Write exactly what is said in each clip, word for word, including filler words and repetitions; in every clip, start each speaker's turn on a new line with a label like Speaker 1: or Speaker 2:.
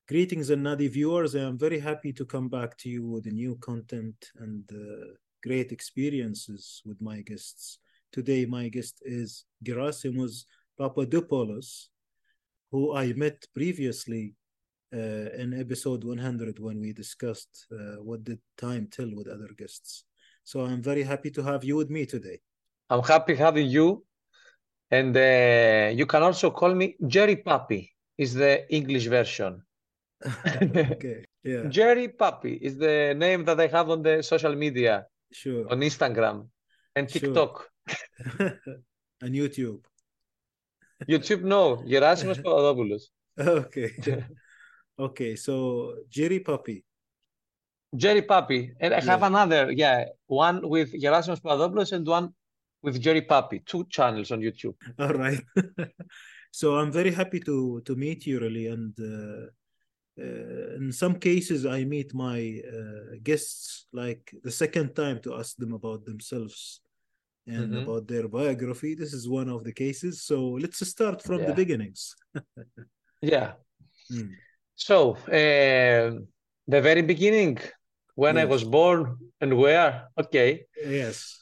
Speaker 1: Greetings and Nadi viewers. I am very happy to come back to you with new content and uh, great experiences with my guests. Today, my guest is Gerasimos Papadopoulos, who I met previously uh, in episode one hundred when we discussed uh, what did time tell with other guests. So I'm very happy to have you with me today.
Speaker 2: I'm happy having you. And uh, you can also call me Jerry Papi, is the English version.
Speaker 1: Okay, yeah,
Speaker 2: Jerry Papi is the name that I have on the social media,
Speaker 1: sure,
Speaker 2: on Instagram and
Speaker 1: sure.
Speaker 2: TikTok.
Speaker 1: And YouTube.
Speaker 2: YouTube, no, Gerasimos Papadopoulos.
Speaker 1: Okay, okay. So Jerry Puppy.
Speaker 2: Jerry Papi. And I have
Speaker 1: Yeah.
Speaker 2: another, yeah, one with Gerasimos Papadopoulos and one with Jerry Papi, two channels on YouTube.
Speaker 1: All right. So I'm very happy to to meet you really, and uh, uh, in some cases I meet my uh, guests like the second time to ask them about themselves and
Speaker 2: Mhm.
Speaker 1: about their biography. This is one of the cases. So let's start from the
Speaker 2: Yeah,
Speaker 1: beginnings.
Speaker 2: yeah.
Speaker 1: Mm,
Speaker 2: So, uh, the very beginning, when I was
Speaker 1: yes.
Speaker 2: born and where, okay.
Speaker 1: Yes.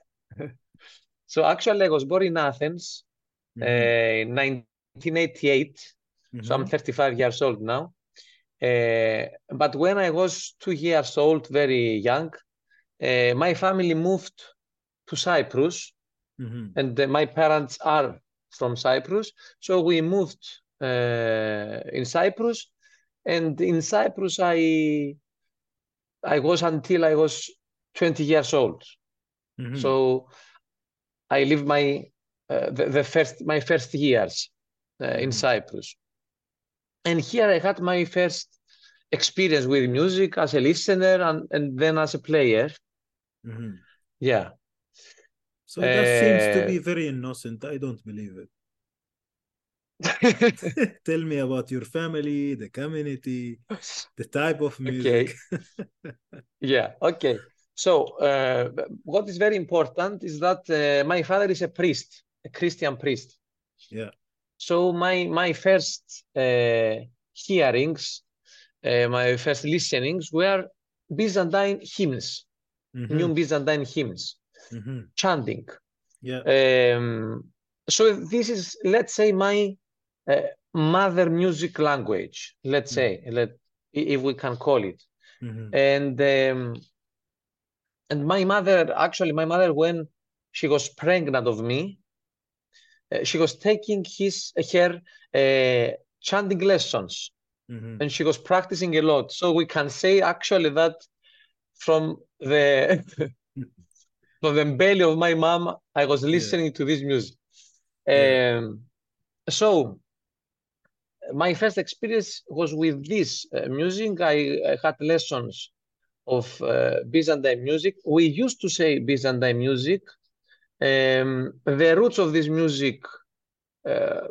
Speaker 2: So actually, I was born in Athens uh,
Speaker 1: Mm-hmm.
Speaker 2: in nineteen eighty-eight. So I'm
Speaker 1: Mm-hmm.
Speaker 2: thirty-five years old now. Uh, but when I was two years old, very young, uh, my family moved to Cyprus,
Speaker 1: Mm-hmm.
Speaker 2: and uh, my parents are from Cyprus. So we moved uh, in Cyprus, and in Cyprus, I I was until I was twenty years old.
Speaker 1: Mm-hmm.
Speaker 2: So I lived my uh, the, the first my first years uh, in
Speaker 1: Mm-hmm.
Speaker 2: Cyprus, and here I had my first experience with music as a listener and, and then as a player.
Speaker 1: Mm-hmm.
Speaker 2: Yeah.
Speaker 1: So that seems to
Speaker 2: Uh,
Speaker 1: be very innocent. I don't believe it. Tell me about your family, the community, the type of music.
Speaker 2: okay. Yeah. Okay. So uh, what is very important is that uh, my father is a priest, a Christian priest.
Speaker 1: Yeah.
Speaker 2: So my my first uh, hearings, uh, my first listenings were Byzantine hymns,
Speaker 1: Mm-hmm.
Speaker 2: new Byzantine hymns,
Speaker 1: Mm-hmm.
Speaker 2: chanting.
Speaker 1: Yeah.
Speaker 2: Um, so this is, let's say, my uh, mother music language, let's say, let, if we can call it.
Speaker 1: Mm-hmm.
Speaker 2: And um, and my mother, actually, my mother, when she was pregnant of me, uh, she was taking his her uh, chanting lessons,
Speaker 1: Mm-hmm.
Speaker 2: and she was practicing a lot. So we can say actually that from the from the belly of my mom, I was
Speaker 1: Yeah.
Speaker 2: listening to this music.
Speaker 1: Yeah.
Speaker 2: Um, so my first experience was with this uh, music. I, I had lessons of uh, Byzantine music. We used to say Byzantine music. Um, the roots of this music uh,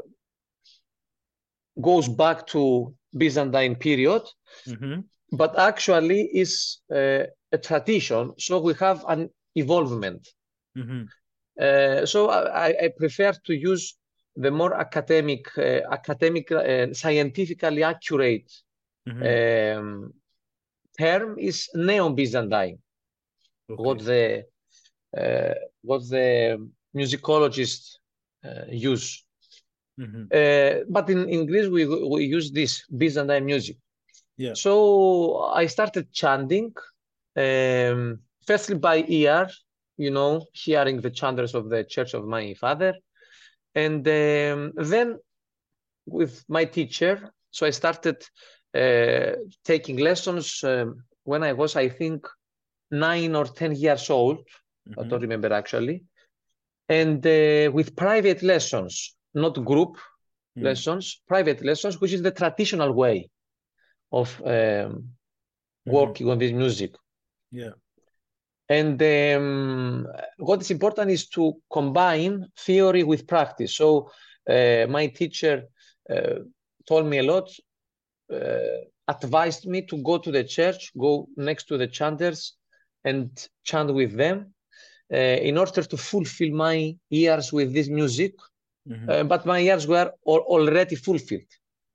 Speaker 2: goes back to Byzantine period,
Speaker 1: Mm-hmm.
Speaker 2: but actually is uh, a tradition. So we have an evolvement.
Speaker 1: Mm-hmm.
Speaker 2: Uh, so I, I prefer to use the more academic, uh, academic, uh, scientifically accurate
Speaker 1: Mm-hmm.
Speaker 2: um, term is Neo-Byzantine. What
Speaker 1: Okay.
Speaker 2: the uh, what the musicologists uh, use.
Speaker 1: Mm-hmm.
Speaker 2: Uh, but in, in Greece, we, we use this Byzantine music.
Speaker 1: Yeah.
Speaker 2: So I started chanting, um, firstly by ear, you know, hearing the chanters of the church of my father. And um, then with my teacher, so I started uh, taking lessons um, when I was, I think, nine or ten years old. I
Speaker 1: Mm-hmm.
Speaker 2: don't remember actually. And uh, with private lessons, not group
Speaker 1: Mm-hmm.
Speaker 2: lessons, private lessons, which is the traditional way of um,
Speaker 1: Mm-hmm.
Speaker 2: working on this music.
Speaker 1: Yeah.
Speaker 2: And um, what is important is to combine theory with practice. So uh, my teacher uh, told me a lot, uh, advised me to go to the church, go next to the chanters and chant with them uh, in order to fulfill my ears with this music.
Speaker 1: Mm-hmm.
Speaker 2: Uh, but my ears were al already fulfilled.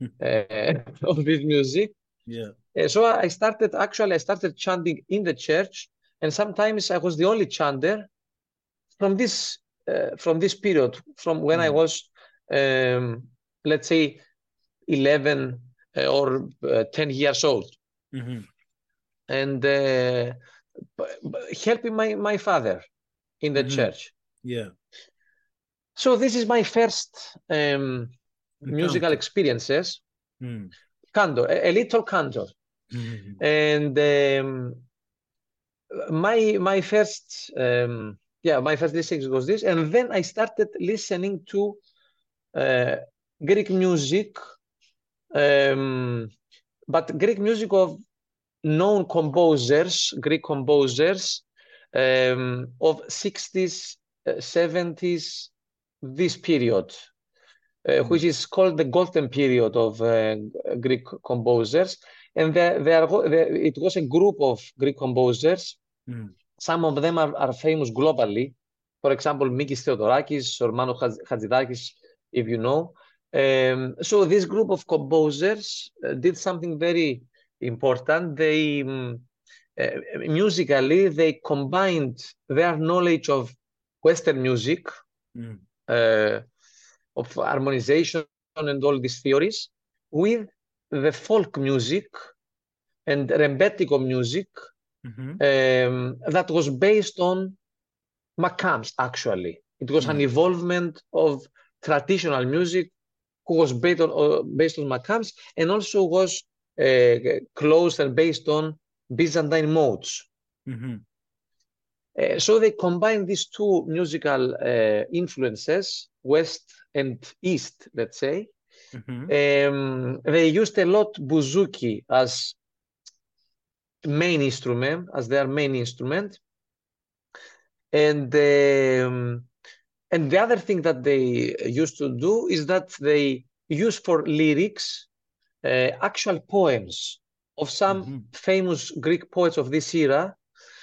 Speaker 2: uh, of this music.
Speaker 1: Yeah.
Speaker 2: Uh, so I started, actually, I started chanting in the church, and sometimes I was the only chanter from this uh, from this period, from when I
Speaker 1: Mm.
Speaker 2: was, um, let's say, eleven uh, or uh, ten years old,
Speaker 1: Mm-hmm.
Speaker 2: and uh, b- b- helping my, my father in the
Speaker 1: Mm-hmm.
Speaker 2: church.
Speaker 1: Yeah.
Speaker 2: So this is my first um, musical
Speaker 1: Encounter.
Speaker 2: experiences,
Speaker 1: Mm.
Speaker 2: cantor, a, a little cantor.
Speaker 1: Mm-hmm.
Speaker 2: And um, my my first um, yeah, my first listening was this, and then I started listening to uh, Greek music, um, but Greek music of known composers, Greek composers um, of sixties, uh, seventies, this period, uh,
Speaker 1: Mm.
Speaker 2: which is called the golden period of uh, Greek composers. And there, there, there, it was a group of Greek composers.
Speaker 1: Mm.
Speaker 2: Some of them are, are famous globally. For example, Mikis Theodorakis or Manu Hadzidakis, if you know. Um, so this group of composers uh, did something very important. They um, uh, musically they combined their knowledge of Western music,
Speaker 1: Mm.
Speaker 2: uh, of harmonization and all these theories, with the folk music and rembetiko music
Speaker 1: Mm-hmm.
Speaker 2: um, that was based on Makams, actually. It was an
Speaker 1: Mm.
Speaker 2: evolvement of traditional music who was based on, uh, based on Makams, and also was uh, closed and based on Byzantine modes.
Speaker 1: Mm-hmm.
Speaker 2: Uh, so they combined these two musical uh, influences, West and East, let's say.
Speaker 1: Mm-hmm.
Speaker 2: Um, they used a lot bouzouki as main instrument, as their main instrument. And um, and the other thing that they used to do is that they use for lyrics uh, actual poems of some
Speaker 1: Mm-hmm.
Speaker 2: famous Greek poets of this era.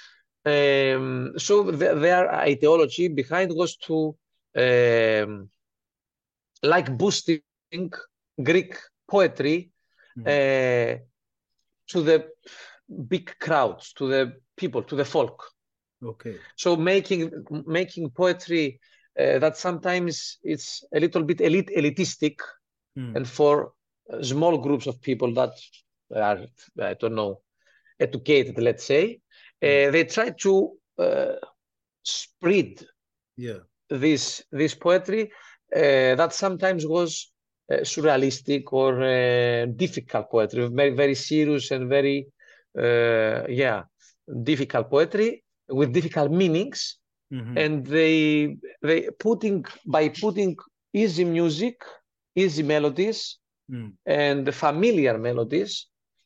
Speaker 2: Um, so the, their ideology behind was to um, like boosting Greek poetry
Speaker 1: Mm.
Speaker 2: uh, to the big crowds, to the people, to the folk.
Speaker 1: Okay.
Speaker 2: So making making poetry uh, that sometimes it's a little bit elite elitistic,
Speaker 1: Mm.
Speaker 2: and for uh, small groups of people that are, I don't know, educated, let's say,
Speaker 1: Mm.
Speaker 2: uh, they try to uh, spread
Speaker 1: Yeah.
Speaker 2: this this poetry uh, that sometimes was uh, surrealistic or uh, difficult poetry, very very serious and very uh, yeah, difficult poetry with difficult meanings.
Speaker 1: Mm-hmm.
Speaker 2: And they they putting by putting easy music, easy melodies,
Speaker 1: Mm.
Speaker 2: and familiar melodies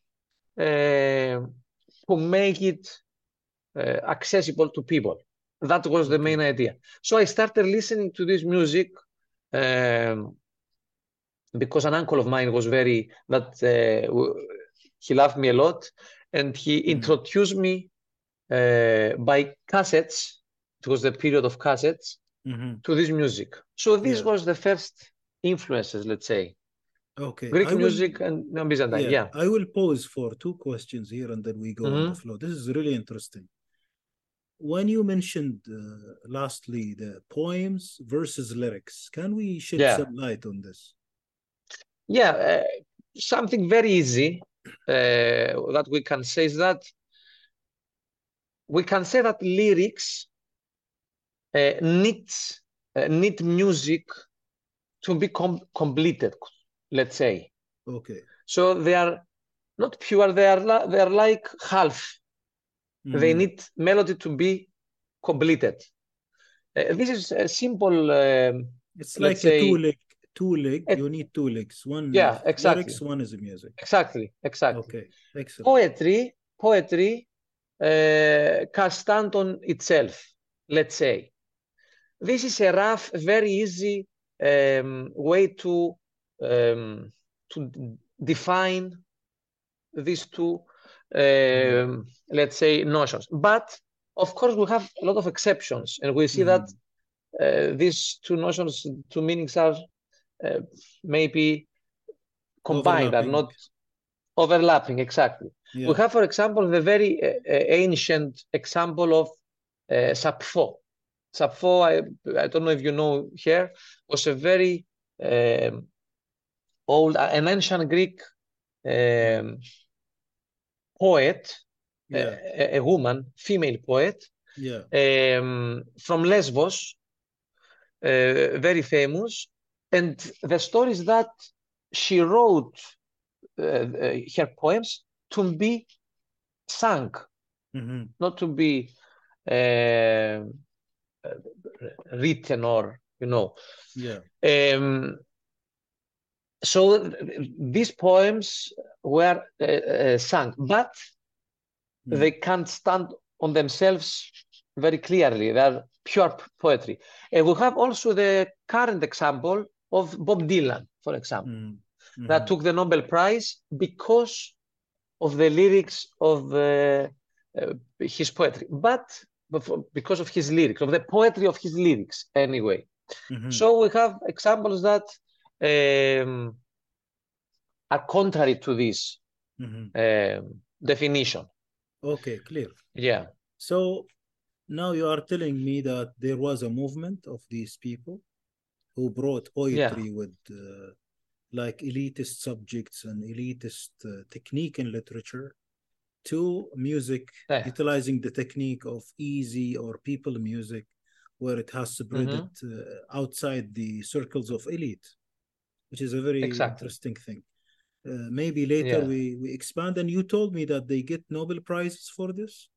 Speaker 2: uh, to make it uh, accessible to people. That was the main
Speaker 1: Okay.
Speaker 2: idea. So I started listening to this music um, because an uncle of mine was very that uh, he loved me a lot, and he
Speaker 1: Mm.
Speaker 2: introduced me uh, by cassettes. It was the period of cassettes
Speaker 1: Mm-hmm.
Speaker 2: to this music. So this
Speaker 1: Yeah.
Speaker 2: was the first influences, let's say,
Speaker 1: Okay.
Speaker 2: Greek
Speaker 1: I will,
Speaker 2: music and no, Byzantine.
Speaker 1: yeah,
Speaker 2: Yeah.
Speaker 1: I will pause for two questions here and then we go on the
Speaker 2: Hmm.
Speaker 1: flow. This is really interesting. When you mentioned uh, lastly the poems versus lyrics, can we shed
Speaker 2: Yeah.
Speaker 1: some light on this?
Speaker 2: Yeah. Uh, something very easy uh, that we can say is that we can say that lyrics uh, needs uh, need music to be com completed, let's say.
Speaker 1: Okay.
Speaker 2: So they are not pure, they are, they are like half. They
Speaker 1: Mm.
Speaker 2: need melody to be completed. Uh, this is a simple, um,
Speaker 1: It's
Speaker 2: let's
Speaker 1: like a two
Speaker 2: say,
Speaker 1: leg, two leg.
Speaker 2: a,
Speaker 1: You need two legs. One
Speaker 2: yeah,
Speaker 1: is lyrics,
Speaker 2: exactly,
Speaker 1: one is music.
Speaker 2: exactly, exactly.
Speaker 1: Okay. Excellent.
Speaker 2: Poetry, poetry uh, can stand on itself, let's say. This is a rough, very easy um, way to um, to define these two,
Speaker 1: Mm.
Speaker 2: um, let's say, notions. But of course, we have a lot of exceptions, and we see that
Speaker 1: Mm.
Speaker 2: uh, these two notions, two meanings are uh, maybe combined, are
Speaker 1: Overlapping.
Speaker 2: not overlapping, exactly.
Speaker 1: Yeah.
Speaker 2: We have, for example, the very uh, ancient example of uh, Sappho. Sappho, I, I don't know if you know her, was a very um, old, an ancient Greek um, poet,
Speaker 1: Yeah.
Speaker 2: a, a woman, female poet,
Speaker 1: Yeah.
Speaker 2: um, from Lesbos, uh, very famous. And the story is that she wrote uh, uh, her poems to be sung,
Speaker 1: Mm-hmm.
Speaker 2: not to be uh, written or, you know.
Speaker 1: Yeah.
Speaker 2: Um, so these poems were uh, uh, sung, but
Speaker 1: Mm.
Speaker 2: they can't stand on themselves very clearly. They are pure poetry. And we have also the current example of Bob Dylan, for example,
Speaker 1: Mm-hmm.
Speaker 2: that took the Nobel Prize because of the lyrics of uh, uh, his poetry, but because of his lyrics, of the poetry of his lyrics, anyway.
Speaker 1: Mm-hmm.
Speaker 2: So we have examples that um, are contrary to this
Speaker 1: Mm-hmm.
Speaker 2: um, definition.
Speaker 1: Okay, clear.
Speaker 2: Yeah.
Speaker 1: So now you are telling me that there was a movement of these people who brought poetry
Speaker 2: Yeah.
Speaker 1: with uh, like elitist subjects and elitist uh, technique in literature to music,
Speaker 2: Yeah.
Speaker 1: utilizing the technique of easy or people music, where it has spread
Speaker 2: Mhm.
Speaker 1: it uh, outside the circles of elite, which is a very
Speaker 2: Exactly.
Speaker 1: interesting thing. Uh, maybe later
Speaker 2: Yeah.
Speaker 1: we, we expand. And you told me that they get Nobel Prizes for this?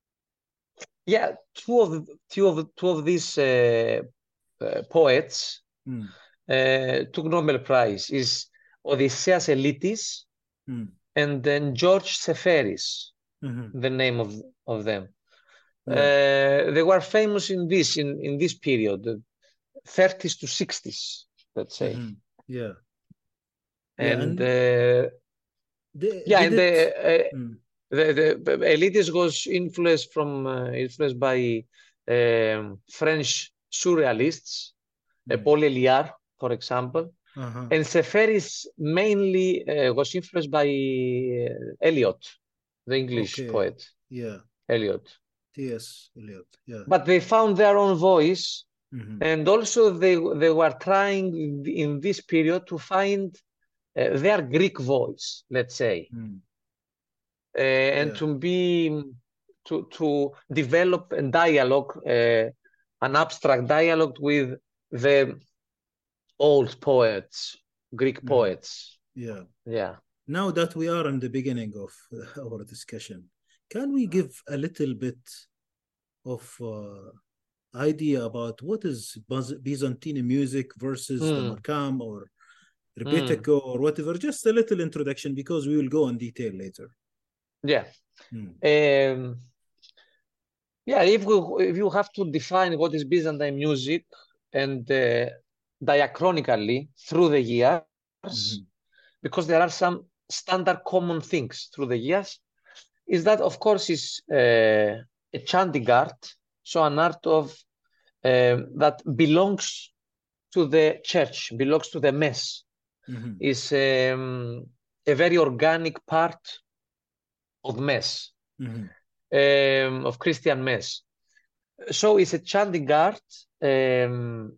Speaker 2: Yeah. Two of two of two of these uh, uh, poets
Speaker 1: Mm.
Speaker 2: uh, took Nobel Prize. Is Odysseas Elitis
Speaker 1: Mm.
Speaker 2: and then George Seferis,
Speaker 1: Mm-hmm.
Speaker 2: the name of of them.
Speaker 1: Yeah.
Speaker 2: Uh, they were famous in this in in this period, the thirties to sixties, let's say.
Speaker 1: Mm-hmm. Yeah. Yeah.
Speaker 2: And
Speaker 1: And
Speaker 2: uh,
Speaker 1: they
Speaker 2: yeah,
Speaker 1: did
Speaker 2: and
Speaker 1: it.
Speaker 2: the, uh,
Speaker 1: Mm.
Speaker 2: the the Elitis was influenced from uh, influenced by um, French surrealists, uh,
Speaker 1: Mm.
Speaker 2: Paul Éluard, for example,
Speaker 1: Uh-huh.
Speaker 2: and Seferis mainly uh, was influenced by uh, Eliot, the English
Speaker 1: Okay.
Speaker 2: poet
Speaker 1: Yeah.
Speaker 2: Eliot.
Speaker 1: T S. Eliot. Yeah.
Speaker 2: But they found their own voice,
Speaker 1: Mm-hmm.
Speaker 2: and also they they were trying in this period to find uh, their Greek voice, let's say,
Speaker 1: Mm.
Speaker 2: uh, and
Speaker 1: Yeah.
Speaker 2: to be to to develop a dialogue, uh, an abstract dialogue with the old poets, Greek
Speaker 1: Mm-hmm.
Speaker 2: poets.
Speaker 1: Yeah.
Speaker 2: Yeah.
Speaker 1: Now that we are in the beginning of uh, our discussion, can we give a little bit of uh, idea about what is Byzantine music versus the
Speaker 2: Mm,
Speaker 1: Makam or
Speaker 2: mm,
Speaker 1: Rebetiko or whatever? Just a little introduction because we will go in detail later.
Speaker 2: yeah.
Speaker 1: Mm.
Speaker 2: Um, yeah, if we if you have to define what is Byzantine music and uh, diachronically through the years,
Speaker 1: Mm-hmm.
Speaker 2: because there are some standard common things through the years, is that of course is uh, a chanting art, so an art of um, that belongs to the church, belongs to the mass,
Speaker 1: Mm-hmm.
Speaker 2: is um, a very organic part of mass,
Speaker 1: Mm-hmm.
Speaker 2: um, of Christian mass. So it's a chanting art, um,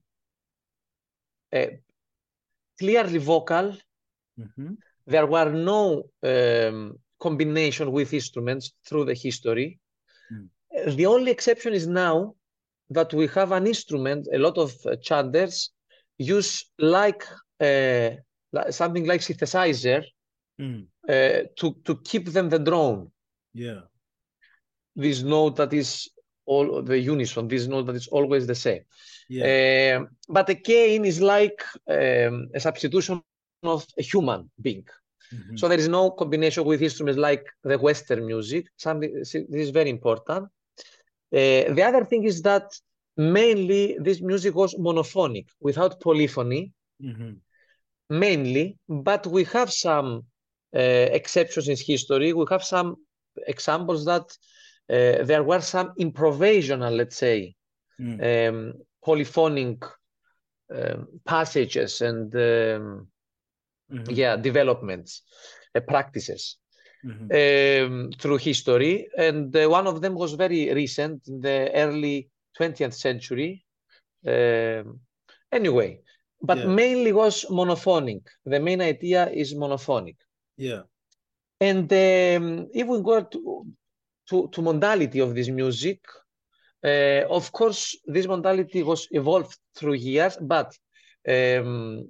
Speaker 2: uh, clearly vocal.
Speaker 1: Mm-hmm.
Speaker 2: There were no um, combination with instruments through the history.
Speaker 1: Mm-hmm.
Speaker 2: The only exception is now that we have an instrument, a lot of uh, chanters use like uh, something like synthesizer
Speaker 1: Mm-hmm.
Speaker 2: uh, to, to keep them the drone.
Speaker 1: Yeah.
Speaker 2: This note that is all the unison, this note that is always the same.
Speaker 1: Yeah.
Speaker 2: Um, but again, is like um, a substitution of a human being.
Speaker 1: Mm-hmm.
Speaker 2: So there is no combination with instruments like the Western music. Something this is very important. Uh, the other thing is that mainly this music was monophonic, without polyphony,
Speaker 1: Mm-hmm.
Speaker 2: mainly. But we have some uh, exceptions in history. We have some examples that uh, there were some improvisational, let's say,
Speaker 1: Mm.
Speaker 2: um, polyphonic um, passages and um,
Speaker 1: Mhm.
Speaker 2: yeah, developments, uh, practices
Speaker 1: Mhm.
Speaker 2: um, through history. And uh, one of them was very recent, in the early twentieth century. Um, anyway, but
Speaker 1: Yeah.
Speaker 2: mainly was monophonic. The main idea is monophonic.
Speaker 1: Yeah.
Speaker 2: And um, if we go to, to, to modality of this music, uh, of course, this modality was evolved through years, but um,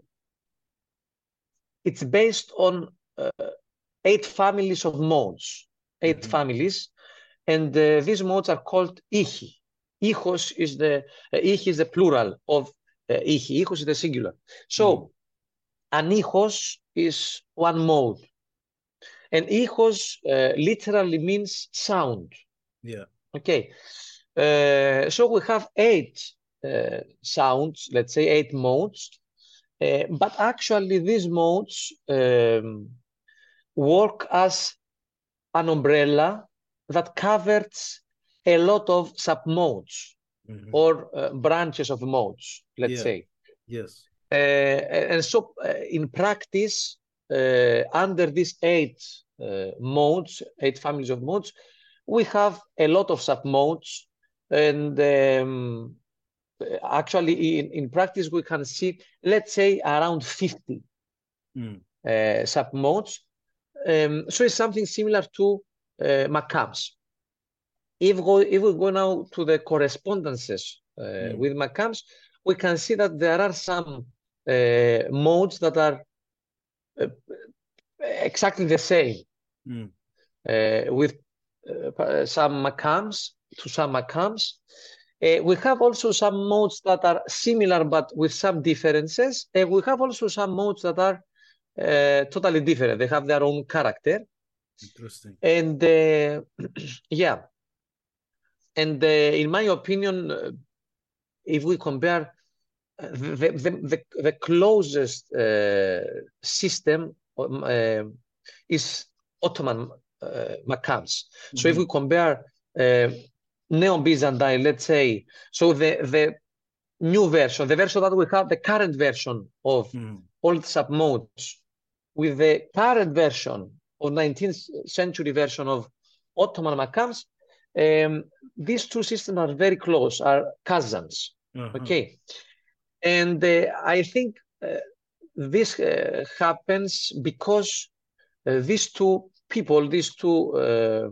Speaker 2: it's based on uh, eight families of modes, eight
Speaker 1: Mhm.
Speaker 2: families, and uh, these modes are called ichi. Ichos is the uh, ichi is the plural of uh, ichi. Ichos is the singular. So
Speaker 1: Mm.
Speaker 2: an ichos is one mode, and ichos uh, literally means sound.
Speaker 1: Yeah.
Speaker 2: Okay, uh, so we have eight uh, sounds, let's say eight modes, uh, but actually these modes um, work as an umbrella that covers a lot of submodes
Speaker 1: Mhm.
Speaker 2: or uh, branches of modes, let's
Speaker 1: Yeah.
Speaker 2: say.
Speaker 1: Yes.
Speaker 2: Uh, and so uh, in practice, uh, under these eight uh, modes, eight families of modes, we have a lot of submodes. And um, actually, in, in practice, we can see, let's say, around fifty
Speaker 1: Mm.
Speaker 2: uh, submodes. Um, so it's something similar to uh, Macams. If, go, if we go now to the correspondences uh,
Speaker 1: Mm.
Speaker 2: with Macams, we can see that there are some uh, modes that are uh, exactly the same
Speaker 1: Mm.
Speaker 2: uh, with uh, some Macams to some Macams. Uh, we have also some modes that are similar but with some differences. And we have also some modes that are uh, totally different. They have their own character.
Speaker 1: Interesting.
Speaker 2: And uh, yeah, and uh, in my opinion, uh, if we compare uh, the, the, the, the closest uh, system um, uh, is Ottoman uh, Macams. So if
Speaker 1: Mhm.
Speaker 2: we compare uh, Neo-Byzantine, let's say, so the, the new version, the version that we have, the current version of
Speaker 1: Mhm.
Speaker 2: old submodes with the current version of nineteenth century version of Ottoman Macams, um, these two systems are very close, are cousins.
Speaker 1: Uh-huh.
Speaker 2: Okay. And uh, I think uh, this uh, happens because uh, these two people, these two uh,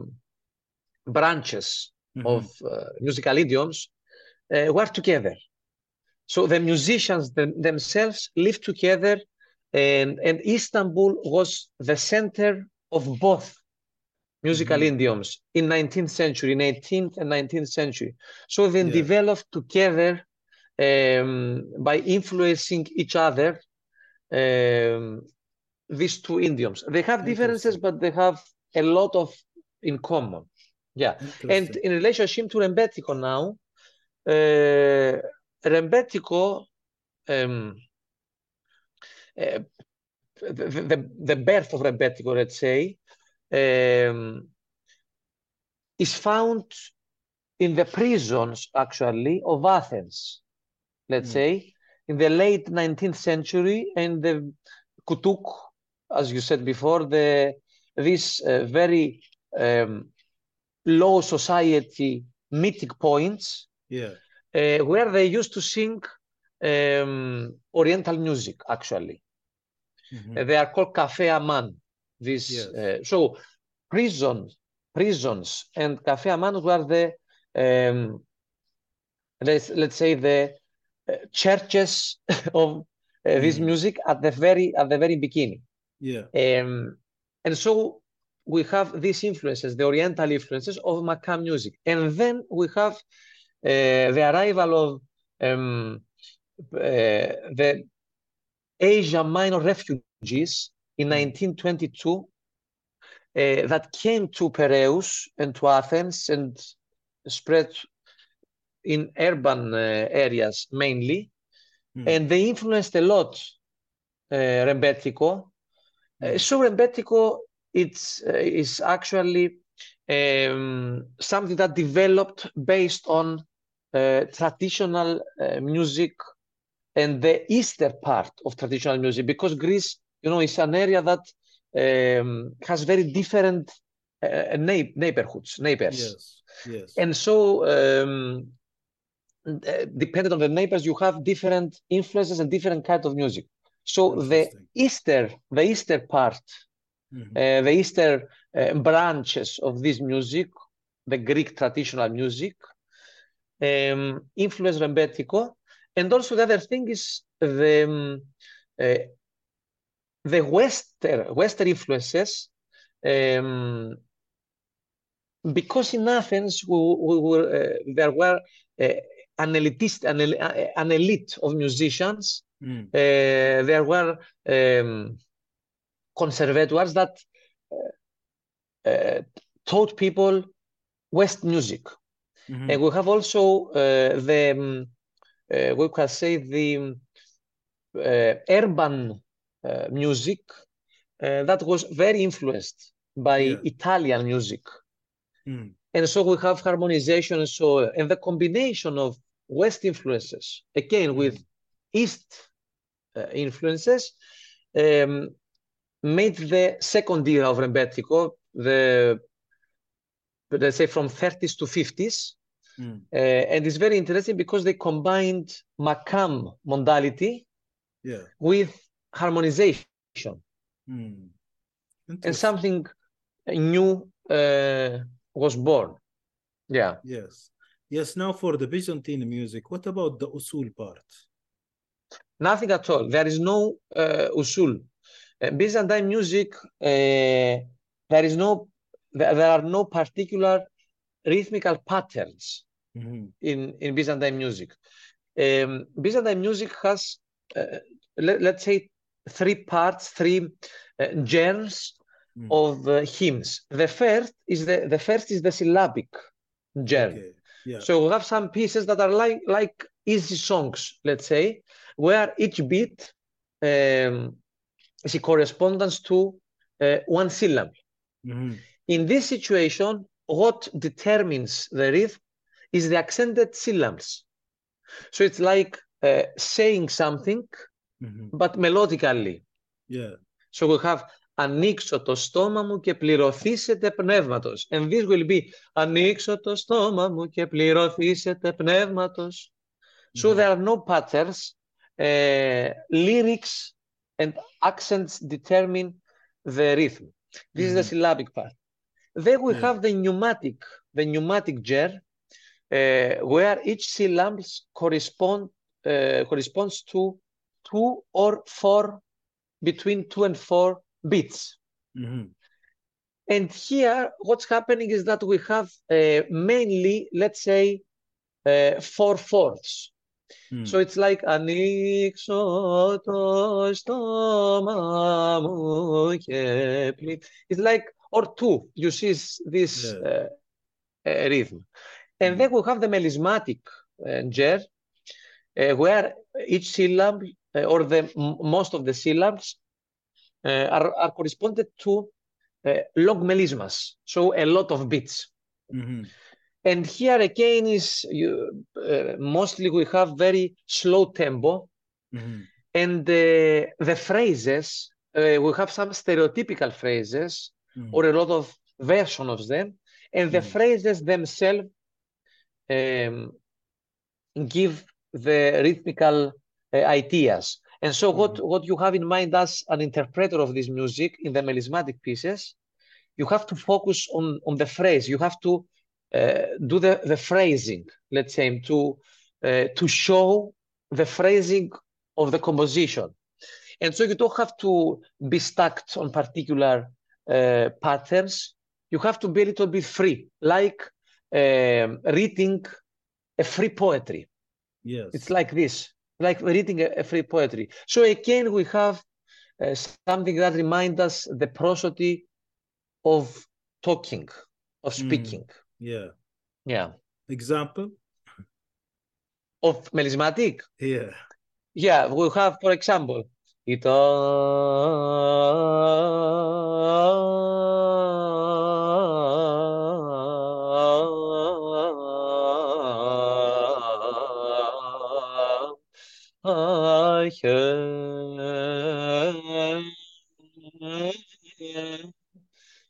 Speaker 2: branches
Speaker 1: Mhm.
Speaker 2: of uh, musical idioms uh, were together. So the musicians them, themselves lived together, and, and Istanbul was the center of both musical
Speaker 1: Mhm.
Speaker 2: idioms in nineteenth century, in eighteenth and nineteenth century. So they
Speaker 1: Yeah.
Speaker 2: developed together um, by influencing each other, um, these two idioms. They have differences,
Speaker 1: Interesting.
Speaker 2: but they have a lot of in common. Yeah. And
Speaker 1: Interesting.
Speaker 2: in relationship to Rembetiko now, uh, Rembetiko, um, uh, the, the, the birth of Rembetiko, let's say, um, is found in the prisons, actually, of Athens, let's
Speaker 1: Mm.
Speaker 2: say, in the late nineteenth century, and the Kutuk, as you said before, the these uh, very um, low society mythic points
Speaker 1: Yeah.
Speaker 2: uh, where they used to sing um, Oriental music, actually.
Speaker 1: Mhm.
Speaker 2: Uh, they are called Cafe Aman. This,
Speaker 1: Yes.
Speaker 2: uh, so prisons, prisons and Cafe Aman were the, um, let's, let's say, the uh, churches of uh, this
Speaker 1: Mhm.
Speaker 2: music at the very at the very beginning.
Speaker 1: Yeah.
Speaker 2: Um, and so we have these influences, the Oriental influences of Makam music. And then we have uh, the arrival of um, uh, the Asia Minor refugees in
Speaker 1: Mm.
Speaker 2: nineteen twenty-two uh, that came to Piraeus and to Athens and spread in urban uh, areas mainly.
Speaker 1: Mm.
Speaker 2: And they influenced a lot uh, Rembetiko. Uh,
Speaker 1: Mm.
Speaker 2: so Rembetiko it's, uh, is actually um, something that developed based on uh, traditional uh, music and the Eastern part of traditional music, because Greece You know, it's an area that um, has very different uh, neigh- neighborhoods, neighbors.
Speaker 1: Yes, yes.
Speaker 2: And so, um, uh, depending on the neighbors, you have different influences and different kind of music. So the
Speaker 1: Interesting.
Speaker 2: Easter, the Easter part,
Speaker 1: Mhm.
Speaker 2: uh, the Easter uh, branches of this music, the Greek traditional music, um, influence Rembetiko. And also the other thing is the um, uh, the Western Western influences. Um, because in Athens we, we were, uh, there were uh, an elitist, an, el- uh, an elite of musicians.
Speaker 1: Mm.
Speaker 2: Uh, there were um, conservators that uh, taught people West music.
Speaker 1: Mhm.
Speaker 2: And we have also uh, the, um, uh, we can say the um, uh, urban uh, music uh, that was very influenced by
Speaker 1: Yeah.
Speaker 2: Italian music.
Speaker 1: Mm.
Speaker 2: And so we have harmonization and so on. And the combination of West influences, again, with
Speaker 1: Mhm.
Speaker 2: East uh, influences, um, made the second era of Rembetiko, the, let's say, from thirties to fifties.
Speaker 1: Mm.
Speaker 2: Uh, and it's very interesting because they combined Makam modality
Speaker 1: Yeah.
Speaker 2: with harmonization,
Speaker 1: Mm.
Speaker 2: and
Speaker 1: Interesting.
Speaker 2: something new uh, was born. Yeah.
Speaker 1: Yes. Yes. Now for the Byzantine music, what about the usul part?
Speaker 2: Nothing at all. There is no uh, usul. Uh, Byzantine music, uh, there is no, there, there are no particular rhythmical patterns
Speaker 1: Mhm.
Speaker 2: in, in Byzantine music. Um, Byzantine music has, uh, let, let's say, three parts, three uh, genres
Speaker 1: Mm.
Speaker 2: of uh, hymns. The first is the the first is the syllabic genre.
Speaker 1: Okay. Yeah.
Speaker 2: So we have some pieces that are like like easy songs, let's say, where each beat um, is a correspondence to uh, one syllable.
Speaker 1: Mhm.
Speaker 2: In this situation, what determines the rhythm is the accented syllables. So it's like uh, saying something,
Speaker 1: Mhm.
Speaker 2: but melodically.
Speaker 1: Yeah.
Speaker 2: So we have ανοίξω το στόμα μου και πληρωθήσετε πνεύματος. And this will be ανοίξω το στόμα μου και πληρωθήσετε πνεύματος. So
Speaker 1: Mhm.
Speaker 2: there are no patterns. Uh, lyrics and accents determine the rhythm. This is the
Speaker 1: Mhm.
Speaker 2: syllabic part. Then we
Speaker 1: Yeah.
Speaker 2: have the pneumatic, the pneumatic ger, uh, where each syllable correspond uh, corresponds to two or four, between two and four beats.
Speaker 1: Mhm.
Speaker 2: And here, what's happening is that we have uh, mainly, let's say, uh, four fourths. So
Speaker 1: Mm.
Speaker 2: it's like ανοίξω το στόμα μου και πλη-. It's like, or two. You see this
Speaker 1: Yeah.
Speaker 2: uh, uh, rhythm. And then
Speaker 1: Mm.
Speaker 2: we have the melismatic uh, ger, uh, where each syllable uh, or the most of the syllables uh, are, are corresponded to uh, long melismas, so a lot of beats.
Speaker 1: Mhm.
Speaker 2: And here again is you, uh, mostly we have very slow tempo,
Speaker 1: Mhm.
Speaker 2: and uh, the phrases, uh, we have some stereotypical phrases or
Speaker 1: Mhm.
Speaker 2: a lot of versions of them, and the
Speaker 1: Mhm.
Speaker 2: phrases themselves um, give the rhythmical uh, ideas. And so what,
Speaker 1: Mhm.
Speaker 2: what you have in mind as an interpreter of this music in the melismatic pieces, you have to focus on, on the phrase. You have to uh, do the, the phrasing, let's say, to, uh, to show the phrasing of the composition. And so you don't have to be stuck on particular uh, patterns. You have to be a little bit free, like um, reading a free poetry. It's
Speaker 1: Yes.
Speaker 2: like this, like reading a, a free poetry. So again, we have uh, something that reminds us the prosody of talking, of
Speaker 1: Mm.
Speaker 2: speaking.
Speaker 1: Yeah.
Speaker 2: Yeah.
Speaker 1: Example?
Speaker 2: Of melismatic.
Speaker 1: Yeah.
Speaker 2: Yeah, we have, for example, ήταν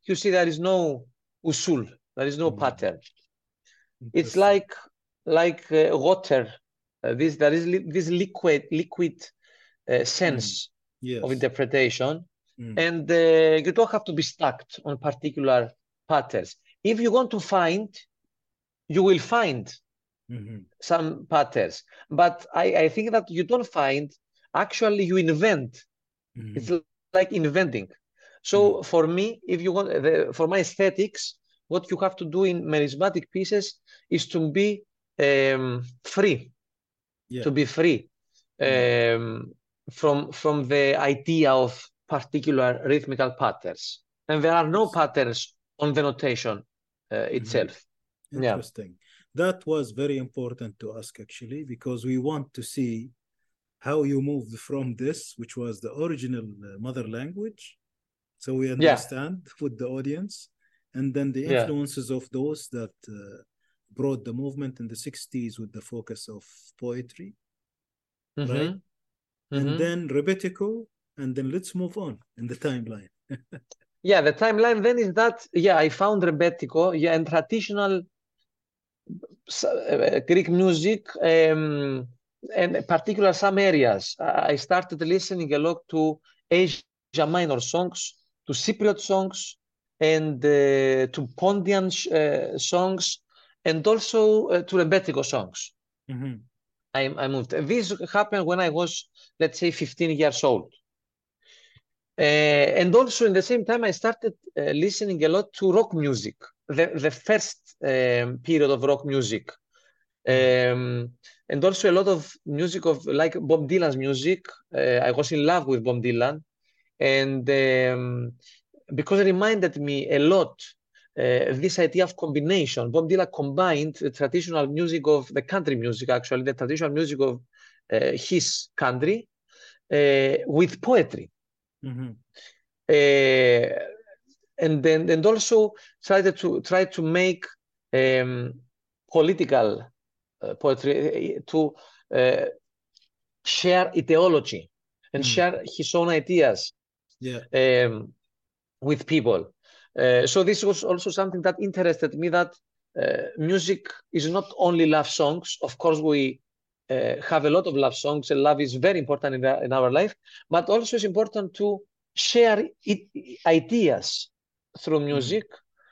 Speaker 2: you see there is no usul, there is no
Speaker 1: Mm.
Speaker 2: pattern. It's
Speaker 1: Interesting.
Speaker 2: like like uh, water. Uh, this there is li this liquid liquid uh, sense
Speaker 1: Yes.
Speaker 2: of interpretation,
Speaker 1: Mm.
Speaker 2: and uh, you don't have to be stuck on particular patterns. If you want to find, you will find
Speaker 1: Mhm.
Speaker 2: some patterns, but I, I think that you don't find, actually you invent.
Speaker 1: Mhm.
Speaker 2: It's like inventing. So
Speaker 1: Mm.
Speaker 2: for me, if you want, the, for my aesthetics, what you have to do in melismatic pieces is to be um, free,
Speaker 1: Yeah.
Speaker 2: to be free
Speaker 1: Mm.
Speaker 2: um, from from the idea of particular rhythmical patterns, and there are no
Speaker 1: Interesting.
Speaker 2: patterns on the notation uh,
Speaker 1: Mhm.
Speaker 2: itself. Yeah,
Speaker 1: Interesting. That was very important to ask actually, because we want to see how you moved from this, which was the original uh, mother language, so we
Speaker 2: yeah,
Speaker 1: understand with the audience, and then the
Speaker 2: yeah.
Speaker 1: influences of those that uh, brought the movement in the sixties with the focus of poetry, right?
Speaker 2: Mm-hmm.
Speaker 1: And
Speaker 2: Mm-hmm.
Speaker 1: then Rebetiko, and then let's move on in the timeline.
Speaker 2: Yeah, the timeline then is that, yeah, I found Rebetiko, yeah, and traditional uh, Greek music, um, and particular some areas. I started listening a lot to Asia Minor songs, to Cypriot songs, and uh, to Pontian uh, songs, and also uh, to Rebetiko songs.
Speaker 1: Mhm.
Speaker 2: I, I moved. This happened when I was, let's say, fifteen years old. Uh, and also in the same time, I started uh, listening a lot to rock music, the, the first um, period of rock music. Um, and also a lot of music of like Bob Dylan's music. Uh, I was in love with Bob Dylan, and um, because it reminded me a lot uh, this idea of combination. Bob Dylan combined the traditional music of the country music, actually the traditional music of uh, his country, uh, with poetry.
Speaker 1: Mhm.
Speaker 2: Uh, and then and also tried to try to make um, political uh, poetry uh, to uh, share ideology and
Speaker 1: Mhm.
Speaker 2: share his own ideas
Speaker 1: Yeah.
Speaker 2: um, with people. Uh, so this was also something that interested me, that uh, music is not only love songs. Of course, we uh, have a lot of love songs, and love is very important in, the, in our life, but also it's important to share it, ideas through music,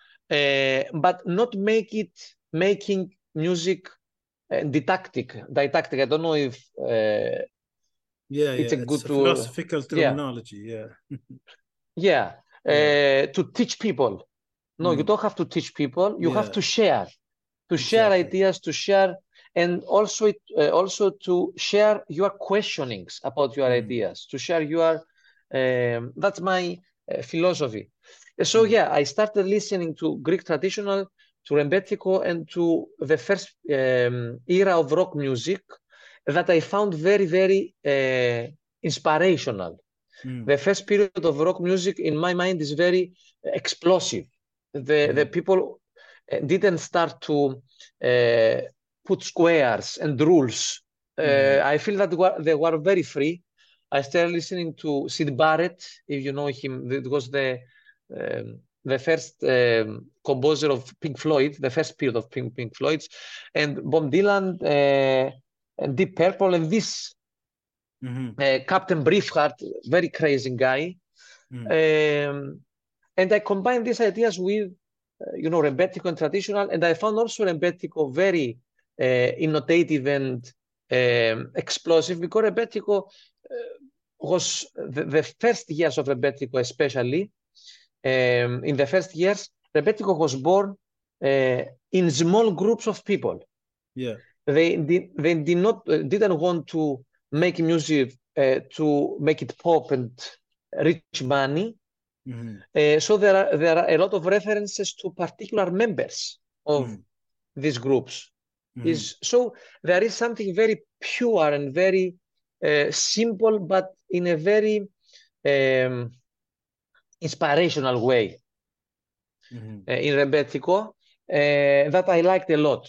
Speaker 2: uh, but not make it making music uh, didactic. Didactic. I don't know if uh,
Speaker 1: Yeah,
Speaker 2: it's
Speaker 1: yeah.
Speaker 2: a
Speaker 1: It's
Speaker 2: good
Speaker 1: a
Speaker 2: tool.
Speaker 1: philosophical
Speaker 2: Yeah,
Speaker 1: terminology. Yeah.
Speaker 2: yeah.
Speaker 1: Yeah.
Speaker 2: Uh, to teach people. No, you
Speaker 1: Mm.
Speaker 2: don't have to teach people. You have
Speaker 1: Yeah.
Speaker 2: to share, to share
Speaker 1: Exactly.
Speaker 2: ideas, to share, and also it, uh, also to share your questionings about your
Speaker 1: Mm.
Speaker 2: ideas, to share your. Um, that's my uh, philosophy. So
Speaker 1: Mm.
Speaker 2: yeah, I started listening to Greek traditional, to Rembetiko, and to the first um, era of rock music that I found very, very uh, inspirational.
Speaker 1: Mm.
Speaker 2: The first period of rock music, in my mind, is very explosive. The, the
Speaker 1: Mm.
Speaker 2: people uh, didn't start to uh, put squares and rules. Uh,
Speaker 1: Mm.
Speaker 2: I feel that wa- they were very free. I started listening to Sid Barrett, if you know him. It was the um, the first um, composer of Pink Floyd, the first period of Pink, Pink Floyd's, and Bob Dylan, uh, and Deep Purple, and this
Speaker 1: Mhm.
Speaker 2: uh, Captain Briefheart, very crazy guy.
Speaker 1: Mm.
Speaker 2: Um, and I combined these ideas with, uh, you know, Rebetiko and traditional, and I found also Rebetiko very uh, innovative and um, explosive, because Rebetiko uh, was the, the first years of Rebetiko, especially um, in the first years, Rebetiko was born uh, in small groups of people.
Speaker 1: Yeah.
Speaker 2: They did, they did not uh, didn't want to make music uh, to make it pop and rich money.
Speaker 1: Mhm.
Speaker 2: Uh, so there are there are a lot of references to particular members of
Speaker 1: Mm.
Speaker 2: these groups.
Speaker 1: Mhm.
Speaker 2: Is so there is something very pure and very uh, simple, but in a very um, inspirational way
Speaker 1: Mhm.
Speaker 2: uh, in Rebetiko uh, that I liked a lot.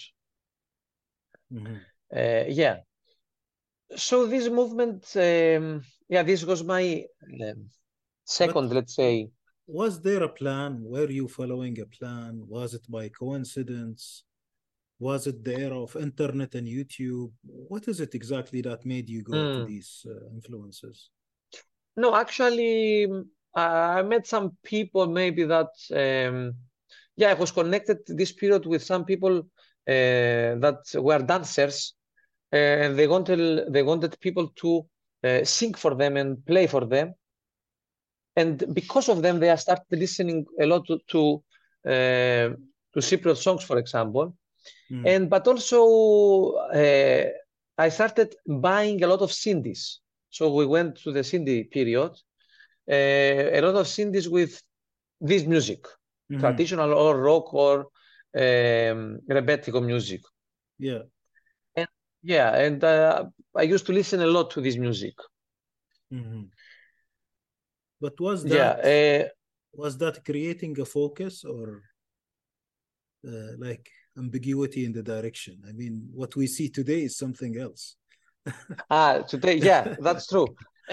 Speaker 1: Mhm.
Speaker 2: Uh, yeah. So this movement, um, yeah, this was my um,
Speaker 1: But
Speaker 2: second, let's say.
Speaker 1: was there a plan? Were you following a plan? Was it by coincidence? Was it the era of internet and YouTube? What is it exactly that made you go to
Speaker 2: Mm.
Speaker 1: these uh, influences?
Speaker 2: No, actually, mm, I met some people maybe that, um, yeah, I was connected this period with some people uh, that were dancers, uh, and they wanted they wanted people to uh, sing for them and play for them. And because of them, they started listening a lot to to, uh, to Cypriot songs, for example.
Speaker 1: Mm.
Speaker 2: And but also, uh, I started buying a lot of C Ds. So we went to the C D period, uh, a lot of C Ds with this music,
Speaker 1: Mm-hmm.
Speaker 2: traditional or rock or um, rebetiko music.
Speaker 1: Yeah.
Speaker 2: And yeah, and uh, I used to listen a lot to this music.
Speaker 1: Mm-hmm. But was
Speaker 2: Yeah,
Speaker 1: that
Speaker 2: uh,
Speaker 1: was that creating a focus or uh, like ambiguity in the direction? I mean, what we see today is something else.
Speaker 2: ah, today, yeah, that's true.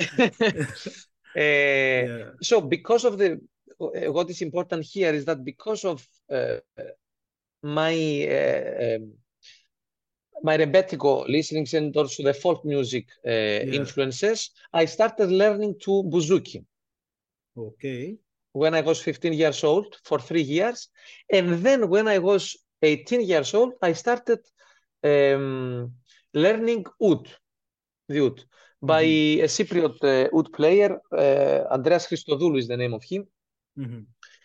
Speaker 2: Uh,
Speaker 1: Yeah.
Speaker 2: so because of the uh, what is important here is that because of uh, my uh, um, my rebetiko listenings and also the folk music uh,
Speaker 1: Yeah.
Speaker 2: influences, I started learning to bouzouki
Speaker 1: Okay.
Speaker 2: when I was fifteen years old for three years. And then when I was eighteen years old, I started um, learning oud, the oud, by
Speaker 1: Mm-hmm.
Speaker 2: a Cypriot uh, oud player. Uh, Andreas Christodoulou is the name of him.
Speaker 1: Mm-hmm.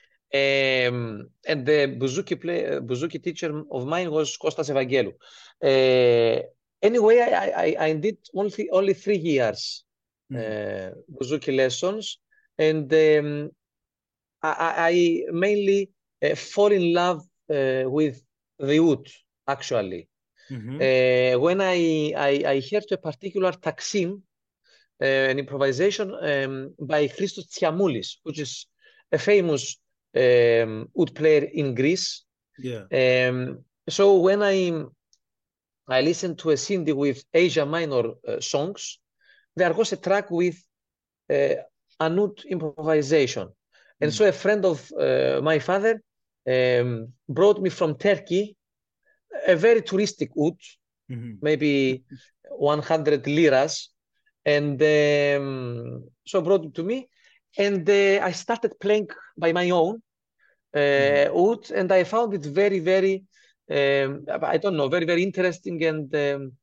Speaker 2: Um, and the bouzouki play, uh, bouzouki teacher of mine was Kostas Evangelou. Uh, anyway, I, I, I did only only three years
Speaker 1: Mm-hmm.
Speaker 2: uh, bouzouki lessons, and um, I, I mainly uh, fall in love uh, with the oud, actually.
Speaker 1: Mm-hmm.
Speaker 2: Uh, when I, I, I heard a particular taksim, uh, an improvisation um, by Christos Tsiamoulis, which is a famous um, oud player in Greece.
Speaker 1: Yeah.
Speaker 2: Um, so when I I listened to a C D with Asia Minor uh, songs, there was a track with uh, an oud improvisation. And
Speaker 1: Mm-hmm.
Speaker 2: so a friend of uh, my father um, brought me from Turkey a very touristic oud,
Speaker 1: Mm-hmm.
Speaker 2: maybe one hundred liras. And um, so brought it to me. And uh, I started playing by my own uh,
Speaker 1: Mm-hmm.
Speaker 2: oud, and I found it very, very, um, I don't know, very, very interesting. And um,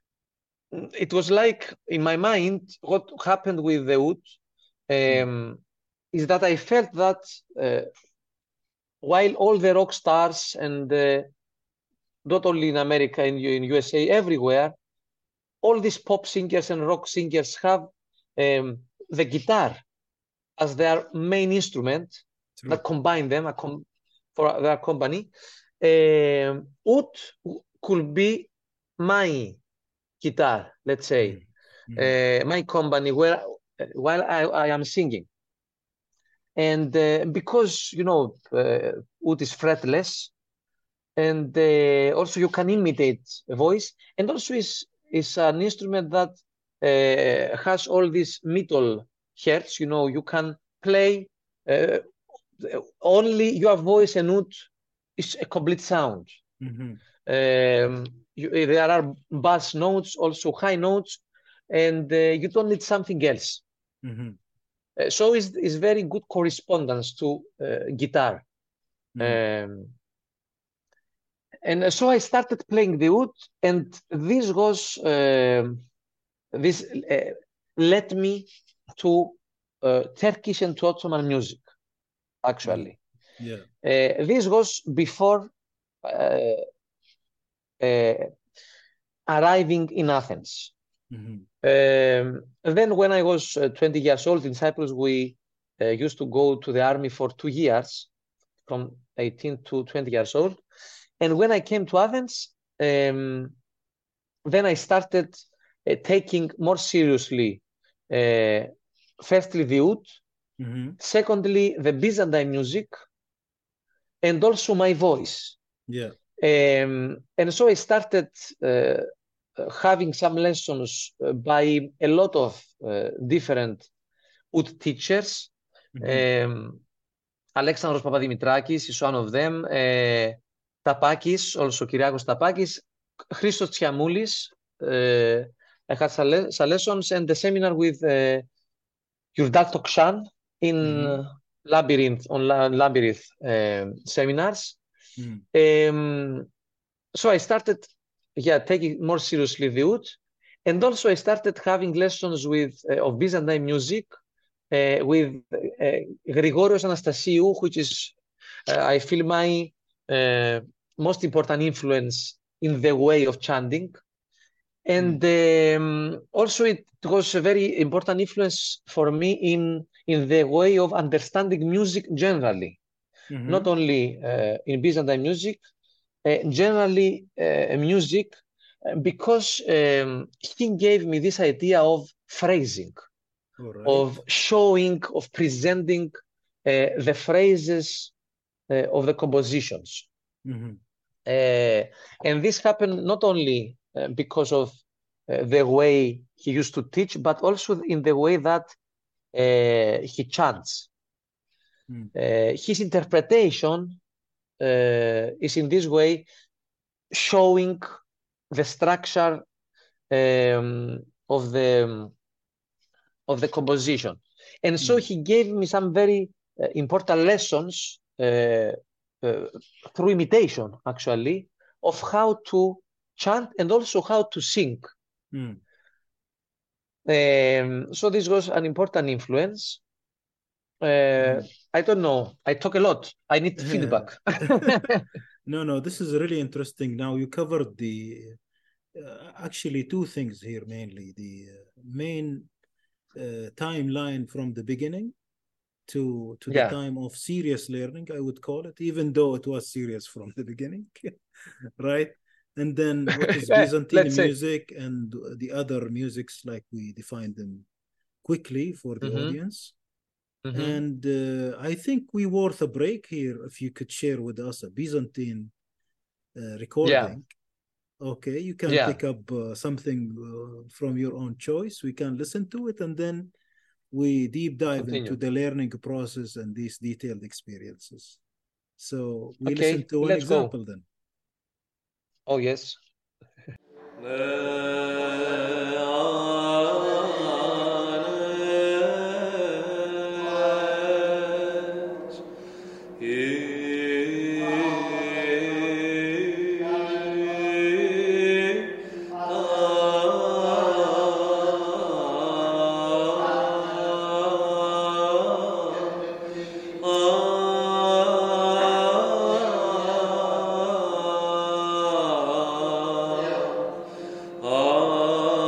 Speaker 2: it was like in my mind, what happened with the oud um, is that I felt that uh, while all the rock stars and uh, not only in America, in, in U S A, everywhere, all these pop singers and rock singers have um, the guitar as their main instrument
Speaker 1: True.
Speaker 2: that combine them for their company. Um, oud could be my guitar, let's say,
Speaker 1: Mm-hmm.
Speaker 2: uh, my company where while I, I am singing. And uh, because, you know, uh, oud is fretless, and uh, also you can imitate a voice, and also is is an instrument that uh, has all these middle hertz. You know, you can play uh, only your voice and oud is a complete sound.
Speaker 1: Mm-hmm.
Speaker 2: Um, you, there are bass notes, also high notes, and uh, you don't need something else.
Speaker 1: Mm-hmm.
Speaker 2: Uh, so it's, it's very good correspondence to uh, guitar.
Speaker 1: Mm-hmm.
Speaker 2: Um, and so I started playing the oud, and this was um this uh, led me to uh, Turkish and to Ottoman music.
Speaker 1: Mm-hmm.
Speaker 2: Actually,
Speaker 1: Yeah.
Speaker 2: uh, this was before uh, uh, arriving in Athens.
Speaker 1: Mm-hmm.
Speaker 2: Um, and then when I was uh, twenty years old in Cyprus, we uh, used to go to the army for two years, from eighteen to twenty years old. And when I came to Athens, um, then I started uh, taking more seriously, uh, firstly, the oud,
Speaker 1: Mm-hmm.
Speaker 2: secondly, the Byzantine music, and also my voice.
Speaker 1: Yeah.
Speaker 2: Um, and so I started uh, having some lessons uh, by a lot of uh, different oud teachers.
Speaker 1: Mm-hmm.
Speaker 2: Um, Alexandros Papadimitrakis is one of them. Uh, Tapakis, also Kyriakos Tapakis. Christos Tsiamoulis. Uh, I had some, some lessons and the seminar with uh, Yurdal Tokshan in
Speaker 1: Mm-hmm.
Speaker 2: Labyrinth, on La- Labyrinth uh, seminars.
Speaker 1: Mm-hmm.
Speaker 2: Um, so I started, yeah, taking more seriously the oud. And also I started having lessons with uh, of Byzantine music uh, with uh, Grigorios Anastasiou, which is, uh, I feel, my uh, most important influence in the way of chanting. And um, also it was a very important influence for me in, in the way of understanding music generally,
Speaker 1: Mm-hmm.
Speaker 2: not only uh, in Byzantine music, uh, generally uh, music, uh, because um, he gave me this idea of phrasing,
Speaker 1: All right.
Speaker 2: of showing, of presenting uh, the phrases uh, of the compositions.
Speaker 1: Mm-hmm.
Speaker 2: Uh, and this happened not only uh, because of uh, the way he used to teach, but also in the way that uh, he chants.
Speaker 1: Mm.
Speaker 2: Uh, his interpretation uh, is in this way showing the structure um, of the of the composition. And so
Speaker 1: Mm.
Speaker 2: he gave me some very uh, important lessons uh, uh, through imitation, actually, of how to chant and also how to sing.
Speaker 1: Mm.
Speaker 2: Um, so this was an important influence. Uh,
Speaker 1: Mm.
Speaker 2: I don't know. I talk a lot. I need feedback.
Speaker 1: No, no, this is really interesting. Now you covered the uh, actually two things here mainly. The uh, main uh, timeline from the beginning to to the
Speaker 2: Yeah.
Speaker 1: time of serious learning, I would call it, even though it was serious from the beginning, right? And then what is Byzantine
Speaker 2: Let's say.
Speaker 1: music and the other musics, like we defined them quickly for the
Speaker 2: Mm-hmm.
Speaker 1: audience.
Speaker 2: Mm-hmm.
Speaker 1: And uh, I think we worth a break here if you could share with us a Byzantine uh, recording. Yeah. Okay, you can
Speaker 2: Yeah.
Speaker 1: pick up uh, something uh, from your own choice. We can listen to it and then we deep dive
Speaker 2: Continue.
Speaker 1: into the learning process and these detailed experiences. So we
Speaker 2: Okay,
Speaker 1: listen to an
Speaker 2: let's
Speaker 1: example
Speaker 2: go.
Speaker 1: then.
Speaker 2: Oh, yes.
Speaker 3: Ah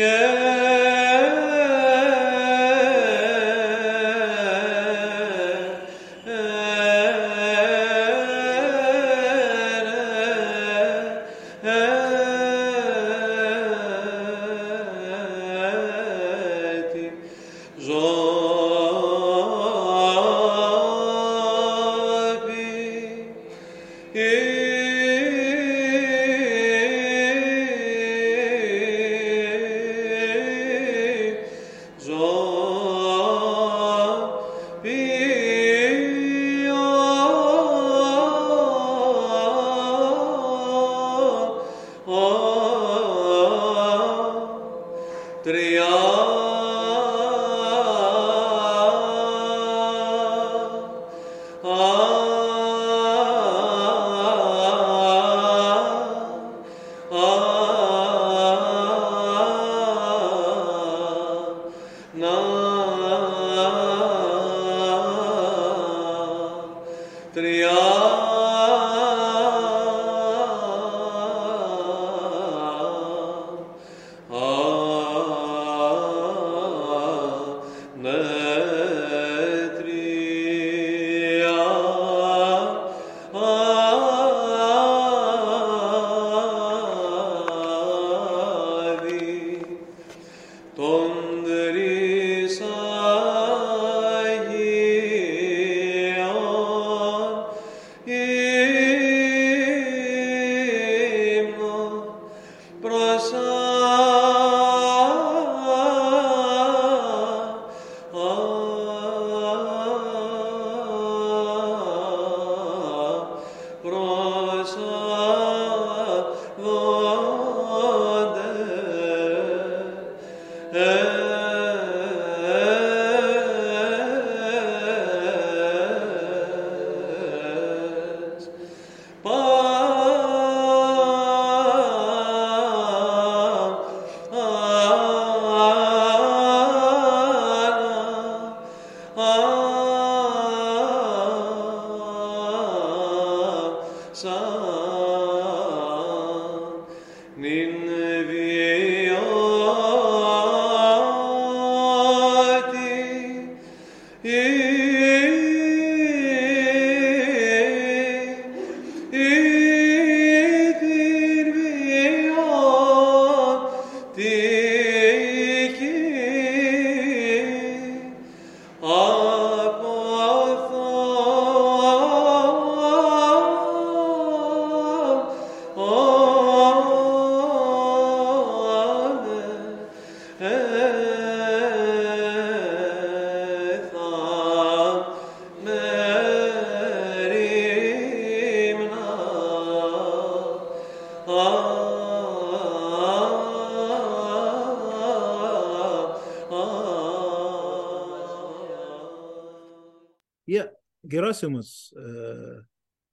Speaker 1: Yeah, Gerasimus, uh,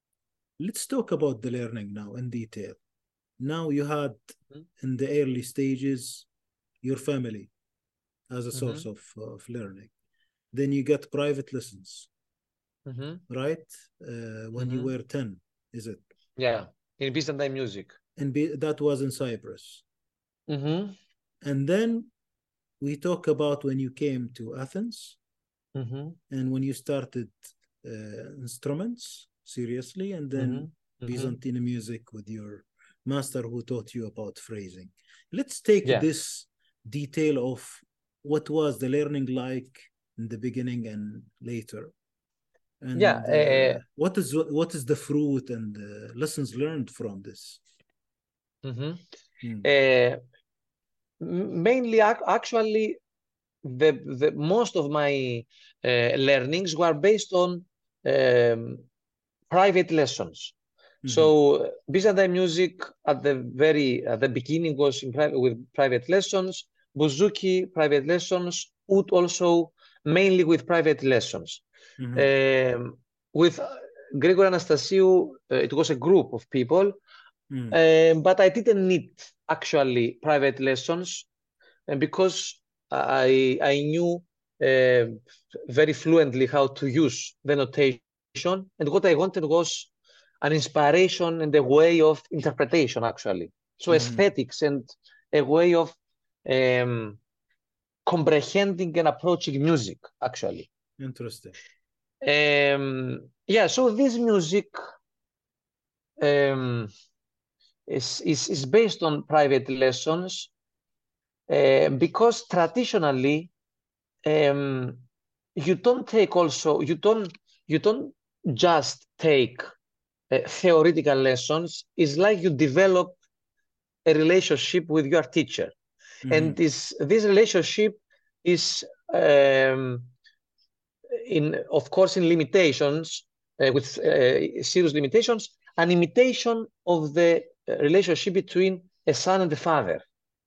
Speaker 1: let's talk about the learning now in detail. Now you had in the early stages your family as a source
Speaker 2: Mhm.
Speaker 1: of, of learning. Then you get private lessons,
Speaker 2: Mhm.
Speaker 1: right? Uh, when you
Speaker 2: Mhm.
Speaker 1: were ten, is it?
Speaker 2: Yeah, in Byzantine music.
Speaker 1: And be, that was in Cyprus.
Speaker 2: Mhm.
Speaker 1: And then we talk about when you came to Athens
Speaker 2: Mhm.
Speaker 1: and when you started uh, instruments seriously, and then
Speaker 2: Mhm. Mhm.
Speaker 1: Byzantine music with your master who taught you about phrasing. Let's take
Speaker 2: Yeah.
Speaker 1: this detail of what was the learning like in the beginning and later,
Speaker 2: Yeah.
Speaker 1: and uh,
Speaker 2: Uh,
Speaker 1: what is what is the fruit and uh, lessons learned from this.
Speaker 2: mhm.
Speaker 1: Hmm.
Speaker 2: Uh, m- mainly, ac- actually, the the most of my uh, learnings were based on um, private lessons. So
Speaker 1: Mhm.
Speaker 2: uh, Byzantine music at the very at the beginning was in private with private lessons. Bouzouki private lessons. Oud also mainly with private lessons.
Speaker 1: Mhm.
Speaker 2: Um, with uh, Grigor Anastasiou, uh, it was a group of people,
Speaker 1: Mhm.
Speaker 2: um, but I didn't need actually private lessons, and because I I knew uh, very fluently how to use the notation, and what I wanted was an inspiration and a way of interpretation, actually. So
Speaker 1: Mhm.
Speaker 2: aesthetics and a way of um, comprehending and approaching music, actually.
Speaker 1: Interesting.
Speaker 2: Um, yeah, so this music um, is, is, is based on private lessons uh, because traditionally um, you don't take also, you don't, you don't just take uh, theoretical lessons. It's like you develop a relationship with your teacher.
Speaker 1: Mhm.
Speaker 2: And this, this relationship is, um, in, of course, in limitations, uh, with uh, serious limitations, an imitation of the uh, relationship between a son and a father.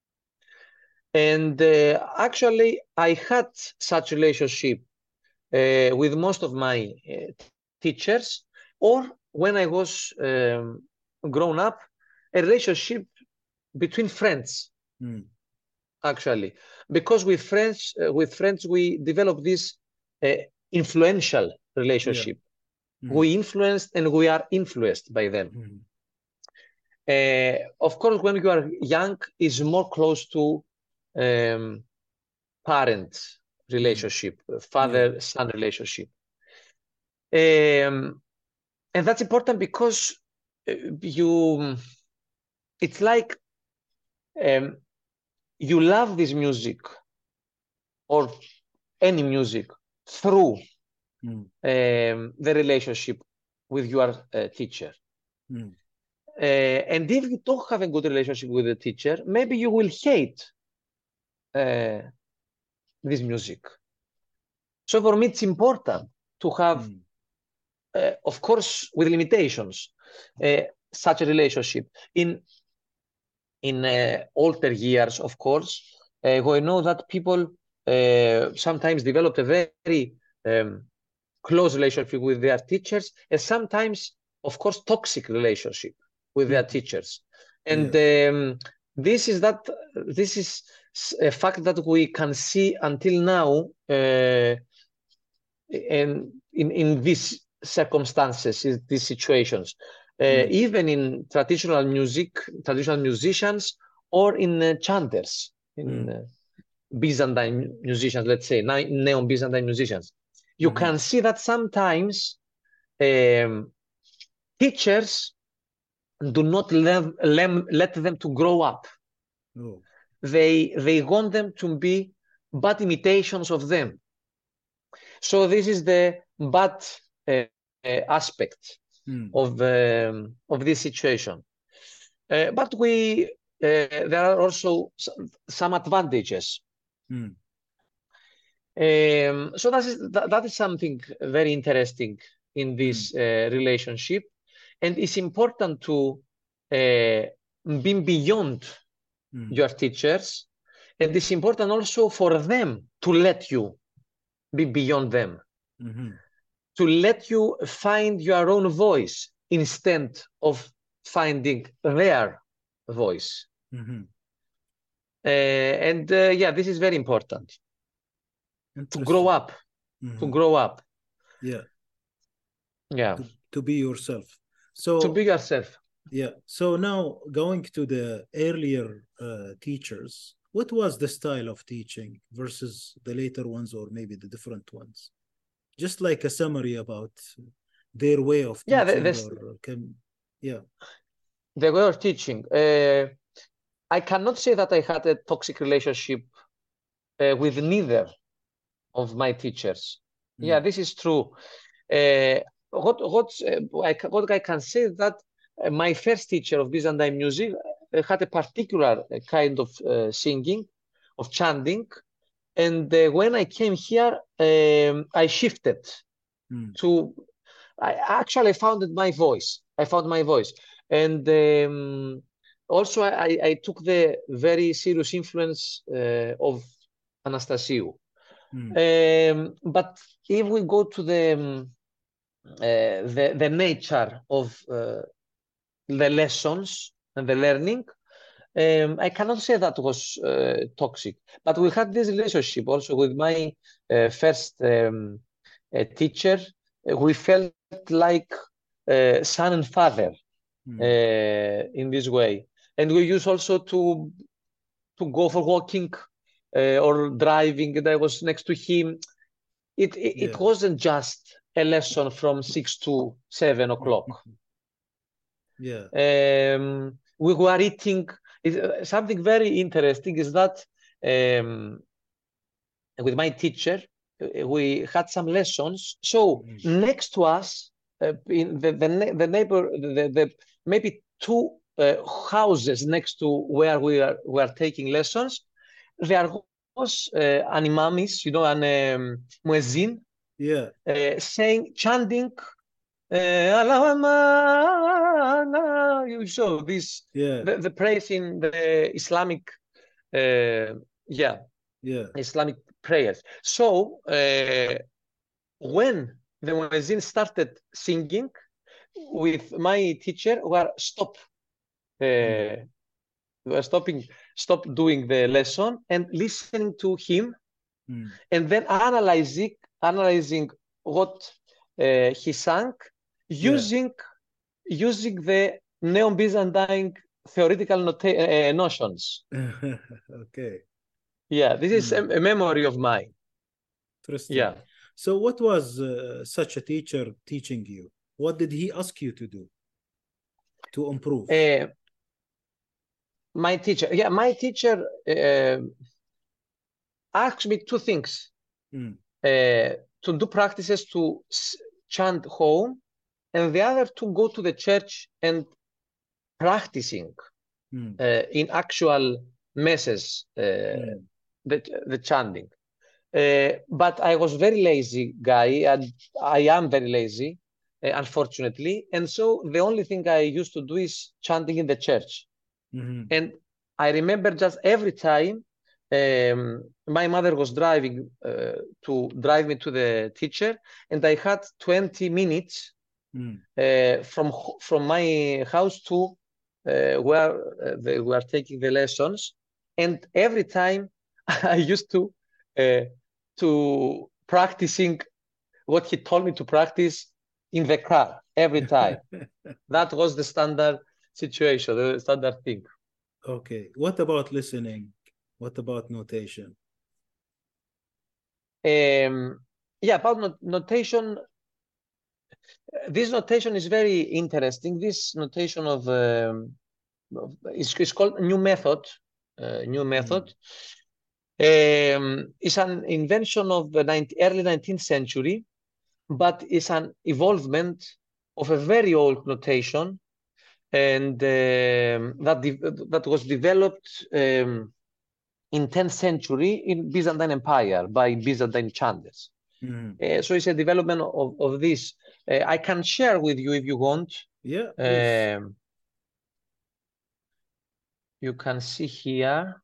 Speaker 2: And uh, actually, I had such relationship uh, with most of my uh, teachers, or when I was um, grown up, a relationship between friends,
Speaker 1: Mm.
Speaker 2: actually, because with friends, uh, with friends, we develop this uh, influential
Speaker 1: Yeah.
Speaker 2: relationship.
Speaker 1: Mhm.
Speaker 2: We influenced and we are influenced by them.
Speaker 1: Mhm.
Speaker 2: Uh, of course, when you are young, is more close to um, parent relationship,
Speaker 1: Yeah.
Speaker 2: father-son relationship. Um, and that's important because uh, you, it's like um, you love this music or any music through
Speaker 1: Mm.
Speaker 2: um, the relationship with your uh, teacher.
Speaker 1: Mm.
Speaker 2: Uh, and if you don't have a good relationship with the teacher, maybe you will hate uh, this music. So for me, it's important to have,
Speaker 1: Mm.
Speaker 2: uh, of course, with limitations, uh, such a relationship. In in uh, older years, of course, uh, we know that people uh, sometimes develop a very um, close relationship with their teachers, and sometimes, of course, toxic relationship with their
Speaker 1: Mhm.
Speaker 2: teachers. And
Speaker 1: Yes.
Speaker 2: um, this is that this is a fact that we can see until now, uh, and in in these circumstances, in these situations, uh,
Speaker 1: Mm.
Speaker 2: even in traditional music, traditional musicians, or in uh, chanters, in
Speaker 1: Mm.
Speaker 2: uh, Byzantine musicians, let's say, neo-Byzantine musicians, you
Speaker 1: Mhm.
Speaker 2: can see that sometimes um, teachers do not let, let them to grow up.
Speaker 1: Oh.
Speaker 2: They they want them to be bad imitations of them. So this is the bad uh, uh, aspect
Speaker 1: Mm.
Speaker 2: of um, of this situation. Uh, but we uh, there are also some, some advantages.
Speaker 1: Mm.
Speaker 2: Um, so that is that, that is something very interesting in
Speaker 1: Mm.
Speaker 2: this uh, relationship, and it's important to uh, be beyond
Speaker 1: Mm.
Speaker 2: your teachers, and it's important also for them to let you be beyond them,
Speaker 1: Mhm.
Speaker 2: to let you find your own voice instead of finding their voice.
Speaker 1: Mhm.
Speaker 2: Uh, and uh, yeah, this is very important to grow
Speaker 1: Interesting.
Speaker 2: up, to
Speaker 1: Mhm.
Speaker 2: grow up.
Speaker 1: Yeah.
Speaker 2: Yeah,
Speaker 1: To to be yourself.
Speaker 2: to
Speaker 1: So
Speaker 2: be yourself.
Speaker 1: yeah. So now going to the earlier uh, teachers, what was the style of teaching versus the later ones, or maybe the different ones? Just like a summary about their way of
Speaker 2: Yeah, the,
Speaker 1: teaching,
Speaker 2: this,
Speaker 1: or can, yeah.
Speaker 2: the way of teaching. Uh, I cannot say that I had a toxic relationship uh, with neither of my teachers. Yeah,
Speaker 1: Mm.
Speaker 2: this is true. Uh, what what uh, I, what I can say is that uh, my first teacher of Byzantine music uh, had a particular uh, kind of uh, singing, of chanting, and uh, when I came here, um, I shifted
Speaker 1: Mm.
Speaker 2: to. I actually found my voice. I found my voice, and um, also I, I took the very serious influence uh, of Anastasiou.
Speaker 1: Mm.
Speaker 2: Um, but if we go to the um, uh, the, the nature of uh, the lessons and the learning, um, I cannot say that was uh, toxic. But we had this relationship also with my uh, first um, uh, teacher. Uh, We felt like uh, son and father
Speaker 1: Mm.
Speaker 2: uh, in this way. And we used also to to go for walking uh, or driving, and I was next to him. It, it,
Speaker 1: Yeah.
Speaker 2: it wasn't just a lesson from six to seven o'clock.
Speaker 1: Yeah.
Speaker 2: Um, we were eating. It, something very interesting is that um, with my teacher, uh, we had some lessons. So
Speaker 1: Mhm.
Speaker 2: next to us, uh, in the, the, ne- the neighbor, the, the maybe two uh, houses next to where we are, we are taking lessons, there was uh, an imamis, you know, an um, muezzin,
Speaker 1: Yeah.
Speaker 2: uh, saying, chanting, uh, Allahumma, you show this,
Speaker 1: Yeah.
Speaker 2: the, the praise in the Islamic, uh, yeah,
Speaker 1: Yeah.
Speaker 2: Islamic prayers. So uh, when the muezzin started singing, with my teacher, we are stop,
Speaker 1: Mm.
Speaker 2: uh, we are stopping, stop doing the lesson and listening to him,
Speaker 1: Mm.
Speaker 2: and then analyzing, analyzing what uh, he sang,
Speaker 1: Yeah.
Speaker 2: using using the Neo-Byzantine theoretical nota- uh, notions.
Speaker 1: Okay.
Speaker 2: Yeah, this is a,
Speaker 1: Mm.
Speaker 2: a memory of mine.
Speaker 1: Interesting.
Speaker 2: Yeah.
Speaker 1: So, what was uh, such a teacher teaching you? What did he ask you to do to improve?
Speaker 2: Uh, my teacher, yeah, my teacher uh, asked me two things.
Speaker 1: Mm.
Speaker 2: Uh, to do practices to s- chant home, and the other to go to the church and practicing
Speaker 1: Mm.
Speaker 2: uh, in actual messes uh,
Speaker 1: Mm.
Speaker 2: the, the chanting. Uh, but I was very lazy guy, and I am very lazy, uh, unfortunately. And so the only thing I used to do is chanting in the church.
Speaker 1: Mhm.
Speaker 2: And I remember just every time um, my mother was driving uh, to drive me to the teacher, and I had twenty minutes
Speaker 1: Mm.
Speaker 2: uh, from from my house to uh, where uh, they were taking the lessons, and every time I used to uh, to practicing what he told me to practice in the car every time. That was the standard situation, the standard thing.
Speaker 1: Okay. What about listening? What about notation?
Speaker 2: Um, yeah, about not notation. This notation is very interesting. This notation of um, it's, it's called new method. Uh, new method.
Speaker 1: Mm.
Speaker 2: Um, it's an invention of the nineteenth, early nineteenth century, but it's an evolvement of a very old notation, and um, that that was developed um, in tenth century in Byzantine Empire by Byzantine chanters.
Speaker 1: Mm.
Speaker 2: Uh, so it's a development of, of this. Uh, I can share with you if you want.
Speaker 1: Yeah, please.
Speaker 2: Um, you can see here.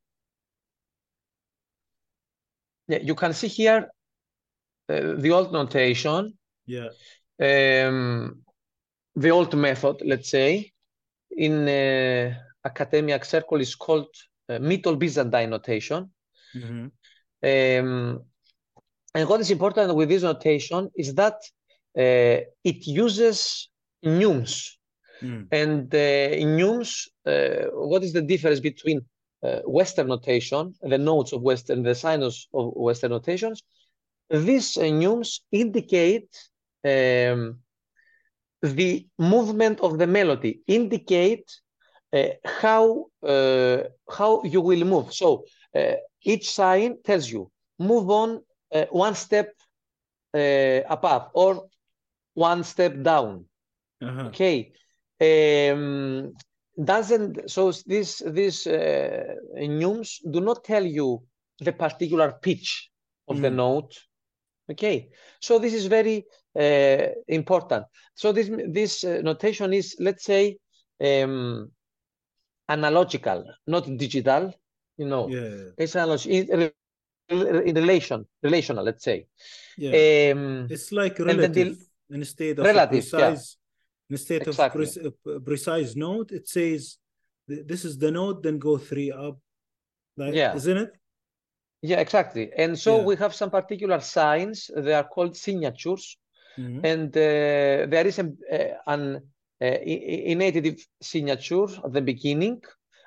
Speaker 2: Yeah, you can see here uh, the old notation,
Speaker 1: Yeah.
Speaker 2: um, the old method, let's say, in uh, academic circle is called uh, Middle Byzantine notation.
Speaker 1: Mhm.
Speaker 2: Um, and what is important with this notation is that uh, it uses neumes.
Speaker 1: Mm.
Speaker 2: And uh, in neumes, uh, what is the difference between uh, Western notation, the notes of Western, the signs of Western notations? These uh, neumes indicate um, the movement of the melody, indicate uh, how uh, how you will move. So uh, each sign tells you move on uh, one step uh, above or one step down.
Speaker 1: Uh-huh.
Speaker 2: Okay. Um, doesn't so this these uh, neumes do not tell you the particular pitch of the
Speaker 1: Mm.
Speaker 2: note. Okay, so this is very uh, important. So this this uh, notation is, let's say, um, analogical, not digital. You know,
Speaker 1: Yeah.
Speaker 2: it's analog in, in relation, relational. Let's say,
Speaker 1: Yeah.
Speaker 2: um,
Speaker 1: It's like
Speaker 2: and then
Speaker 1: relative
Speaker 2: the
Speaker 1: instead of a
Speaker 2: relative. Yeah,
Speaker 1: precise instead of
Speaker 2: exactly.
Speaker 1: pre- a precise note, it says th- this is the note, then go three up. Like,
Speaker 2: Yeah.
Speaker 1: isn't it?
Speaker 2: Yeah, exactly. And so
Speaker 1: Yeah.
Speaker 2: we have some particular signs. They are called signatures.
Speaker 1: Mhm.
Speaker 2: And uh, there is a, uh, an uh, innative signature at the beginning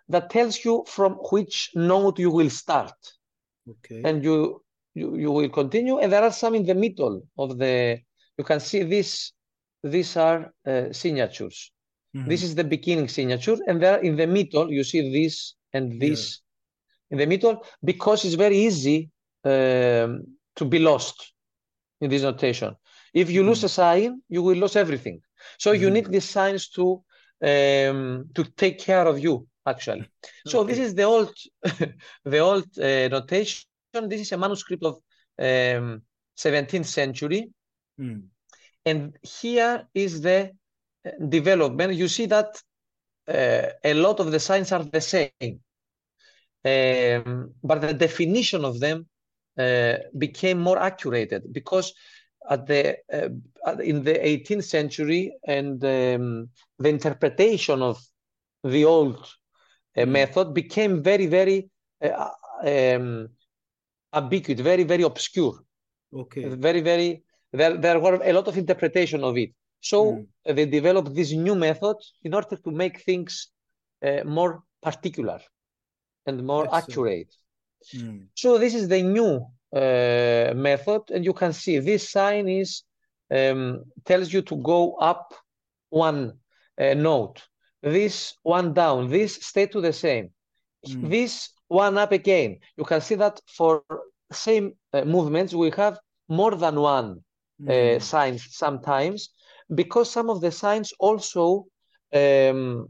Speaker 2: that tells you from which note you will start.
Speaker 1: Okay.
Speaker 2: And you, you, you will continue. And there are some in the middle of the, you can see this, these are uh, signatures.
Speaker 1: Mhm.
Speaker 2: This is the beginning signature. And there in the middle, you see this and this in the middle, because it's very easy um, to be lost in this notation. If you lose
Speaker 1: Mhm.
Speaker 2: a sign, you will lose everything. So you
Speaker 1: Mhm.
Speaker 2: need these signs to um, to take care of you, actually. So this
Speaker 1: Okay.
Speaker 2: is the old the old uh, notation. This is a manuscript of um, seventeenth century,
Speaker 1: Mm.
Speaker 2: and here is the uh, development. You see that uh, a lot of the signs are the same. Um, but the definition of them uh, became more accurate because at the uh, in the eighteenth century and um, the interpretation of the old uh,
Speaker 1: Mm.
Speaker 2: method became very, very uh, um, ambiguous, very, very obscure,
Speaker 1: Okay.
Speaker 2: very, very, there, there were a lot of interpretation of it. So
Speaker 1: Mm.
Speaker 2: uh, they developed this new method in order to make things uh, more particular and more
Speaker 1: Excellent.
Speaker 2: accurate.
Speaker 1: Mm.
Speaker 2: So this is the new uh, method, and you can see this sign is um, tells you to go up one uh, note, this one down, this stay to the same,
Speaker 1: Mm.
Speaker 2: this one up again. You can see that for same uh, movements we have more than one uh,
Speaker 1: Mm.
Speaker 2: sign sometimes, because some of the signs also um,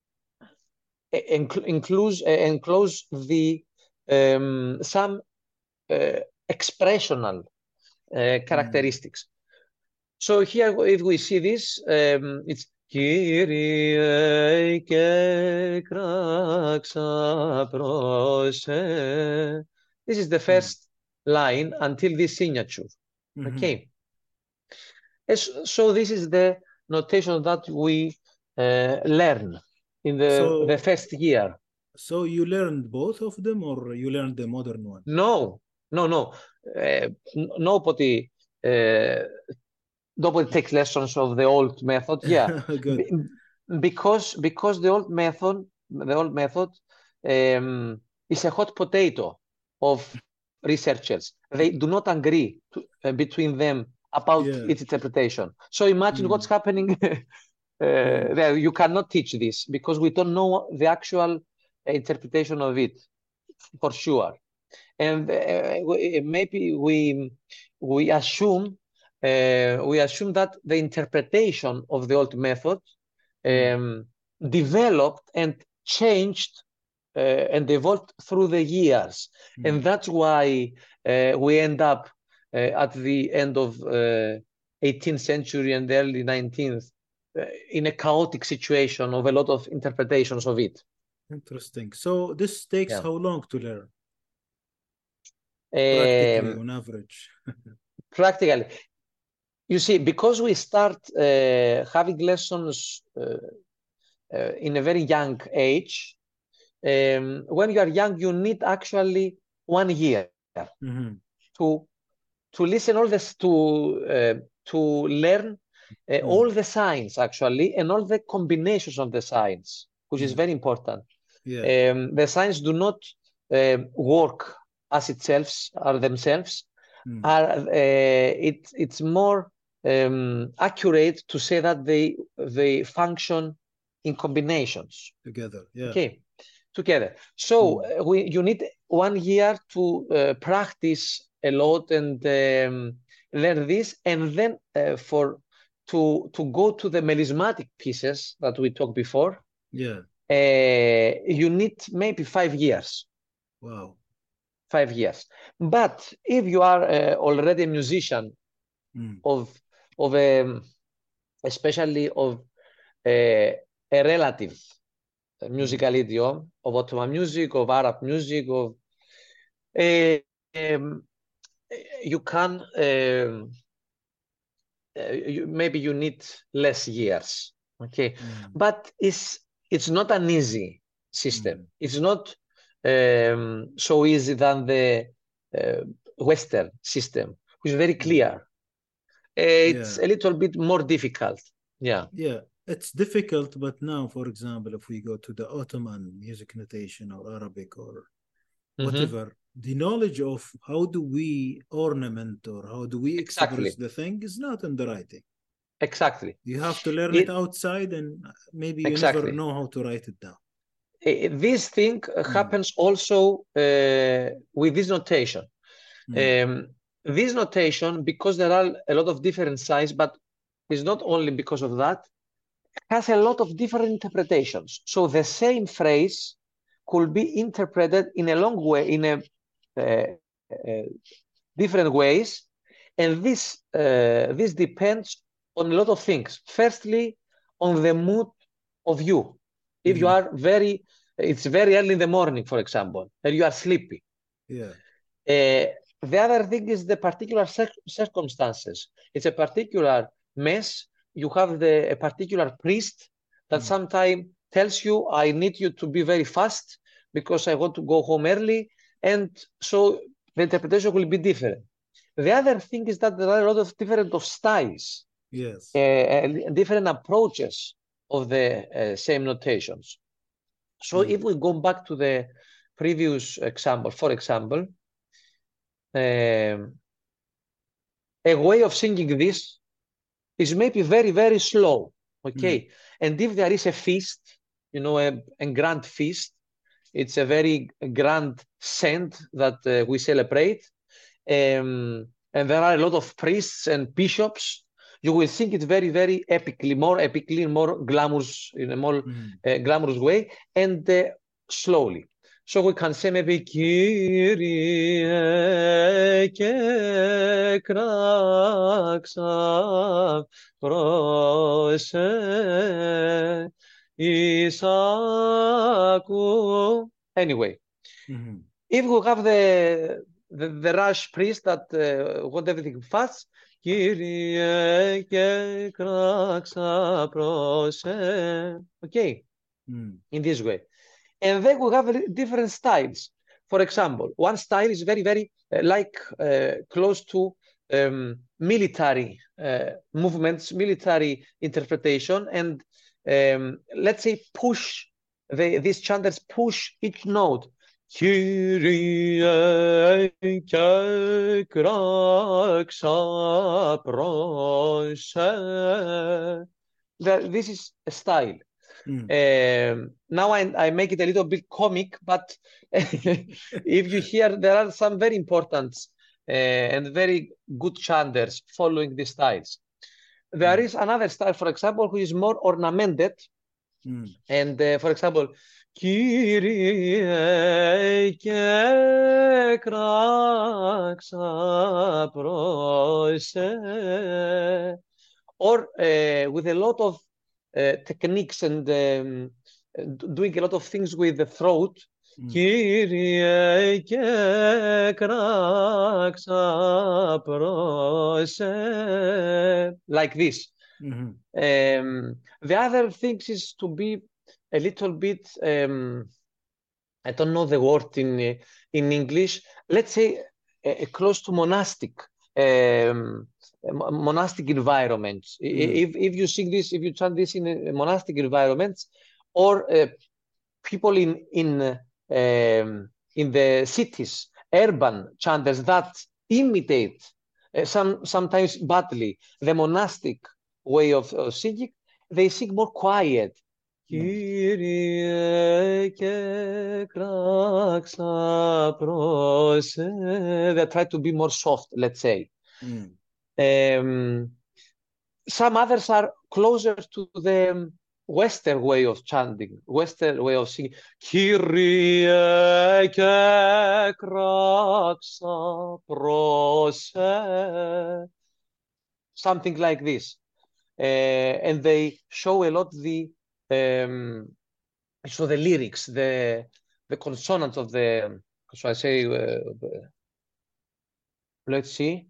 Speaker 2: enc- includes uh, enclose the um, some uh, expressional uh,
Speaker 1: Mm.
Speaker 2: characteristics. So here, if we see this, um, it's Kyrie kraxa prose. This is the
Speaker 1: Mm.
Speaker 2: first line until this signature.
Speaker 1: Mhm.
Speaker 2: Okay. Yes, so this is the notation that we uh, learn in the, the
Speaker 1: So,
Speaker 2: first year.
Speaker 1: so you learned both of them, or you learned the modern one?
Speaker 2: No, no, no. Uh, n- nobody, uh, nobody takes lessons of the old method. Yeah,
Speaker 1: Good.
Speaker 2: Be- because because the old method, the old method, um, is a hot potato of researchers. They do not agree to, uh, between them about
Speaker 1: Yeah.
Speaker 2: its interpretation. So imagine what's
Speaker 1: Mm.
Speaker 2: happening uh,
Speaker 1: Mm.
Speaker 2: there. You cannot teach this because we don't know the actual interpretation of it for sure. And uh, we- maybe we we assume uh, we assume that the interpretation of the old method
Speaker 1: Mm.
Speaker 2: um, developed and changed uh, and evolved through the years,
Speaker 1: Mm.
Speaker 2: and that's why uh, we end up uh, at the end of uh, eighteenth century and early nineteenth uh, in a chaotic situation of a lot of interpretations of it.
Speaker 1: Interesting. So this takes
Speaker 2: Yeah.
Speaker 1: how long to learn, practically,
Speaker 2: Um,
Speaker 1: on average?
Speaker 2: practically, you see, because we start uh, having lessons uh, uh, in a very young age, um, when you are young, you need actually one year
Speaker 1: Mhm.
Speaker 2: to to listen all this, to uh, to learn uh, all
Speaker 1: Mm.
Speaker 2: the signs actually, and all the combinations of the signs, which is
Speaker 1: Mm.
Speaker 2: very important.
Speaker 1: Yeah.
Speaker 2: Um, the signs do not uh, work as itself, are themselves.
Speaker 1: Mm.
Speaker 2: Are uh, it, it's more um, accurate to say that they they function in combinations.
Speaker 1: Together. Yeah.
Speaker 2: Okay, together. So
Speaker 1: Mm.
Speaker 2: uh, we you need one year to uh, practice a lot and um, learn this, and then uh, for to to go to the melismatic pieces that we talked before.
Speaker 1: Yeah.
Speaker 2: Uh, you need maybe five years.
Speaker 1: Wow.
Speaker 2: Five years. But if you are uh, already a musician
Speaker 1: Mm.
Speaker 2: of of a, especially of a, a relative
Speaker 1: Mm.
Speaker 2: musical idiom of Ottoman music, of Arab music, of uh, um, you can um, uh, you, maybe you need less years. Okay,
Speaker 1: Mm.
Speaker 2: but it's it's not an easy system.
Speaker 1: Mm.
Speaker 2: It's not um, so easy than the uh, Western system, which is very
Speaker 1: Mm.
Speaker 2: clear. It's
Speaker 1: Yeah.
Speaker 2: a little bit more difficult. Yeah.
Speaker 1: Yeah. it's difficult, but now, for example, if we go to the Ottoman music notation or Arabic or
Speaker 2: Mm-hmm.
Speaker 1: whatever, the knowledge of how do we ornament or how do we express
Speaker 2: Exactly.
Speaker 1: the thing is not in the writing.
Speaker 2: Exactly.
Speaker 1: You have to learn it
Speaker 2: It
Speaker 1: outside, and maybe you never
Speaker 2: exactly.
Speaker 1: know how to write it down.
Speaker 2: Eh, This thing
Speaker 1: Mm,
Speaker 2: happens also uh, with this notation.
Speaker 1: mm,
Speaker 2: Um, this notation, because there are a lot of different styles, but it's not only because of that, has a lot of different interpretations. So the same phrase could be interpreted in a long way, in a uh, uh, different ways, and this uh, this depends on a lot of things. Firstly, on the mood of you. If you
Speaker 1: mm,
Speaker 2: are very, it's very early in the morning, for example, and you are sleepy.
Speaker 1: yeah.
Speaker 2: Uh, the other thing is the particular cir- circumstances. It's a particular mess. You have the a particular priest that
Speaker 1: Mm,
Speaker 2: sometimes tells you, "I need you to be very fast because I want to go home early," and so the interpretation will be different. The other thing is that there are a lot of different of styles, uh,
Speaker 1: yes.
Speaker 2: and different approaches of the uh, same notations. So
Speaker 1: Mm,
Speaker 2: if we go back to the previous example, for example, um, a way of singing this is maybe very, very slow,
Speaker 1: mm,
Speaker 2: okay? And if there is a feast, you know, a, a grand feast, it's a very grand saint that uh, we celebrate, um, and there are a lot of priests and bishops, you will sing it very, very epically, more epically, more glamorous, in a more
Speaker 1: mm,
Speaker 2: uh, glamorous way, and uh, slowly. So we can say maybe Kyrie ke kraxa prose Isaku. Anyway,
Speaker 1: mm,
Speaker 2: if we have the the, the Rush priest that uh, want everything fast, Kyrie ke kraxa prose. Okay,
Speaker 1: mm,
Speaker 2: in this way. And then we have different styles. For example, one style is very, very uh, like uh, close to um, military uh, movements, military interpretation, and um, let's say push the, these chanters push each note. Kyrie This is a style.
Speaker 1: mm.
Speaker 2: Um, now I, I make it a little bit comic, but if you hear, there are some very important uh, and very good chanters following these styles. There
Speaker 1: Mm,
Speaker 2: is another style, for example, which is more ornamented.
Speaker 1: mm,
Speaker 2: And uh, for example, Kyrie kraxa prose, or uh, with a lot of uh, techniques and um, doing a lot of things with the throat.
Speaker 1: mm,
Speaker 2: Kyrie kraxa prose, like this.
Speaker 1: mhm.
Speaker 2: Um, the other things is to be a little bit, um, I don't know the word in in English. Let's say uh, close to monastic, um, monastic environments.
Speaker 1: Mm,
Speaker 2: If if you sing this, if you chant this in a monastic environments, or uh, people in in uh, um, in the cities, urban chanters that imitate uh, some sometimes badly the monastic way of, of singing, they sing more quiet.
Speaker 1: mm,
Speaker 2: Kyrie ke kraxa prose. They try to be more soft, let's say.
Speaker 1: mm.
Speaker 2: Um, some others are closer to the Western way of chanting, Western way of singing. Kyrie ke kraxa prose. Something like this. Uh, and they show a lot the um, so the lyrics, the the consonants of the. So I say, uh, let's see.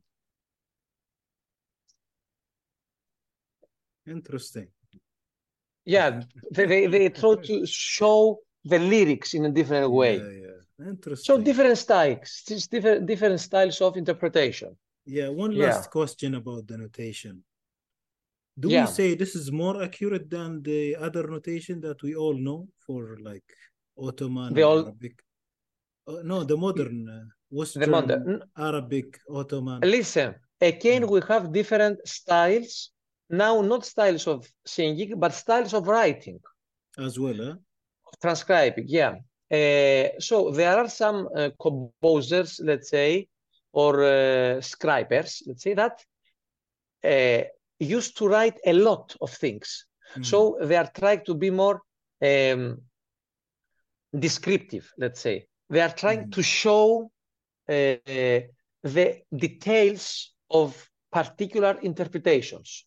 Speaker 1: Interesting.
Speaker 2: Yeah, they, they, they try to show the lyrics in a different
Speaker 1: Yeah,
Speaker 2: way.
Speaker 1: yeah.
Speaker 2: So
Speaker 1: Interesting.
Speaker 2: different styles, just different different styles of interpretation.
Speaker 1: Yeah, one
Speaker 2: Yeah.
Speaker 1: last question about the notation. Do we
Speaker 2: Yeah,
Speaker 1: say this is more accurate than the other notation that we all know for like Ottoman
Speaker 2: they
Speaker 1: or
Speaker 2: all
Speaker 1: Arabic? Uh, no, the modern uh,
Speaker 2: the
Speaker 1: Western
Speaker 2: modern.
Speaker 1: Arabic Ottoman
Speaker 2: Listen, again,
Speaker 1: uh,
Speaker 2: we have different styles. Now, not styles of singing, but styles of writing,
Speaker 1: as well, huh?
Speaker 2: of transcribing. Yeah. Uh, so there are some uh, composers, let's say, or uh, scribers, let's say that uh, used to write a lot of things.
Speaker 1: Mm.
Speaker 2: So they are trying to be more um, descriptive, let's say. They are trying
Speaker 1: Mm.
Speaker 2: to show uh, the details of particular interpretations.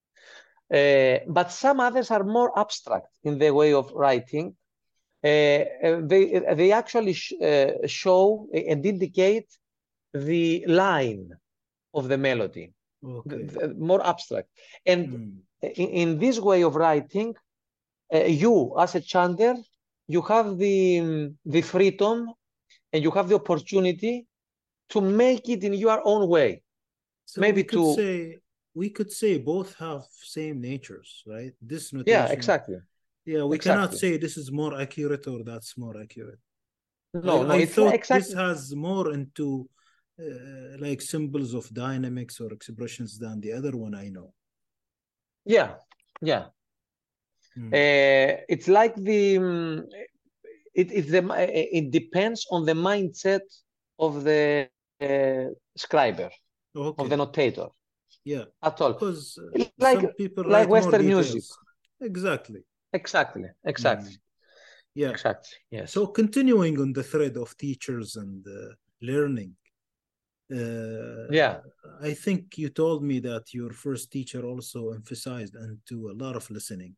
Speaker 2: Uh, but some others are more abstract in the way of writing. Uh, they, they actually sh uh, show and indicate the line of the melody,
Speaker 1: Okay.
Speaker 2: the, the more abstract. And
Speaker 1: Mm.
Speaker 2: in, in this way of writing, uh, you as a chanter, you have the, the freedom and you have the opportunity to make it in your own way.
Speaker 1: So
Speaker 2: Maybe
Speaker 1: we could
Speaker 2: to,
Speaker 1: say we could say both have same natures, right? This
Speaker 2: yeah,
Speaker 1: notation,
Speaker 2: exactly,
Speaker 1: yeah, we cannot
Speaker 2: exactly.
Speaker 1: say this is more accurate or that's more accurate.
Speaker 2: No,
Speaker 1: I,
Speaker 2: no,
Speaker 1: I
Speaker 2: it's
Speaker 1: thought this
Speaker 2: exactly,
Speaker 1: has more into uh, like symbols of dynamics or expressions than the other one I know.
Speaker 2: yeah, yeah.
Speaker 1: Mm.
Speaker 2: Uh, it's like the, um, it, it's the, it depends on the mindset of the uh, scriber, of the
Speaker 1: Okay.
Speaker 2: notator,
Speaker 1: Yeah.
Speaker 2: at all.
Speaker 1: Because uh,
Speaker 2: Like,
Speaker 1: some people
Speaker 2: like
Speaker 1: write more
Speaker 2: Western music.
Speaker 1: details. Exactly.
Speaker 2: Exactly, exactly,
Speaker 1: Mm. Yeah.
Speaker 2: exactly, yes.
Speaker 1: So continuing on the thread of teachers and uh, learning, uh,
Speaker 2: Yeah,
Speaker 1: I think you told me that your first teacher also emphasized into a lot of listening,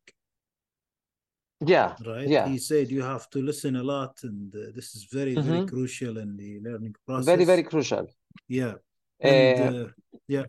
Speaker 2: yeah,
Speaker 1: right?
Speaker 2: yeah.
Speaker 1: He said you have to listen a lot, and uh, this is very, very
Speaker 2: Mm-hmm.
Speaker 1: crucial in the learning
Speaker 2: Very, very
Speaker 1: process.
Speaker 2: crucial.
Speaker 1: Yeah. And
Speaker 2: Uh,
Speaker 1: uh, yeah,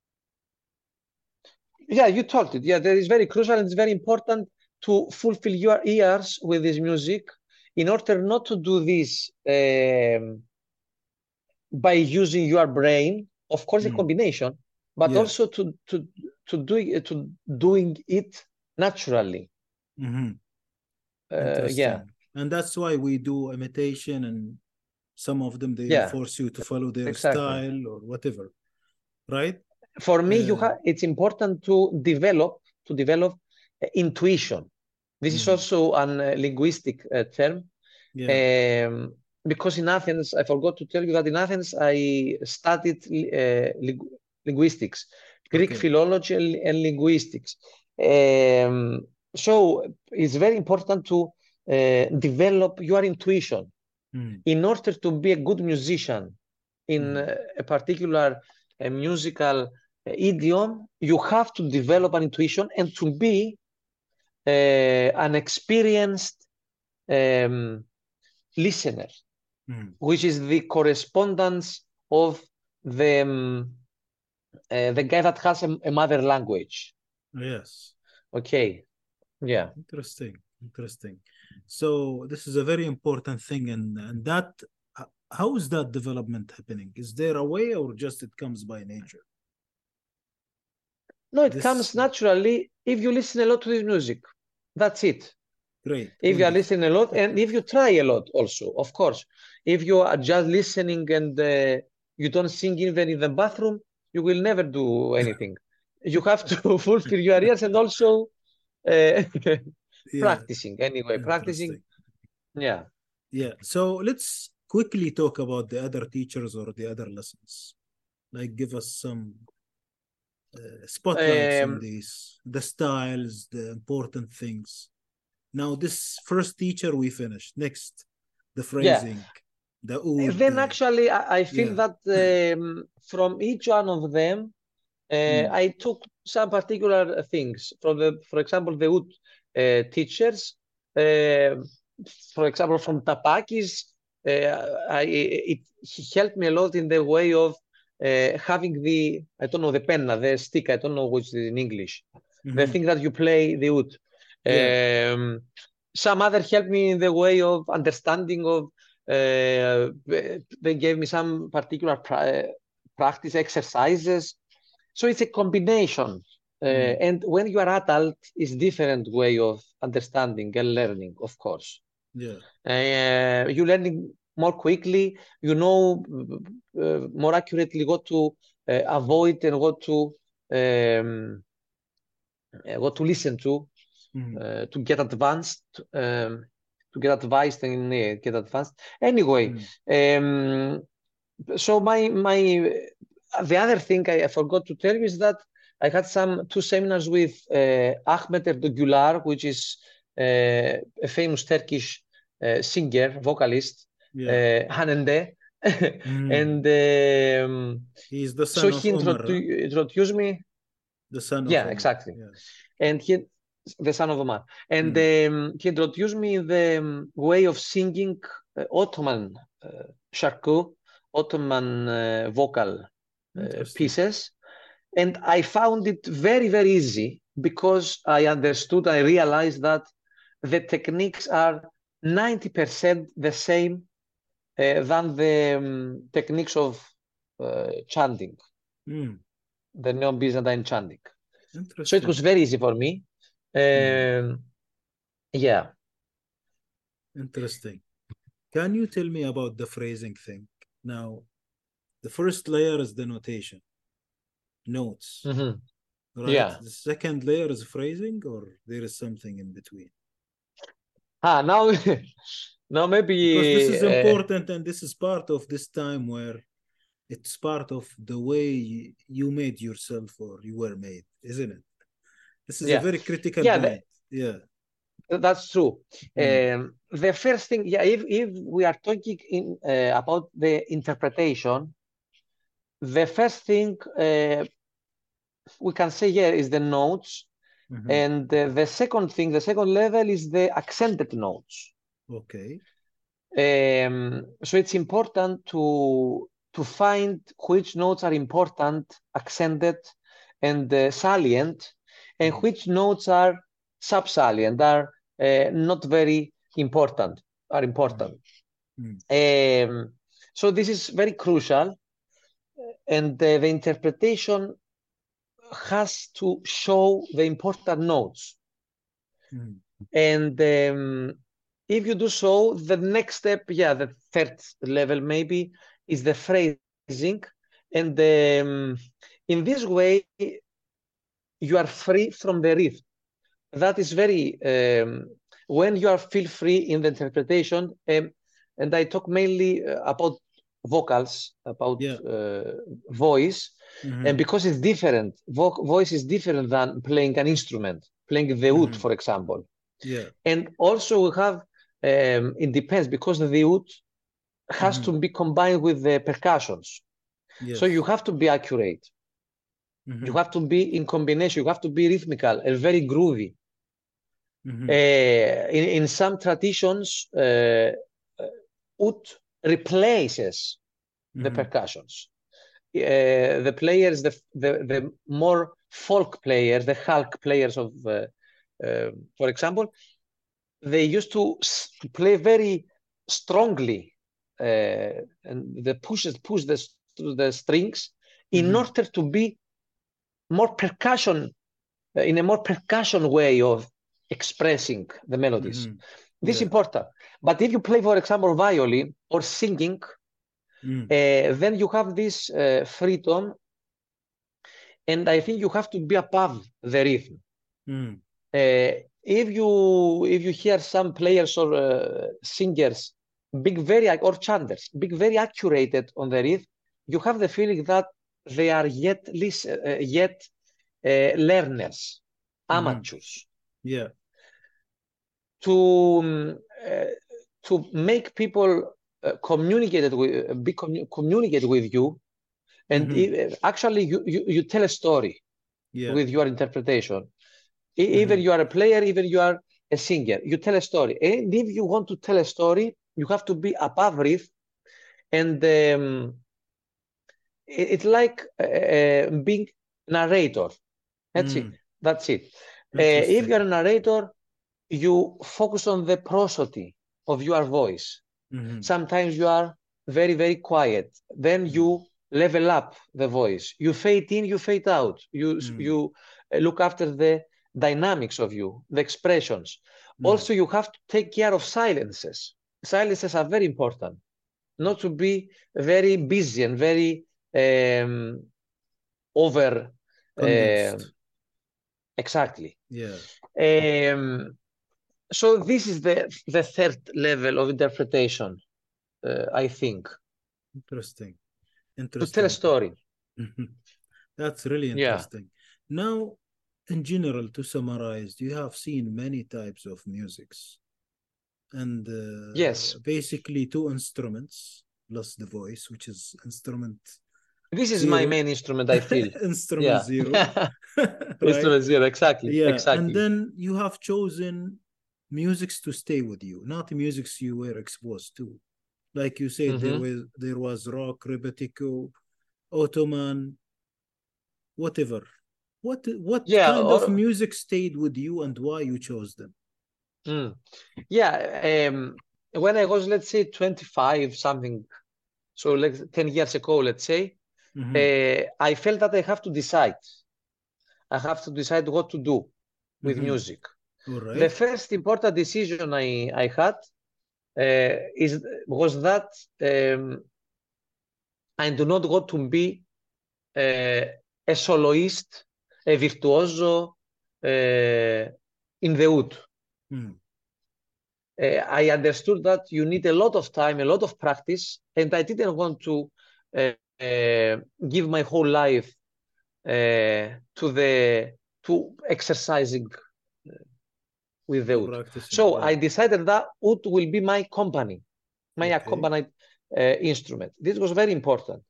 Speaker 2: yeah, you told it. Yeah, that is very crucial and it's very important to fulfill your ears with this music in order not to do this um, by using your brain, of course, a
Speaker 1: mm,
Speaker 2: combination, but
Speaker 1: yeah,
Speaker 2: also to to to doing to doing it naturally.
Speaker 1: hmm,
Speaker 2: Uh, yeah,
Speaker 1: interesting. And that's why we do imitation, and some of them they
Speaker 2: yeah,
Speaker 1: enforce you to follow their
Speaker 2: exactly.
Speaker 1: style or whatever, right?
Speaker 2: For me, you
Speaker 1: Uh,
Speaker 2: have it's important to develop to develop uh, intuition. This is
Speaker 1: mhm,
Speaker 2: also an uh, linguistic uh, term.
Speaker 1: yeah,
Speaker 2: Um, because in Athens, I forgot to tell you that in Athens I studied uh, ling linguistics, Greek
Speaker 1: okay.
Speaker 2: philology and, and linguistics. Um, so it's very important to uh, develop your intuition
Speaker 1: Mm,
Speaker 2: in order to be a good musician in
Speaker 1: mhm,
Speaker 2: uh, a particular uh, musical uh, idiom. You have to develop an intuition and to be uh, an experienced um, listener,
Speaker 1: mm.
Speaker 2: which is the correspondence of the um, uh, the guy that has a, a mother language.
Speaker 1: Yes.
Speaker 2: Okay, yeah,
Speaker 1: Interesting, interesting. So this is a very important thing, and and that h- how is that development happening? Is there a way, or just it comes by nature?
Speaker 2: no, it
Speaker 1: This
Speaker 2: comes naturally if you listen a lot to this music. That's it.
Speaker 1: great,
Speaker 2: If you are
Speaker 1: wonderful.
Speaker 2: listening a lot, and if you try a lot, also, of course. If you are just listening and uh, you don't sing even in the bathroom, you will never do anything. You have to fulfill your ears and also uh,
Speaker 1: Yeah,
Speaker 2: practicing anyway, practicing.
Speaker 1: interesting.
Speaker 2: Yeah.
Speaker 1: Yeah. So let's quickly talk about the other teachers or the other lessons. Like, give us some uh, spotlights on
Speaker 2: Um,
Speaker 1: these, the styles, the important things. Now, this first teacher we finished. Next, the
Speaker 2: yeah.
Speaker 1: phrasing, the oud.
Speaker 2: Then
Speaker 1: The,
Speaker 2: actually, I, I feel
Speaker 1: yeah.
Speaker 2: that um, from each one of them, uh,
Speaker 1: Mm,
Speaker 2: I took some particular things from the, for example, the oud uh, teachers. Uh, for example, from Tapakis, uh, I, it, he helped me a lot in the way of uh, having the, I don't know, the penna, the stick, I don't know which is in English, the
Speaker 1: mhm.
Speaker 2: thing that you play the oud.
Speaker 1: Yeah.
Speaker 2: Um, some other helped me in the way of understanding of, uh, they gave me some particular pra practice exercises. So it's a combination Uh,
Speaker 1: Mm.
Speaker 2: and when you are adult, it's different way of understanding and learning, of course.
Speaker 1: Yeah.
Speaker 2: Uh, you learning more quickly, you know uh, more accurately what to uh, avoid and what to um, uh, what to listen to
Speaker 1: Mm.
Speaker 2: uh, to get advanced, um, to get advised and uh, get advanced. Anyway,
Speaker 1: Mm.
Speaker 2: um, so my my the other thing I, I forgot to tell you is that I had some two seminars with uh, Ahmet Erdoğan, which is uh, a famous Turkish uh, singer, vocalist,
Speaker 1: Yeah.
Speaker 2: uh, Hanende,
Speaker 1: Mm.
Speaker 2: and um,
Speaker 1: He's the
Speaker 2: so
Speaker 1: son of
Speaker 2: he
Speaker 1: Omar, huh?
Speaker 2: introdu introduced me.
Speaker 1: The son of
Speaker 2: Yeah,
Speaker 1: Omar.
Speaker 2: exactly.
Speaker 1: Yeah.
Speaker 2: And he, the son of Omar, and
Speaker 1: Mm.
Speaker 2: um, he introduced me the um, way of singing uh, Ottoman uh, şarkı, Ottoman uh, vocal uh,
Speaker 1: Interesting.
Speaker 2: pieces, and I found it very, very easy because I understood, I realized that the techniques are ninety percent the same uh, than the um, techniques of uh, chanting,
Speaker 1: Mm.
Speaker 2: the Neo-Byzantine chanting. So it
Speaker 1: Interesting.
Speaker 2: was very easy for me.
Speaker 1: Mm.
Speaker 2: Um, yeah.
Speaker 1: Interesting. Can you tell me about the phrasing thing? Now, the first layer is the notation, notes,
Speaker 2: hmm
Speaker 1: right?
Speaker 2: Yeah.
Speaker 1: The second layer is phrasing, or there is something in between?
Speaker 2: Ah, now, now maybe
Speaker 1: Because this is
Speaker 2: uh,
Speaker 1: important, and this is part of this time where it's part of the way you made yourself or you were made, isn't it? This is a
Speaker 2: yeah,
Speaker 1: very critical
Speaker 2: yeah,
Speaker 1: point.
Speaker 2: that,
Speaker 1: Yeah.
Speaker 2: that's true.
Speaker 1: Mm.
Speaker 2: Um, the first thing, yeah, if if we are talking in uh, about the interpretation, the first thing uh, we can say here is the notes,
Speaker 1: Mhm.
Speaker 2: and uh, the second thing, the second level is the accented notes.
Speaker 1: Okay.
Speaker 2: Um, so it's important to to find which notes are important, accented, and uh, salient, and
Speaker 1: Mm.
Speaker 2: which notes are subsalient, are uh, not very important, are important.
Speaker 1: Mm.
Speaker 2: Um, so this is very crucial, and uh, the interpretation has to show the important notes.
Speaker 1: Mm.
Speaker 2: And um, if you do so, the next step, yeah, the third level maybe, is the phrasing. And um, in this way, you are free from the rhythm. That is very, um, when you are feel free in the interpretation, um, and I talk mainly uh, about vocals, about
Speaker 1: Yeah.
Speaker 2: uh, voice,
Speaker 1: Mhm.
Speaker 2: and because it's different, vo voice is different than playing an instrument, playing the oud,
Speaker 1: Mhm.
Speaker 2: for example.
Speaker 1: Yeah.
Speaker 2: And also we have, um, it depends, because the oud has
Speaker 1: Mhm.
Speaker 2: to be combined with the percussions. So you
Speaker 1: Yes.
Speaker 2: have to be accurate. You
Speaker 1: Mhm.
Speaker 2: have to be in combination. You have to be rhythmical and very groovy.
Speaker 1: Mhm.
Speaker 2: Uh, in, in some traditions, uh, oud replaces the
Speaker 1: Mhm.
Speaker 2: percussions. Uh, the players, the, the, the more folk players, the halk players of, uh, uh, for example, they used to play very strongly uh, and the pushes push the, the strings in
Speaker 1: Mhm.
Speaker 2: order to be more percussion uh, in a more percussion way of expressing the melodies.
Speaker 1: Mhm.
Speaker 2: This is
Speaker 1: Yeah.
Speaker 2: important. But if you play, for example, violin or singing,
Speaker 1: Mm.
Speaker 2: uh, then you have this uh, freedom, and I think you have to be above the rhythm.
Speaker 1: Mm.
Speaker 2: Uh, if you if you hear some players or uh, singers being very or chanters being very accurate on the rhythm, you have the feeling that they are yet uh, yet uh, learners,
Speaker 1: Mhm.
Speaker 2: amateurs.
Speaker 1: Yeah.
Speaker 2: To um, uh, to make people uh, communicate with be commu communicate with you, and
Speaker 1: Mhm.
Speaker 2: uh, actually you, you you tell a story
Speaker 1: Yeah.
Speaker 2: with your interpretation. Even
Speaker 1: Mhm.
Speaker 2: you are a player, even you are a singer, you tell a story. And if you want to tell a story, you have to be above rhythm. And um, it, it's like uh, being narrator. That's it.
Speaker 1: Mm.
Speaker 2: That's it. Uh, if
Speaker 1: Interesting.
Speaker 2: you're a narrator, you focus on the prosody of your voice.
Speaker 1: Mhm.
Speaker 2: Sometimes you are very, very quiet. Then
Speaker 1: Mm.
Speaker 2: you level up the voice. You fade in, you fade out. You
Speaker 1: Mm.
Speaker 2: you look after the dynamics of you, the expressions.
Speaker 1: Mm.
Speaker 2: Also, you have to take care of silences. Silences are very important, not to be very busy and very um, over.
Speaker 1: Condensed.
Speaker 2: Um, exactly.
Speaker 1: Yeah.
Speaker 2: Um, so this is the the third level of interpretation, uh, I think.
Speaker 1: Interesting.
Speaker 2: To
Speaker 1: Interesting.
Speaker 2: tell a story.
Speaker 1: That's really
Speaker 2: Yeah.
Speaker 1: interesting. Now, in general, to summarize, you have seen many types of musics, and uh,
Speaker 2: Yes.
Speaker 1: basically two instruments plus the voice, which is instrument
Speaker 2: This is my
Speaker 1: zero.
Speaker 2: main instrument, I feel.
Speaker 1: Instrument
Speaker 2: Yeah.
Speaker 1: zero, right?
Speaker 2: Instrument zero, exactly.
Speaker 1: Yeah, and
Speaker 2: Exactly.
Speaker 1: then you have chosen musics to stay with you, not musics you were exposed to. Like you said, there
Speaker 2: Mhm.
Speaker 1: was there was rock, rebetiko, Ottoman, whatever. What what
Speaker 2: Yeah.
Speaker 1: kind of
Speaker 2: Or,
Speaker 1: music stayed with you and why you chose them?
Speaker 2: mm. Yeah. Um, when I was, let's say, twenty-five, something, so like ten years ago, let's say,
Speaker 1: Mhm.
Speaker 2: uh, I felt that I have to decide. I have to decide what to do with
Speaker 1: Mhm.
Speaker 2: music.
Speaker 1: All
Speaker 2: The
Speaker 1: right.
Speaker 2: first important decision I, I had uh, is was that um, I do not want to be uh, a soloist, a virtuoso uh, in the oud.
Speaker 1: Mm.
Speaker 2: Uh, I understood that you need a lot of time, a lot of practice, and I didn't want to uh, uh, give my whole life uh, to the to exercising with the
Speaker 1: To
Speaker 2: oud.
Speaker 1: practicing,
Speaker 2: So
Speaker 1: yeah.
Speaker 2: I decided that oud will be my company, my
Speaker 1: Okay.
Speaker 2: accompanied uh, instrument. This was very important.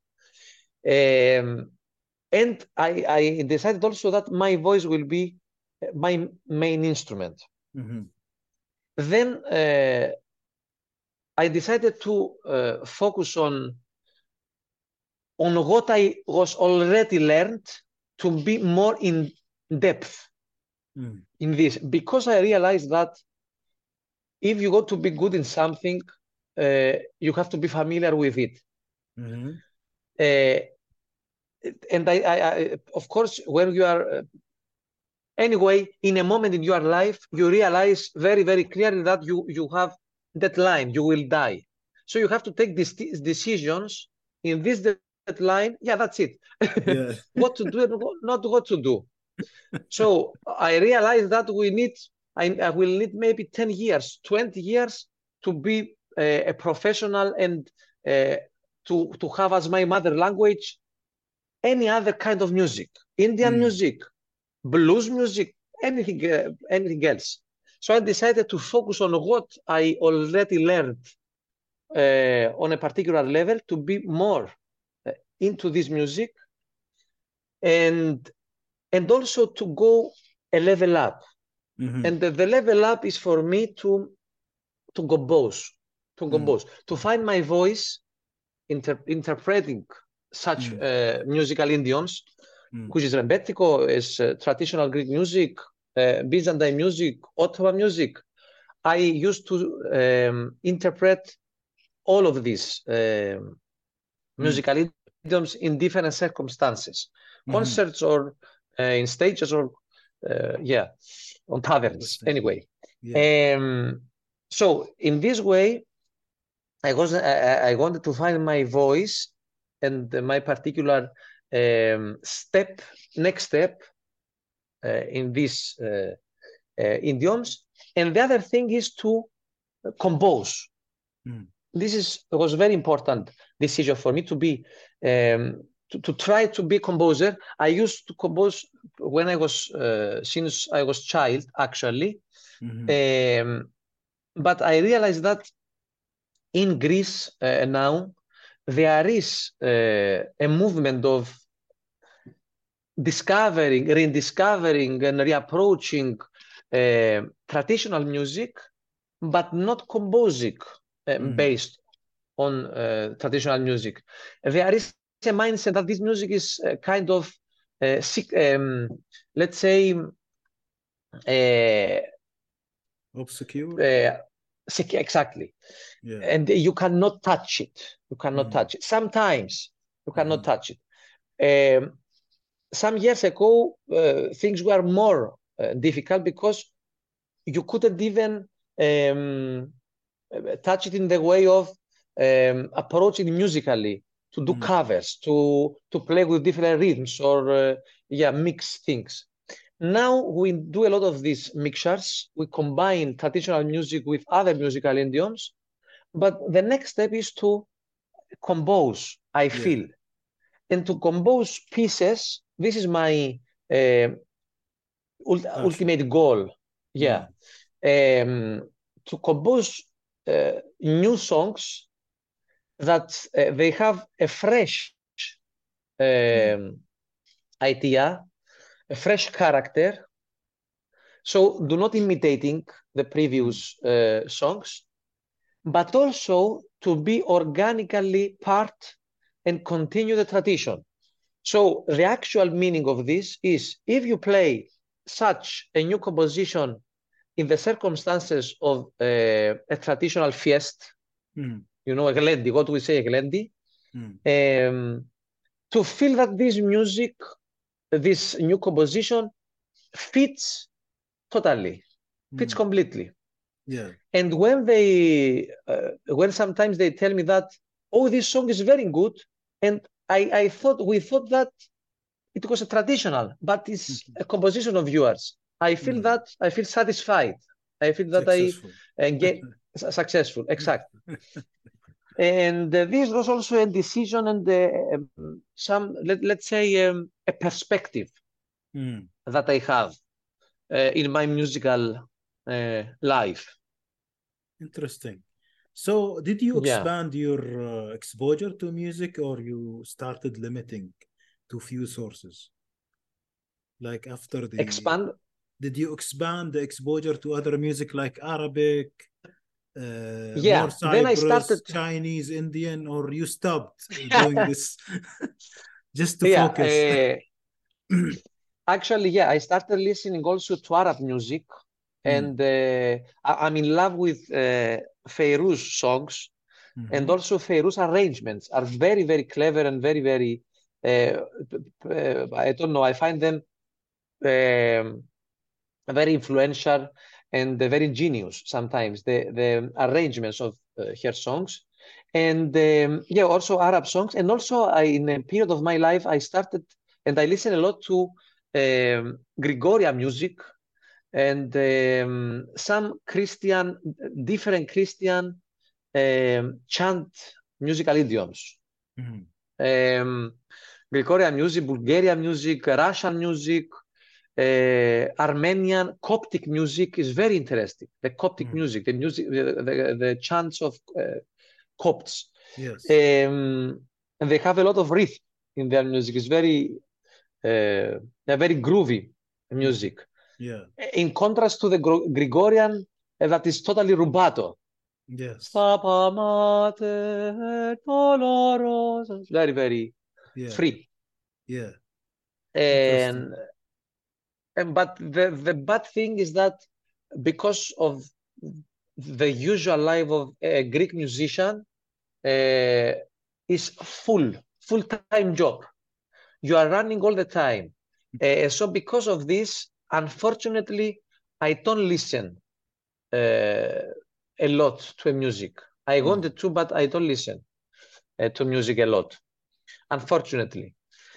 Speaker 2: Um, and I, I decided also that my voice will be my main instrument.
Speaker 1: Mhm.
Speaker 2: Then uh, I decided to uh, focus on on what I was already learned to be more in depth
Speaker 1: Mm.
Speaker 2: in this, because I realized that if you want to be good in something, uh, you have to be familiar with it.
Speaker 1: Mhm.
Speaker 2: Uh, and I, I, I, of course, when you are uh, anyway, in a moment in your life, you realize very, very clearly that you, you have deadline, you will die. So you have to take these decisions in this deadline. Yeah, that's it.
Speaker 1: Yeah.
Speaker 2: What to do and not what to do. So I realized that we need, I, I will need maybe ten years, twenty years to be a, a professional and uh, to, to have as my mother language any other kind of music, Indian
Speaker 1: Mm.
Speaker 2: music, blues music, anything, uh, anything else. So I decided to focus on what I already learned uh, on a particular level to be more uh, into this music, and and also to go a level up.
Speaker 1: Mhm.
Speaker 2: And the, the level up is for me to to compose, to
Speaker 1: Mm.
Speaker 2: compose, to find my voice inter interpreting such
Speaker 1: Mm.
Speaker 2: uh, musical idioms,
Speaker 1: Mm.
Speaker 2: which is Rebetiko, is uh, traditional Greek music, uh, Byzantine music, Ottoman music. I used to um, interpret all of these um,
Speaker 1: Mm.
Speaker 2: musical idioms in different circumstances,
Speaker 1: Mhm.
Speaker 2: concerts or uh, in stages or uh, yeah, on taverns.
Speaker 1: Interesting.
Speaker 2: Anyway,
Speaker 1: Yeah.
Speaker 2: um, so in this way, I was I, I wanted to find my voice and my particular um, step, next step uh, in these uh, uh, idioms. And the other thing is to compose.
Speaker 1: Mm.
Speaker 2: This is was a very important decision for me to be um, to, to try to be a composer. I used to compose when I was uh, since I was child actually,
Speaker 1: Mhm.
Speaker 2: um, but I realized that in Greece uh, now there is uh, a movement of discovering, rediscovering, and reapproaching uh, traditional music, but not composing uh,
Speaker 1: Mm.
Speaker 2: based on uh, traditional music. There is a mindset that this music is uh, kind of, uh, sick, um, let's say, uh,
Speaker 1: Obscure.
Speaker 2: uh, sick, exactly.
Speaker 1: Yeah.
Speaker 2: And you cannot touch it. You cannot
Speaker 1: Mhm.
Speaker 2: touch it. Sometimes you cannot
Speaker 1: Mhm.
Speaker 2: touch it. Um, some years ago, uh, things were more uh, difficult because you couldn't even um, touch it in the way of um, approaching musically, to do
Speaker 1: Mm.
Speaker 2: covers, to to play with different rhythms, or uh, yeah, mix things. Now we do a lot of these mixtures. We combine traditional music with other musical idioms, but the next step is to compose, I
Speaker 1: Yeah.
Speaker 2: feel. And to compose pieces, this is my uh, ult
Speaker 1: Passion.
Speaker 2: ultimate goal. Yeah. Um, to compose uh, new songs that uh, they have a fresh
Speaker 1: Mm.
Speaker 2: um, idea, a fresh character. So do not imitating the
Speaker 1: Mm.
Speaker 2: previous uh, songs, but also to be organically part and continue the tradition. So the actual meaning of this is, if you play such a new composition in the circumstances of uh, a traditional fiesta,
Speaker 1: Mm.
Speaker 2: you know, a glendi, what we say, a glendi,
Speaker 1: Mm.
Speaker 2: um, to feel that this music, this new composition fits totally, fits
Speaker 1: Mm.
Speaker 2: completely.
Speaker 1: Yeah.
Speaker 2: And when they, uh, when sometimes they tell me that, oh, this song is very good, and I, I thought, we thought that it was a traditional, but it's
Speaker 1: Mhm.
Speaker 2: a composition of yours. I feel
Speaker 1: Mm.
Speaker 2: that, I feel satisfied. I feel that I
Speaker 1: Successful.
Speaker 2: uh, get successful, exactly. And uh, this was also a decision and uh, um, some, let, let's say, um, a perspective
Speaker 1: Mm.
Speaker 2: that I have uh, in my musical uh, life.
Speaker 1: Interesting. So, did you
Speaker 2: Yeah.
Speaker 1: expand your uh, exposure to music, or you started limiting to few sources? Like after the,
Speaker 2: Expand.
Speaker 1: did you expand the exposure to other music like Arabic, uh, more
Speaker 2: Yeah. Then I started.
Speaker 1: Cyprus, Chinese, Indian, or you stopped doing this just to
Speaker 2: Yeah.
Speaker 1: focus?
Speaker 2: Uh, actually, yeah, I started listening also to Arab music,
Speaker 1: Mm.
Speaker 2: and uh, I, I'm in love with uh, Feiruz songs, and
Speaker 1: Mhm.
Speaker 2: also Feiruz arrangements are very, very clever and very, very. Uh, uh, I don't know. I find them um, very influential and very ingenious sometimes, the the arrangements of uh, her songs. And um, yeah, also Arab songs. And also I, in a period of my life, I started and I listen a lot to um, Gregorian music and um, some Christian, different Christian um, chant musical idioms.
Speaker 1: Mhm.
Speaker 2: Um, Gregorian music, Bulgarian music, Russian music, uh, Armenian Coptic music is very interesting. The Coptic
Speaker 1: Mm.
Speaker 2: music, the music, the, the, the chants of uh, Copts,
Speaker 1: Yes.
Speaker 2: um, and they have a lot of rhythm in their music. It's very, uh, they're very groovy
Speaker 1: Mhm.
Speaker 2: music.
Speaker 1: Yeah.
Speaker 2: In contrast to the Gro- Gregorian, uh, that is totally rubato.
Speaker 1: Yes.
Speaker 2: Stapa mater dolorosa. Very, very
Speaker 1: Yeah.
Speaker 2: free.
Speaker 1: Yeah. Interesting.
Speaker 2: And, and but the, the bad thing is that because of the usual life of a Greek musician, uh, is full, full-time job. You are running all the time. Uh, so because of this, unfortunately, I don't listen uh, a lot to music. I
Speaker 1: Mm.
Speaker 2: wanted to, but I don't listen uh, to music a lot, unfortunately.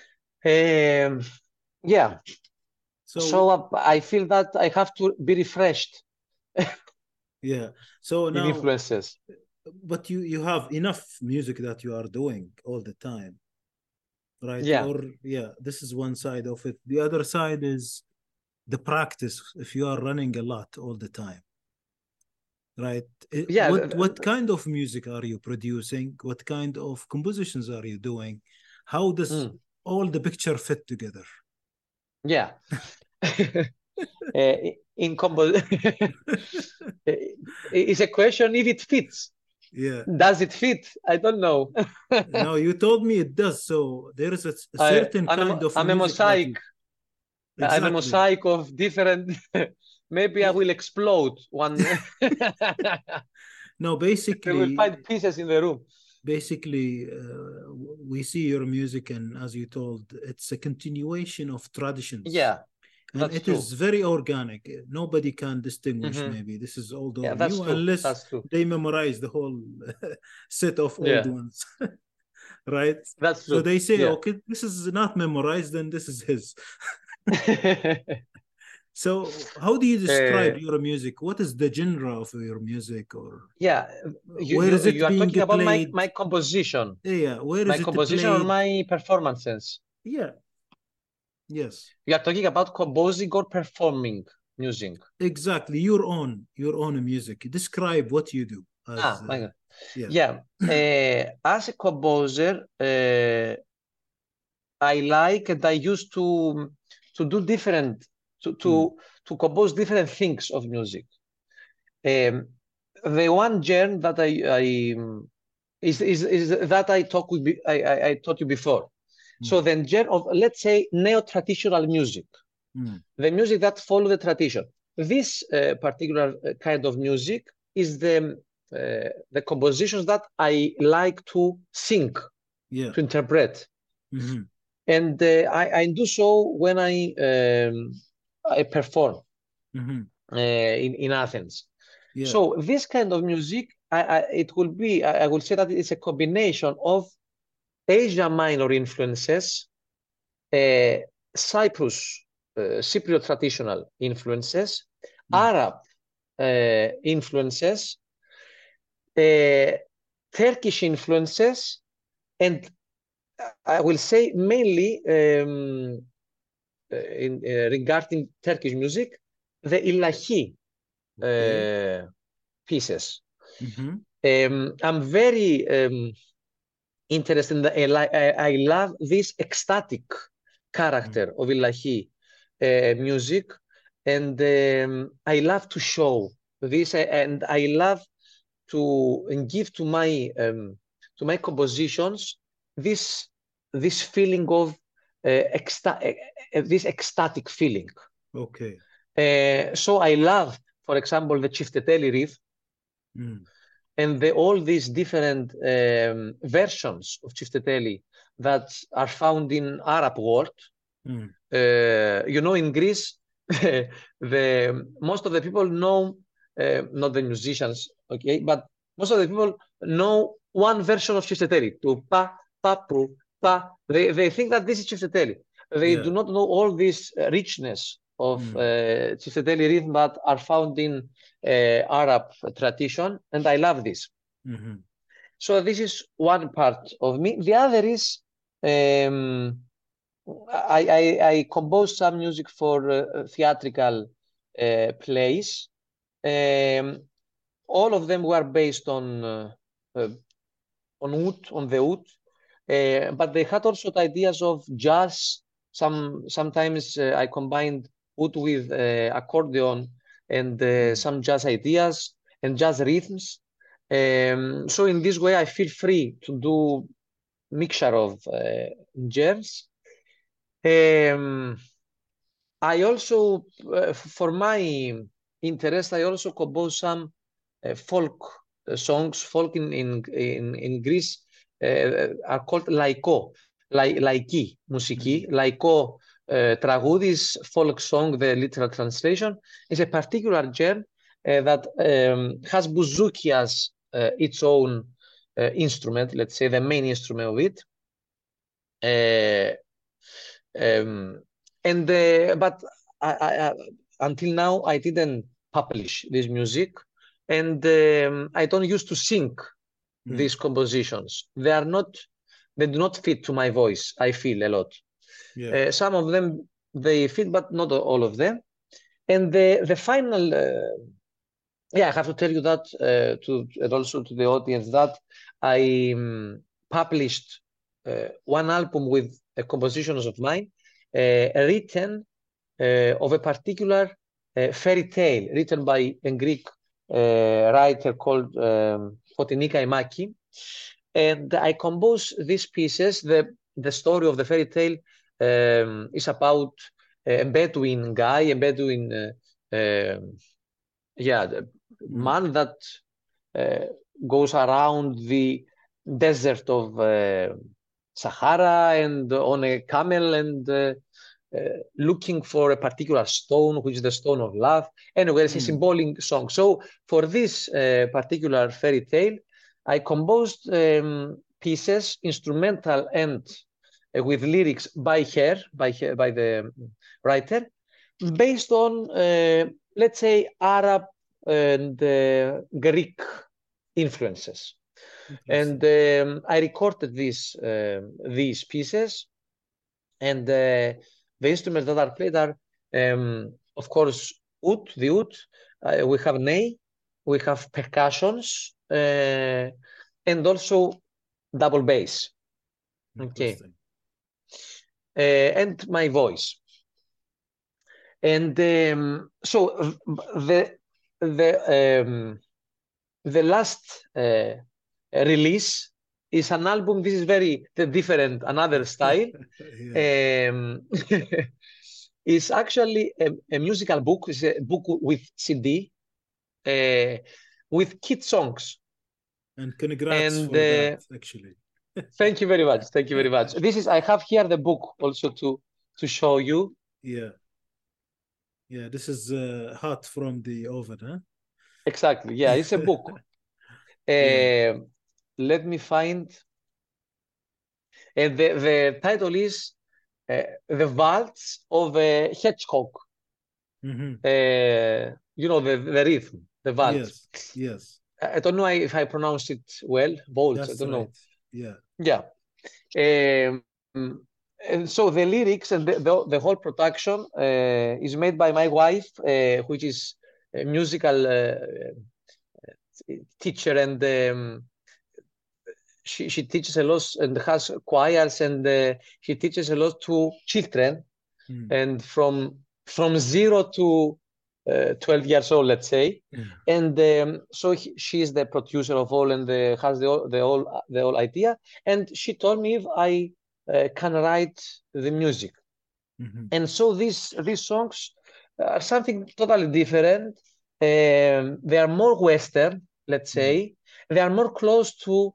Speaker 2: Um, yeah, so
Speaker 1: So,
Speaker 2: uh, I feel that I have to be refreshed
Speaker 1: yeah. So
Speaker 2: in
Speaker 1: now,
Speaker 2: influences.
Speaker 1: but you you have enough music that you are doing all the time, right?
Speaker 2: Yeah,
Speaker 1: Or yeah, this is one side of it. The other side is the practice. If you are running a lot all the time, right? It-
Speaker 2: yeah. th-
Speaker 1: what what
Speaker 2: th-
Speaker 1: kind of music are you producing? What kind of compositions are you doing? How does
Speaker 2: mm,
Speaker 1: all the picture fit together?
Speaker 2: yeah. Uh, in combo, it's a question if it fits.
Speaker 1: Yeah.
Speaker 2: Does it fit? I don't know.
Speaker 1: No, you told me it does. So there is a, a
Speaker 2: I,
Speaker 1: certain
Speaker 2: I'm
Speaker 1: kind
Speaker 2: a,
Speaker 1: of
Speaker 2: I'm a
Speaker 1: music that you
Speaker 2: mosaic. I'm a
Speaker 1: exactly.
Speaker 2: mosaic of different. Maybe I
Speaker 1: Yeah.
Speaker 2: will explode one.
Speaker 1: No,
Speaker 2: They will
Speaker 1: basically,
Speaker 2: find pieces in the room.
Speaker 1: basically, uh, we see your music, and as you told, it's a continuation of traditions,
Speaker 2: Yeah,
Speaker 1: and
Speaker 2: that's
Speaker 1: it
Speaker 2: true.
Speaker 1: is very organic. Nobody can distinguish
Speaker 2: Hmm.
Speaker 1: maybe this is old
Speaker 2: Yeah,
Speaker 1: or
Speaker 2: that's
Speaker 1: new
Speaker 2: true.
Speaker 1: unless
Speaker 2: That's true.
Speaker 1: they memorize the whole set of old
Speaker 2: Yeah,
Speaker 1: ones, right?
Speaker 2: that's
Speaker 1: So
Speaker 2: true.
Speaker 1: they say,
Speaker 2: Yeah.
Speaker 1: okay, this is not memorized, then this is his. So how do you describe
Speaker 2: Uh,
Speaker 1: your music? What is the genre of your music, or
Speaker 2: yeah, you,
Speaker 1: where is
Speaker 2: you
Speaker 1: it
Speaker 2: you are
Speaker 1: being
Speaker 2: talking about my
Speaker 1: played?
Speaker 2: my composition,
Speaker 1: Yeah, where
Speaker 2: my
Speaker 1: is it
Speaker 2: composition or
Speaker 1: played?
Speaker 2: my performances.
Speaker 1: Yeah, yes,
Speaker 2: You are talking about composing or performing music.
Speaker 1: exactly. Your own, your own music. Describe what you do as,
Speaker 2: Ah, my
Speaker 1: uh,
Speaker 2: God.
Speaker 1: yeah.
Speaker 2: Yeah. Uh, as a composer, uh, I like and I used to to do different to
Speaker 1: Mm,
Speaker 2: to to compose different things of music. Um, the one genre that I, I um, is, is is that I talk with I, I I taught you before. So
Speaker 1: mm,
Speaker 2: the genre of, let's say, neo-traditional music,
Speaker 1: mm,
Speaker 2: the music that follow the tradition. This uh, particular uh, kind of music is the uh, the compositions that I like to sing,
Speaker 1: yeah.
Speaker 2: to interpret,
Speaker 1: Hmm.
Speaker 2: and uh, I, I do so when I um, I perform
Speaker 1: Hmm.
Speaker 2: uh, in in Athens.
Speaker 1: Yeah.
Speaker 2: So this kind of music, I, I, it will be, I, I will say that it's a combination of Asia Minor influences, uh, Cyprus, uh, Cypriot traditional influences,
Speaker 1: Mm,
Speaker 2: Arab uh, influences, uh, Turkish influences, and I will say mainly um, uh, in, uh, regarding Turkish music, the Ilahi
Speaker 1: okay.
Speaker 2: uh, pieces.
Speaker 1: Hmm.
Speaker 2: Um, I'm very um, interested in the, I, I, I love this ecstatic
Speaker 1: Mm,
Speaker 2: character of Ilahi uh, music, and um, I love to show this, and I love to give to my um, to my compositions this this feeling of uh, exta- uh, this ecstatic feeling.
Speaker 1: okay.
Speaker 2: Uh, so I love, for example, the Chifteteli riff
Speaker 1: Mm,
Speaker 2: and the, all these different um, versions of Chifteteli that are found in Arab world.
Speaker 1: mm,
Speaker 2: Uh, you know, in Greece, the most of the people know, uh, not the musicians, okay, but most of the people know one version of Chifteteli, to pa, pa, pu, pa. They, they think that this is Chifteteli. They
Speaker 1: yeah.
Speaker 2: do not know all this uh, richness of
Speaker 1: Mm,
Speaker 2: uh, Chifteteli rhythm that are found in uh, Arab tradition, and I love this.
Speaker 1: hmm.
Speaker 2: So this is one part of me. The other is um, I, I, I composed some music for uh, theatrical uh, plays. Um, all of them were based on uh, uh, on oud, on the oud, uh, but they had also the ideas of jazz. Some sometimes uh, I combined oud with uh, accordion and uh,
Speaker 1: Mm,
Speaker 2: some jazz ideas and jazz rhythms. Um, so in this way, I feel free to do mixture of uh, genres. Um, I also, uh, for my interest, I also compose some uh, folk uh, songs. Folk in in in, in Greece uh, are called laiko, lai, laiki, musiki.
Speaker 1: mm,
Speaker 2: Laiko uh, τραγούδι is folk song. The literal translation is a particular genre uh, that um, has bouzouki as uh, its own uh, instrument. Let's say the main instrument of it. Uh, um, and uh, but I, I, I, until now I didn't publish this music, and um, I don't used to sing
Speaker 1: mm,
Speaker 2: these compositions. They are not, they do not fit to my voice. I feel a lot.
Speaker 1: yeah.
Speaker 2: Uh, some of them they fit, but not all of them. And the the final, uh, yeah, I have to tell you that uh, to and also to the audience that I um, published uh, one album with uh, compositions of mine, uh, written uh, of a particular uh, fairy tale written by a Greek uh, writer called um, Fotinika Imaki. And I composed these pieces. The, the story of the fairy tale um, is about a Bedouin guy, a Bedouin, uh, um yeah, the
Speaker 1: Mm,
Speaker 2: man that uh, goes around the desert of uh, Sahara and on a camel and uh, uh, looking for a particular stone, which is the stone of love. Anyway, it's a
Speaker 1: Mm.
Speaker 2: symbolic song. So for this uh, particular fairy tale, I composed um, pieces, instrumental and uh, with lyrics by her, by her, by the writer, based on, uh, let's say, Arab and uh, Greek influences. And um, I recorded these um these pieces, and uh, the instruments that are played are, um, of course, oud, the oud. Uh, we have ney, we have percussions, uh, and also double bass. Okay, uh, and my voice. And um, so the the um, the last uh, release is an album. This is very different, another style. Yeah. Um, it's actually a, a musical book. It's a book with C D, uh, with kid songs.
Speaker 1: And congrats and, for uh, that, actually.
Speaker 2: Thank you very much. Thank you very much. This is, I have here the book also to to show you.
Speaker 1: Yeah. Yeah, this is uh, hot from the oven, huh?
Speaker 2: Exactly. Yeah, it's a book. uh, yeah. Let me find. And the, the title is uh, The Waltz of a Hedgehog. Mm-hmm. uh, you know, the, the rhythm, the waltz.
Speaker 1: Yes, yes.
Speaker 2: I don't know if I pronounced it well, waltz,
Speaker 1: That's
Speaker 2: I don't
Speaker 1: right.
Speaker 2: know.
Speaker 1: Yeah.
Speaker 2: Yeah. Um, and so the lyrics and the, the, the whole production uh, is made by my wife, uh, which is a musical uh, teacher, and um, she, she teaches a lot and has choirs, and uh, she teaches a lot to children, mm. and from from zero to uh, twelve years old, let's say. Mm. And um, so he, she is the producer of all, and the, has the the whole the whole idea. And she told me if I uh, can write the music. Mm-hmm. And so these these songs are something totally different. Um, they are more Western, let's say. Mm-hmm. They are more close to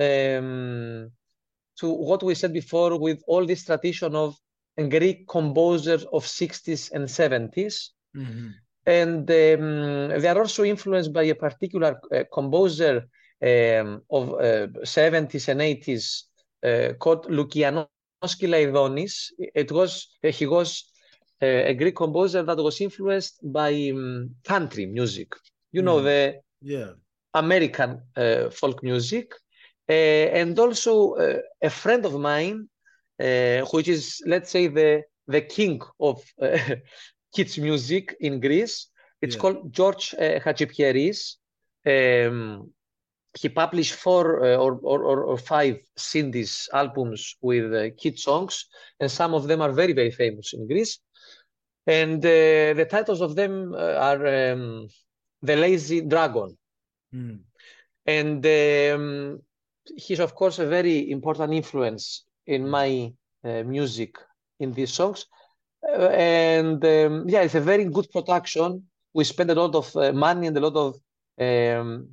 Speaker 2: um, to what we said before, with all this tradition of Greek composers of sixties and seventies. Mm-hmm. And um, they are also influenced by a particular uh, composer um, of uh, seventies and eighties uh, called Lukianos Kylaidonis. It was uh, he was uh, a Greek composer that was influenced by um, country music. You mm. know, the
Speaker 1: yeah.
Speaker 2: American uh, folk music. Uh, and also uh, a friend of mine, uh, which is, let's say, the the king of uh, kids music in Greece. It's yeah. called George uh, Hachipieris. Um, he published four uh, or, or, or five C Ds albums with uh, kid songs, and some of them are very, very famous in Greece. And uh, the titles of them uh, are um, The Lazy Dragon. Mm. And um, he's, of course, a very important influence in my uh, music in these songs. Uh, and um, yeah, it's a very good production. We spend a lot of uh, money and a lot of um,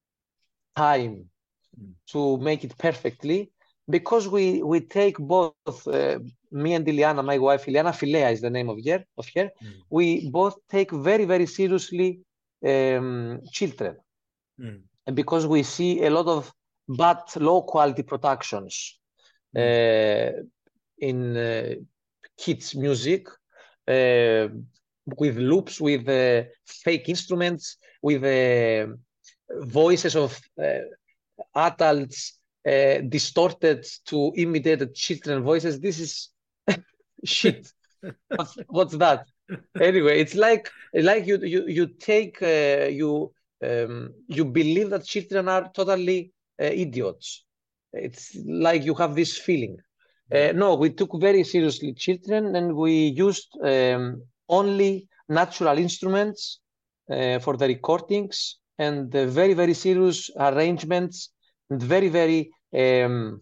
Speaker 2: time mm. to make it perfectly, because we we take both, uh, me and Iliana, my wife, Iliana Filea is the name of her, of her. Mm. We both take very, very seriously um, children. Mm. And because we see a lot of bad, low quality productions mm. uh, in uh, kids' music, uh, with loops, with uh, fake instruments, with uh, voices of uh, adults uh, distorted to imitate the children voices. This is shit. what's, what's that? Anyway, it's like like you you you take uh, you. Um, you believe that children are totally uh, idiots. It's like you have this feeling. Uh, no, we took very seriously children, and we used um, only natural instruments uh, for the recordings, and the very, very serious arrangements, and very, very um,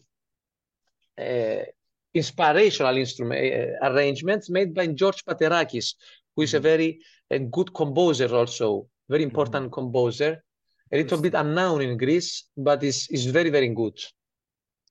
Speaker 2: uh, inspirational instrument uh, arrangements made by George Paterakis, who is mm-hmm. a very a good composer also. Very important mm-hmm. composer, a little bit unknown in Greece, but is is very, very good.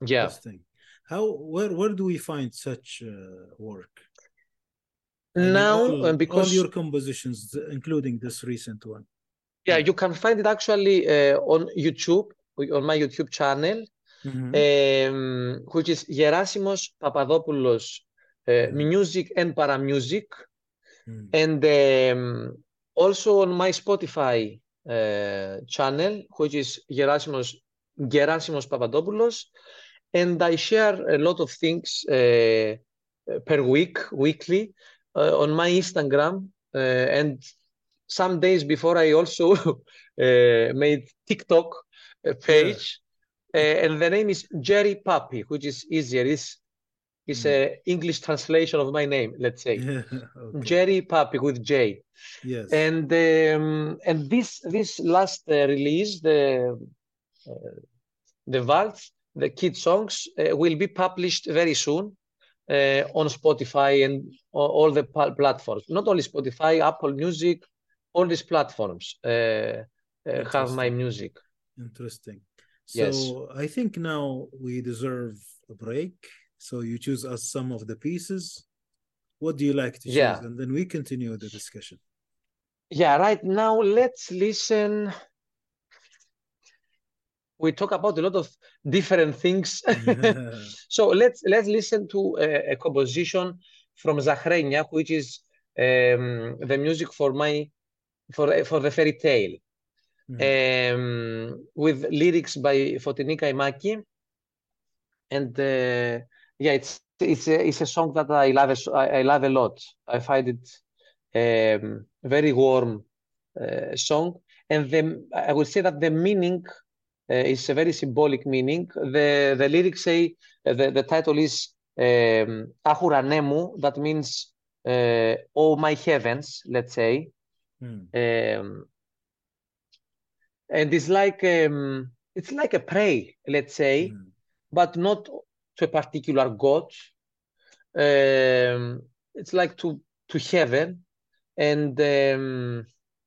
Speaker 2: Yeah.
Speaker 1: Interesting. How where where do we find such uh, work? I mean,
Speaker 2: Now, uh,
Speaker 1: all all
Speaker 2: because
Speaker 1: your compositions, including this recent one.
Speaker 2: yeah,
Speaker 1: Yeah.
Speaker 2: you can find it actually uh, on YouTube, on my YouTube channel,
Speaker 1: Mhm.
Speaker 2: um, which is Gerasimos Papadopoulos uh,
Speaker 1: Mhm.
Speaker 2: Music and Paramusic,
Speaker 1: Mhm.
Speaker 2: and um, also on my Spotify uh, channel, which is Gerasimos Gerasimos Papadopoulos, and I share a lot of things uh, per week, weekly, uh, on my Instagram, uh, and some days before I also uh, made TikTok uh,
Speaker 1: Yeah.
Speaker 2: page, uh, and the name is Jerry Puppy, which is easier. It's it's
Speaker 1: Mm.
Speaker 2: a English translation of my name, let's say.
Speaker 1: Yeah. Okay.
Speaker 2: Jerry Puppy with J.
Speaker 1: Yes.
Speaker 2: And um, and this this last uh, release, the uh, the Waltz, the kid songs, uh, will be published very soon uh, on Spotify and all, all the platforms. Not only Spotify, Apple Music, all these platforms uh, uh, have my
Speaker 1: Interesting.
Speaker 2: music.
Speaker 1: Interesting.
Speaker 2: Yes.
Speaker 1: So I think now we deserve a break. So you choose us some of the pieces. What do you like to choose?
Speaker 2: Yeah.
Speaker 1: And then we continue the discussion.
Speaker 2: Yeah, right now let's listen. We talk about a lot of different things. So let's let's listen to a, a composition from Zachrenia, which is um, the music for my for for the fairy tale,
Speaker 1: Mm.
Speaker 2: um, with lyrics by Fotini Kaimaki, and uh, yeah, it's it's a, it's a song that I love a, I love a lot. I find it um, very warm uh, song, and the I would say that the meaning uh, is a very symbolic meaning. The the lyrics say uh, the the title is um, Ahuranemu, that means uh, oh my heavens, let's say.
Speaker 1: Mm.
Speaker 2: Um, and it's like um, it's like a prayer, let's say,
Speaker 1: Mm.
Speaker 2: but not to a particular god. Um, it's like to to heaven, and um,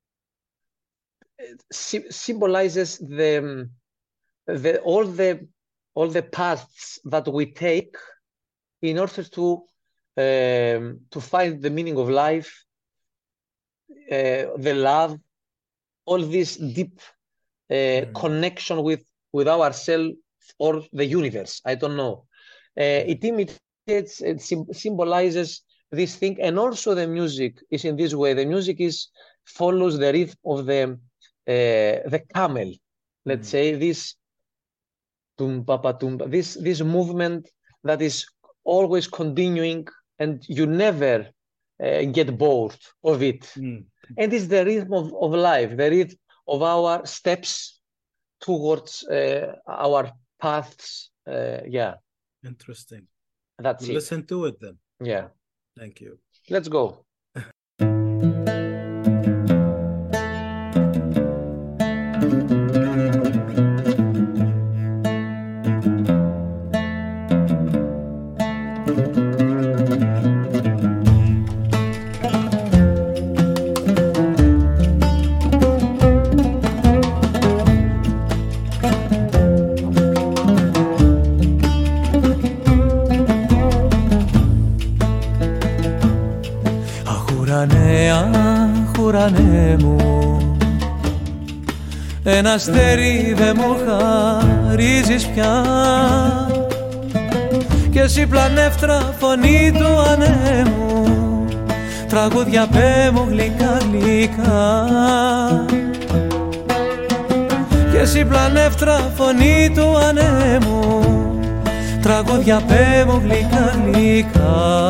Speaker 2: it sy- symbolizes the the all the all the paths that we take in order to um, to find the meaning of life, uh, the love, all this deep uh,
Speaker 1: Mm.
Speaker 2: connection with with ourselves or the universe. I don't know. Uh,
Speaker 1: Mm.
Speaker 2: it imitates, it sym- symbolizes this thing, and also the music is in this way. The music is follows the rhythm of the uh, the camel. Let's
Speaker 1: Mm.
Speaker 2: say this tumpa pa tumpa, this this movement that is always continuing, and you never uh, get bored of it.
Speaker 1: Mm.
Speaker 2: And it's the rhythm of, of life, the rhythm of our steps towards uh, our paths. Uh, yeah,
Speaker 1: Interesting.
Speaker 2: that's
Speaker 1: We'll
Speaker 2: it.
Speaker 1: listen to it then.
Speaker 2: Yeah,
Speaker 1: Thank you.
Speaker 2: let's go.
Speaker 3: Αχουρανέ, αχουρανέ μου, ένα αστέρι δε μου χαρίζεις πια, κι εσύ πλανεύτρα φωνή του ανέμου, τραγούδια πέ μου γλυκά γλυκά. Κι εσύ πλανεύτρα φωνή του ανέμου, τραγούδια πέ μου γλυκά γλυκά.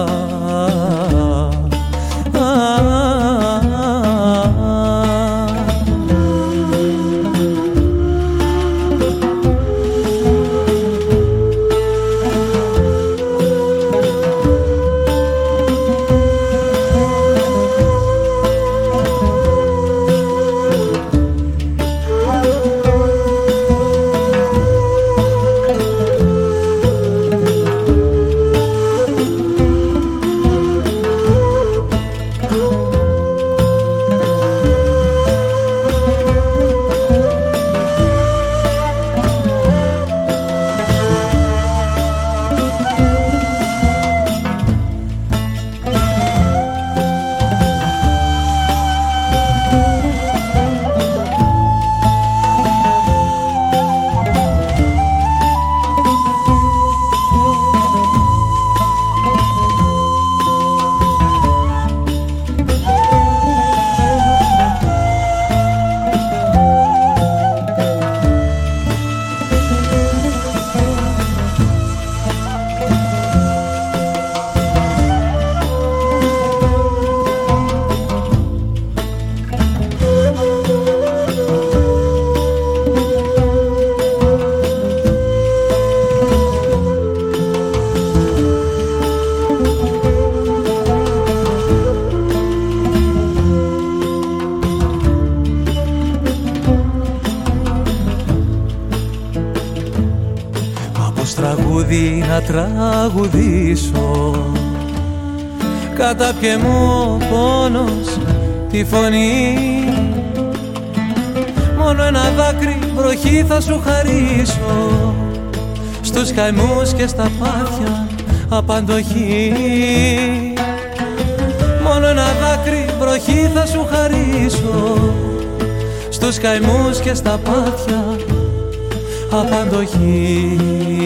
Speaker 3: ως τραγούδι να τραγουδήσω. Κατάπιε μου ο πόνος τη φωνή, μόνο ένα δάκρυ βροχή θα σου χαρίσω, στους καημούς και στα πάθια απαντοχή. Μόνο ένα δάκρυ βροχή θα σου χαρίσω, στους καημούς και στα πάθια απαντοχή.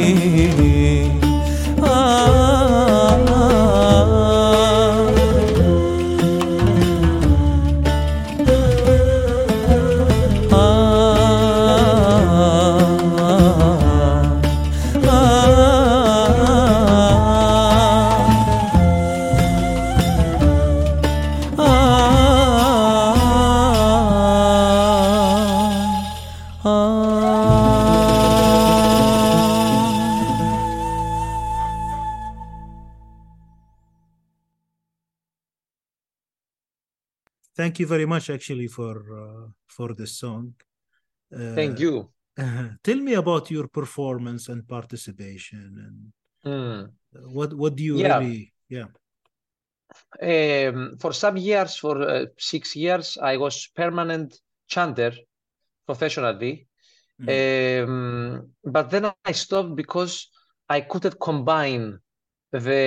Speaker 1: Thank you very much, actually, for uh, for this song. Uh,
Speaker 2: Thank you.
Speaker 1: Uh, tell me about your performance and participation, and
Speaker 2: Mm.
Speaker 1: what what do you
Speaker 2: Yeah.
Speaker 1: really? Yeah.
Speaker 2: Um, for some years, for uh, six years, I was permanent chanter professionally.
Speaker 1: Mm.
Speaker 2: Um, but then I stopped because I couldn't combine the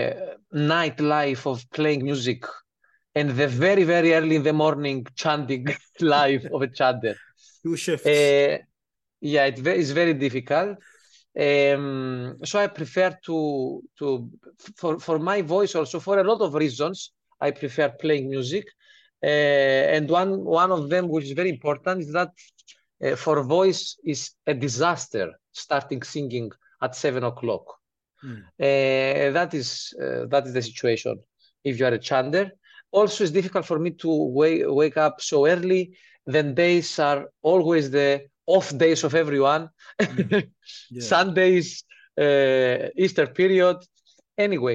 Speaker 2: nightlife of playing music and the very, very early in the morning chanting life of a chanter.
Speaker 1: Two shifts.
Speaker 2: Uh, yeah, it ve- it's very difficult. Um, so I prefer to to for for my voice also, for a lot of reasons, I prefer playing music. Uh, and one one of them, which is very important, is that uh, for voice is a disaster starting singing at seven o'clock.
Speaker 1: Mm.
Speaker 2: Uh, that is uh, that is the situation if you are a chanter. Also, it's difficult for me to wake wake up so early. Then days are always the off days of everyone.
Speaker 1: Mm. Yeah.
Speaker 2: Sundays, uh, Easter period. Anyway,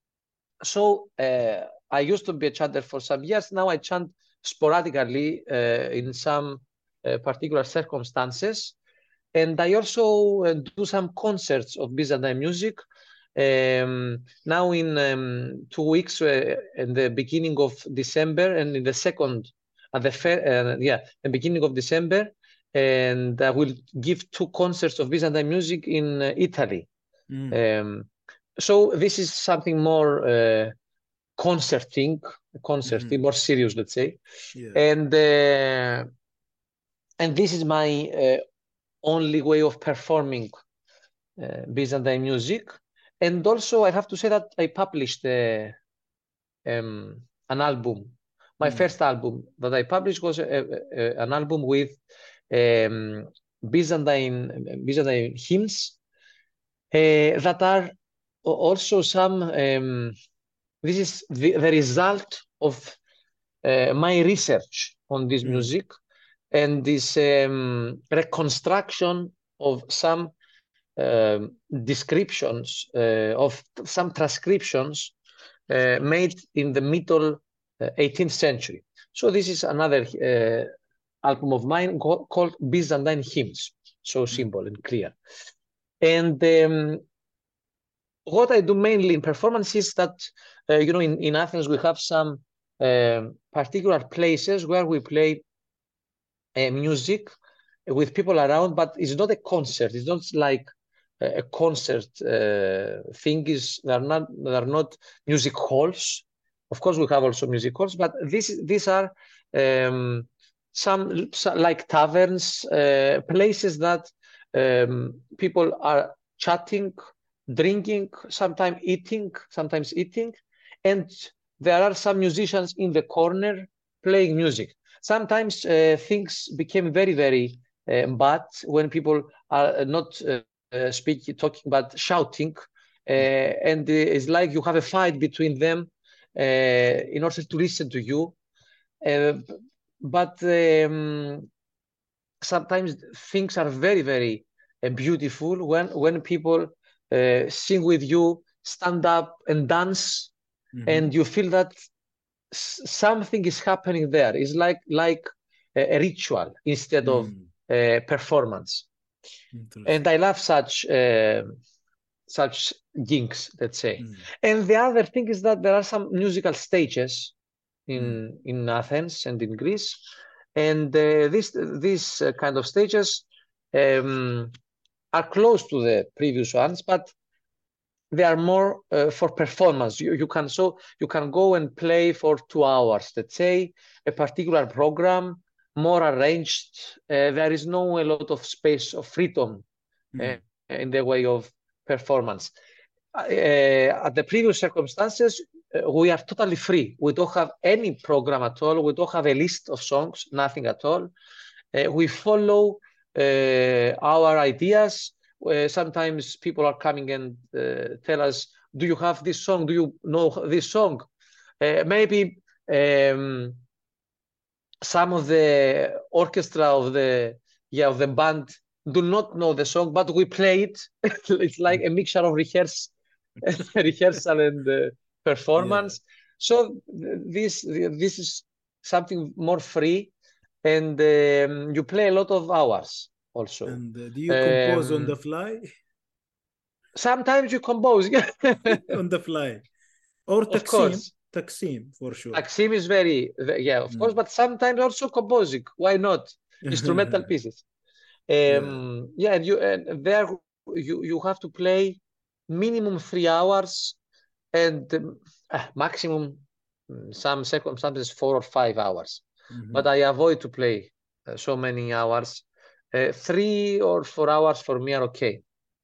Speaker 2: so uh, I used to be a chanter for some years. Now I chant sporadically uh, in some uh, particular circumstances. And I also uh, do some concerts of Byzantine music. Um, now in um, two weeks, uh, in the beginning of December, and in the second, at the fair, uh, yeah, the beginning of December, and I will give two concerts of Byzantine music in uh, Italy.
Speaker 1: Mm.
Speaker 2: Um, so this is something more uh, concerting, concerting,
Speaker 1: Mhm.
Speaker 2: more serious, let's say.
Speaker 1: Yeah.
Speaker 2: And uh, and this is my uh, only way of performing uh, Byzantine music. And also, I have to say that I published uh, um, an album. My
Speaker 1: Mm.
Speaker 2: first album that I published was a, a, an album with um, Byzantine Byzantine hymns uh, that are also some. Um, this is the, the result of uh, my research on this
Speaker 1: Mm.
Speaker 2: music and this um, reconstruction of some um, descriptions uh, of some transcriptions uh, made in the middle uh, eighteenth century. So this is another uh, album of mine co- called Byzantine Hymns, so simple and clear. And um, what I do mainly in performance is that, uh, you know, in, in Athens, we have some um particular places where we play uh, music with people around, but it's not a concert. It's not like a a concert uh, thing. Is they're not they're not music halls. Of course, we have also music halls, but this these are um, some, some like taverns, uh, places that um, people are chatting, drinking, sometimes eating, sometimes eating, and there are some musicians in the corner playing music. Sometimes uh, things became very, very uh, bad when people are not uh, uh, speaking, talking, but shouting, uh, and uh, it's like you have a fight between them uh, in order to listen to you. Uh, but um, sometimes things are very, very uh, beautiful when when people uh, sing with you, stand up and dance,
Speaker 1: Mhm.
Speaker 2: and you feel that s- something is happening there. It's like like a, a ritual instead of
Speaker 1: Mm.
Speaker 2: uh, performance. And I love such uh, such gigs, let's say.
Speaker 1: Mm.
Speaker 2: And the other thing is that there are some musical stages in
Speaker 1: Mm.
Speaker 2: in Athens and in Greece, and uh, these these uh, kind of stages um, are close to the previous ones, but they are more uh, for performance. You, you can so you can go and play for two hours, let's say, a particular program, more arranged. Uh, there is no a lot of space of freedom
Speaker 1: Mm.
Speaker 2: uh, in the way of performance. Uh, at the previous circumstances, uh, we are totally free. We don't have any program at all. We don't have a list of songs, nothing at all. Uh, we follow uh, our ideas. Uh, sometimes people are coming and uh, tell us, do you have this song? Do you know this song? Uh, maybe um, some of the orchestra of the yeah of the band do not know the song, but we play it. It's like a mixture of rehearse, rehearsal and uh, performance. Yeah. So this this is something more free, and um, you play a lot of hours also.
Speaker 1: And uh, do you compose
Speaker 2: um,
Speaker 1: on the fly?
Speaker 2: Sometimes you compose
Speaker 1: on the fly, or
Speaker 2: of course.
Speaker 1: Taksim for sure.
Speaker 2: Taksim is very yeah, of mm. course, but sometimes also composing. Why not? Instrumental pieces. Um, yeah. yeah, and you and there you you have to play minimum three hours, and um, uh, maximum some circumstances four or five hours. Mm-hmm. But I avoid to play uh, so many hours. Uh, three or four hours for me are okay.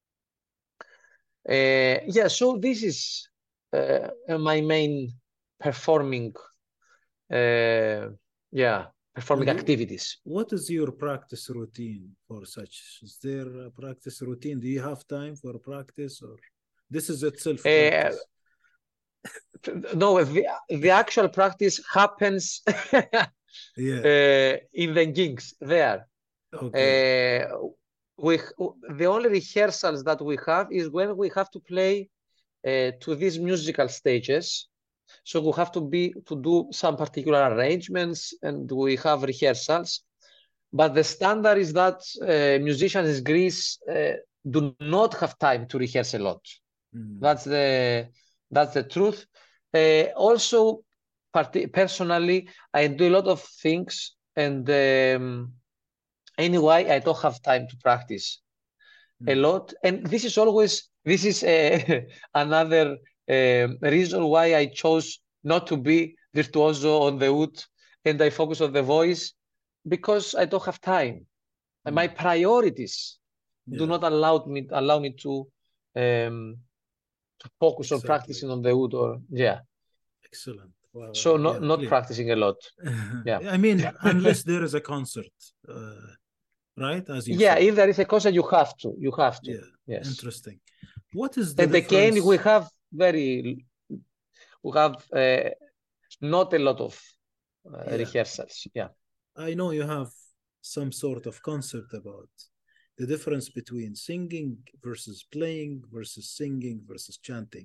Speaker 2: Uh, yeah, so this is uh, my main performing. Uh, yeah. Performing and activities.
Speaker 1: What is your practice routine for such? Is there a practice routine? Do you have time for practice, or this is itself practice?
Speaker 2: Uh, no, the, the actual practice happens
Speaker 1: yeah.
Speaker 2: uh, in the gigs there.
Speaker 1: Okay.
Speaker 2: Uh, we, the only rehearsals that we have is when we have to play uh, to these musical stages. So we have to be to do some particular arrangements, and we have rehearsals. But the standard is that uh, musicians in Greece uh, do not have time to rehearse a lot. Mm. That's the that's the truth. Uh, also, personally, I do a lot of things, and um, anyway, I don't have time to practice mm. a lot. And this is always this is uh, another. Um, reason why I chose not to be virtuoso on the oud and I focus on the voice, because I don't have time. Mm. And my priorities yeah. do not allow me allow me to um, to focus exactly. on practicing on the oud or yeah.
Speaker 1: Excellent. Wow.
Speaker 2: So not
Speaker 1: yeah,
Speaker 2: not
Speaker 1: clear.
Speaker 2: practicing a lot. Yeah.
Speaker 1: I mean, unless there is a concert, uh, right? As you
Speaker 2: yeah,
Speaker 1: said.
Speaker 2: if there is a concert, you have to. You have to.
Speaker 1: Yeah.
Speaker 2: Yes.
Speaker 1: Interesting. What is the
Speaker 2: and
Speaker 1: difference?
Speaker 2: again we have very we have uh, not a lot of uh, yeah. rehearsals. Yeah,
Speaker 1: I know you have some sort of concept about the difference between singing versus playing versus singing versus chanting.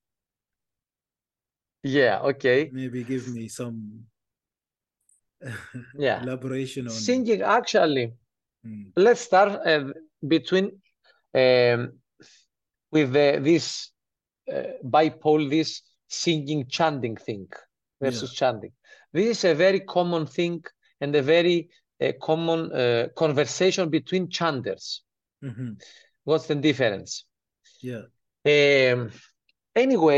Speaker 2: Yeah. Okay.
Speaker 1: Maybe give me some
Speaker 2: yeah
Speaker 1: elaboration on
Speaker 2: singing. Actually, hmm. let's start uh, between. Um, with the, this uh, bipole, this singing chanting thing versus yeah. chanting. This is a very common thing and a very uh, common uh, conversation between chanters.
Speaker 1: Mm-hmm.
Speaker 2: What's the difference?
Speaker 1: Yeah.
Speaker 2: Um, anyway,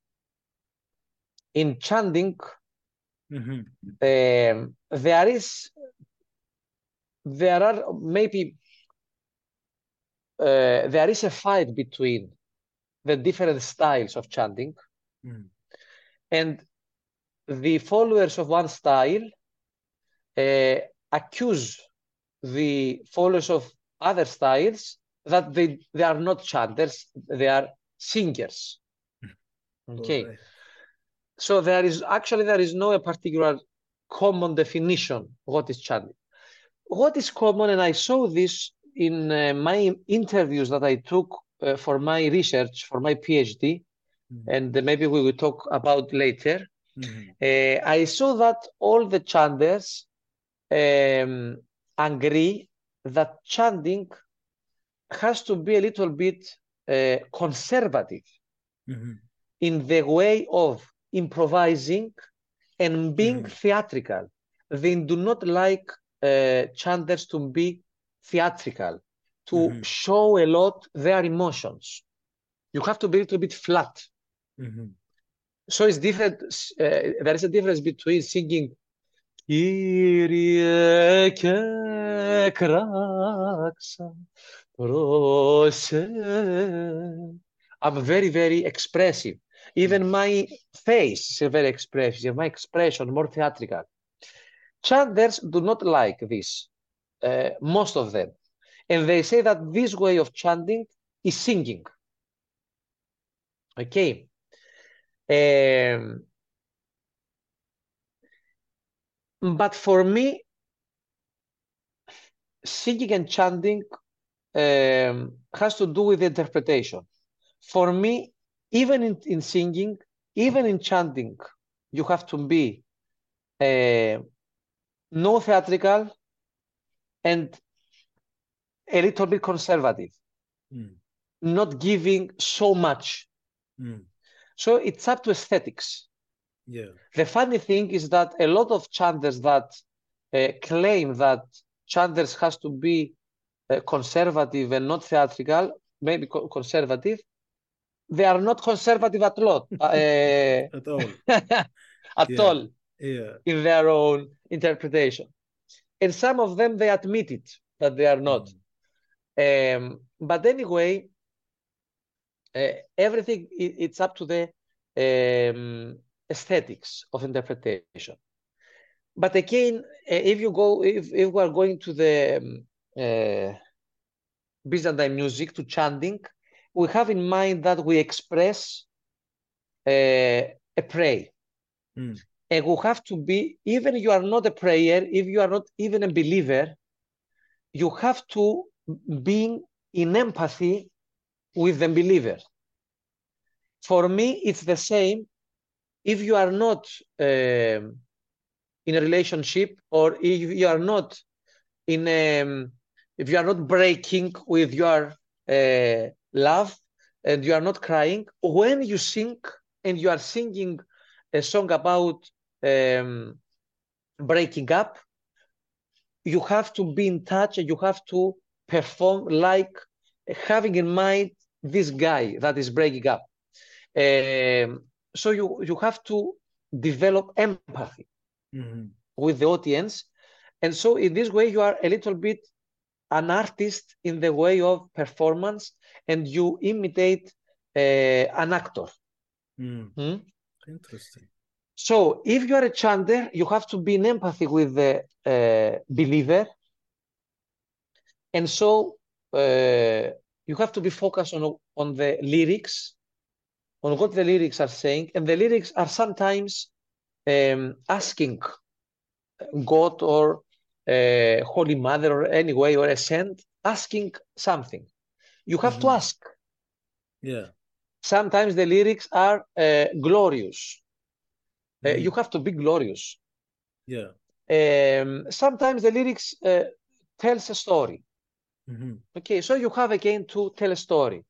Speaker 2: in chanting,
Speaker 1: mm-hmm.
Speaker 2: um, there is, there are maybe Uh, there is a fight between the different styles of chanting,
Speaker 1: mm.
Speaker 2: and the followers of one style uh, accuse the followers of other styles that they, they are not chanters, they are singers. Okay. Right. So there is actually, there is no a particular common definition of what is chanting. What is common, and I saw this in uh, my interviews that I took uh, for my research, for my PhD, mm-hmm. and uh, maybe we will talk about later, mm-hmm. uh, I saw that all the chanters um, agree that chanting has to be a little bit uh, conservative
Speaker 1: Mm-hmm.
Speaker 2: in the way of improvising and being
Speaker 1: Mhm.
Speaker 2: theatrical. They do not like uh, chanters to be theatrical, to
Speaker 1: Mhm.
Speaker 2: show a lot their emotions. You have to be a little bit flat.
Speaker 1: Mhm.
Speaker 2: So it's different. Uh, there is a difference between singing Kyrie Kraksa Prose. I'm very, very expressive. Even my face is very expressive, my expression more theatrical. Chanters do not like this, uh, most of them. And they say that this way of chanting is singing. Okay. Um, but for me, singing and chanting um, has to do with interpretation. For me, even in, in singing, even in chanting, you have to be uh, no theatrical and a little bit conservative,
Speaker 1: Mm.
Speaker 2: not giving so much.
Speaker 1: Mm.
Speaker 2: So it's up to aesthetics.
Speaker 1: Yeah.
Speaker 2: The funny thing is that a lot of chanters that uh, claim that chanters has to be uh, conservative and not theatrical, maybe co conservative, they are not conservative at all, uh,
Speaker 1: At all.
Speaker 2: at
Speaker 1: Yeah.
Speaker 2: all
Speaker 1: Yeah.
Speaker 2: in their own interpretation. And some of them, they admit it, that they are not.
Speaker 1: Mm.
Speaker 2: Um, but anyway, uh, everything, it, it's up to the um, aesthetics of interpretation. But again, uh, if you go, if, if we are going to the um, uh, Byzantine music, to chanting, we have in mind that we express uh, a prayer.
Speaker 1: Mm.
Speaker 2: And we have to be, even you are not a prayer, if you are not even a believer, you have to be in empathy with the believer. For me, it's the same if you are not um, in a relationship, or if you are not in a, if you are not breaking with your uh, love and you are not crying, when you sing and you are singing a song about um, breaking up, you have to be in touch and you have to perform like having in mind this guy that is breaking up. Um, so you, you have to develop empathy
Speaker 1: Mm-hmm.
Speaker 2: with the audience. And so in this way, you are a little bit an artist in the way of performance, and you imitate uh, an actor.
Speaker 1: Mm.
Speaker 2: Hmm?
Speaker 1: Interesting.
Speaker 2: So if you are a chanter, you have to be in empathy with the uh, believer. And so uh, you have to be focused on, on the lyrics, on what the lyrics are saying. And the lyrics are sometimes um, asking God or uh, Holy Mother or anyway, or a saint, asking something. You have to
Speaker 1: Mm-hmm.
Speaker 2: ask.
Speaker 1: Yeah.
Speaker 2: Sometimes the lyrics are uh, glorious. Uh,
Speaker 1: Mm-hmm.
Speaker 2: you have to be glorious.
Speaker 1: Yeah.
Speaker 2: Um, sometimes the lyrics uh, tells a story.
Speaker 1: Mm-hmm.
Speaker 2: Okay, so you have again to tell a story.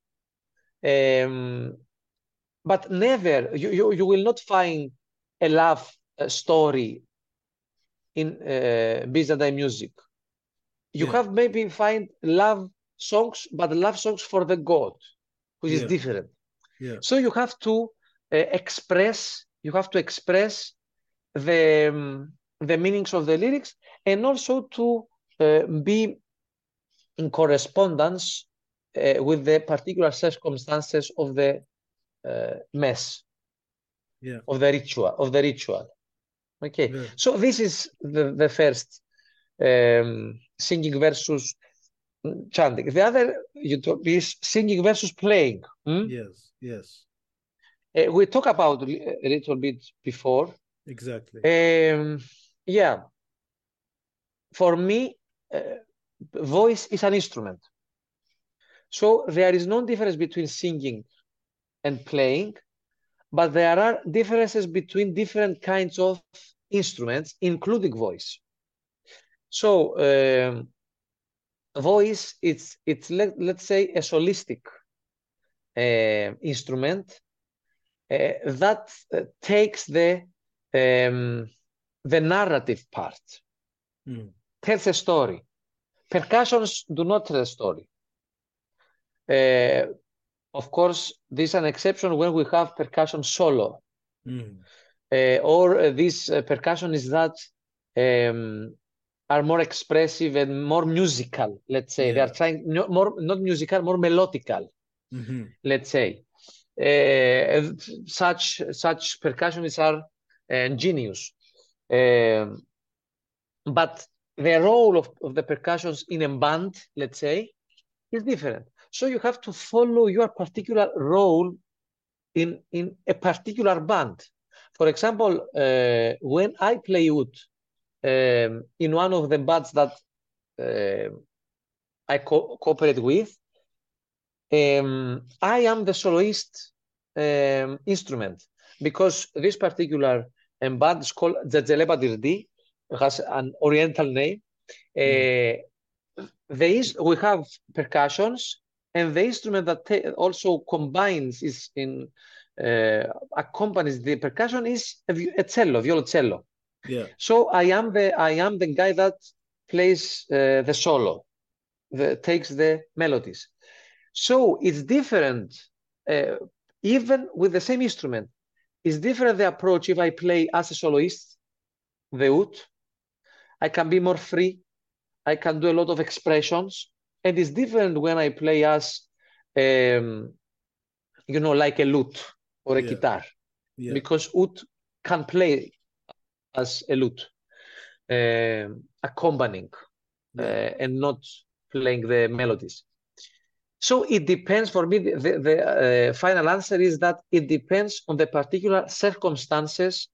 Speaker 2: Um, but never, you, you, you will not find a love uh, story in uh, Byzantine music. You
Speaker 1: Yeah.
Speaker 2: have maybe find love songs, but love songs for the God, which is
Speaker 1: Yeah.
Speaker 2: different.
Speaker 1: Yeah.
Speaker 2: So you have to uh, express, you have to express the, um, the meanings of the lyrics, and also to uh, be in correspondence uh, with the particular circumstances of the uh, mass,
Speaker 1: Yeah.
Speaker 2: of the ritual, of the ritual. Okay,
Speaker 1: Yeah.
Speaker 2: so this is the, the first um, singing versus chanting. The other you talk, is singing versus playing. Hmm?
Speaker 1: Yes. Yes.
Speaker 2: Uh, we talked about a little bit before.
Speaker 1: Exactly.
Speaker 2: Um, yeah, for me, uh, voice is an instrument. So there is no difference between singing and playing, but there are differences between different kinds of instruments, including voice. So um, voice, it's it's let, let's say a solistic uh, instrument uh, that uh, takes the um, the narrative part,
Speaker 1: Mm.
Speaker 2: tells a story. Percussions do not tell a story. Uh, of course, this is an exception when we have percussion solo.
Speaker 1: Mm.
Speaker 2: Uh, or uh, this uh, percussion is that um, are more expressive and more musical, let's say.
Speaker 1: Yeah.
Speaker 2: They are trying, no, more, not musical, more melodical,
Speaker 1: Mm-hmm.
Speaker 2: let's say. Uh, such, such percussionists are uh, genius. Um, but the role of, of the percussions in a band, let's say, is different. So you have to follow your particular role in, in a particular band. For example, uh, when I play oud um, in one of the bands that uh, I co cooperate with, um, I am the soloist um, instrument, because this particular um, band is called Dzedzeleba Dirdi, has an oriental name.
Speaker 1: Mm.
Speaker 2: Uh, there is, we have percussions, and the instrument that also combines is in uh, accompanies the percussion is a, a cello, violoncello.
Speaker 1: Yeah.
Speaker 2: So I am the I am the guy that plays uh, the solo, the, takes the melodies. So it's different, uh, even with the same instrument. It's different the approach if I play as a soloist, the oud. I can be more free. I can do a lot of expressions, and it's different when I play as, um, you know, like a lute or a
Speaker 1: Yeah.
Speaker 2: guitar,
Speaker 1: Yeah.
Speaker 2: because oud can play as a lute, uh, accompanying
Speaker 1: Yeah.
Speaker 2: uh, and not playing the melodies. So it depends. For me, the, the, the uh, final answer is that it depends on the particular circumstances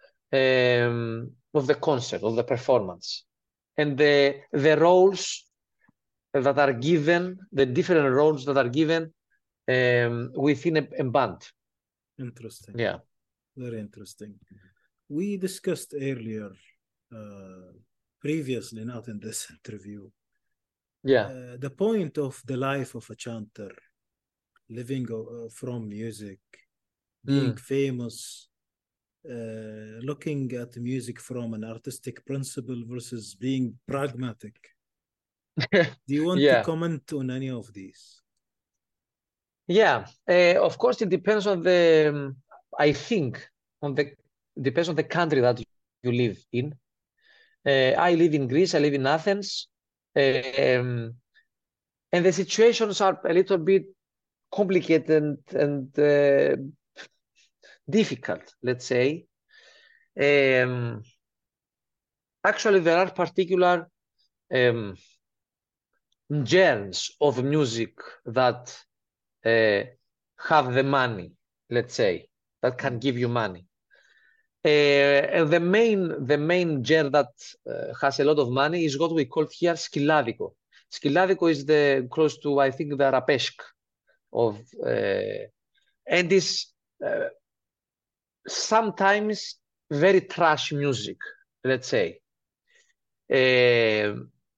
Speaker 2: um, of the concert, of the performance, and the the roles that are given, the different roles that are given um, within a, a band.
Speaker 1: Interesting.
Speaker 2: Yeah.
Speaker 1: Very interesting. We discussed earlier, uh, previously, not in this interview,
Speaker 2: Yeah.
Speaker 1: uh, the point of the life of a chanter, living uh, from music, being
Speaker 2: Mm.
Speaker 1: famous, uh, looking at music from an artistic principle versus being pragmatic. Do you want
Speaker 2: Yeah.
Speaker 1: to comment on any of these?
Speaker 2: Yeah. Uh, of course, it depends on the, um, I think, on the, depends on the country that you live in. Uh, I live in Greece, I live in Athens. Um, and the situations are a little bit complicated and, and uh, difficult, let's say. Um, actually, there are particular um, genres of music that uh, have the money, let's say, that can give you money. Uh, and the main, the main genre that uh, has a lot of money is what we call here skilladiko. Skilladiko is the close to, I think, the arabesque of, uh, and is uh, sometimes very trash music, let's say. Uh,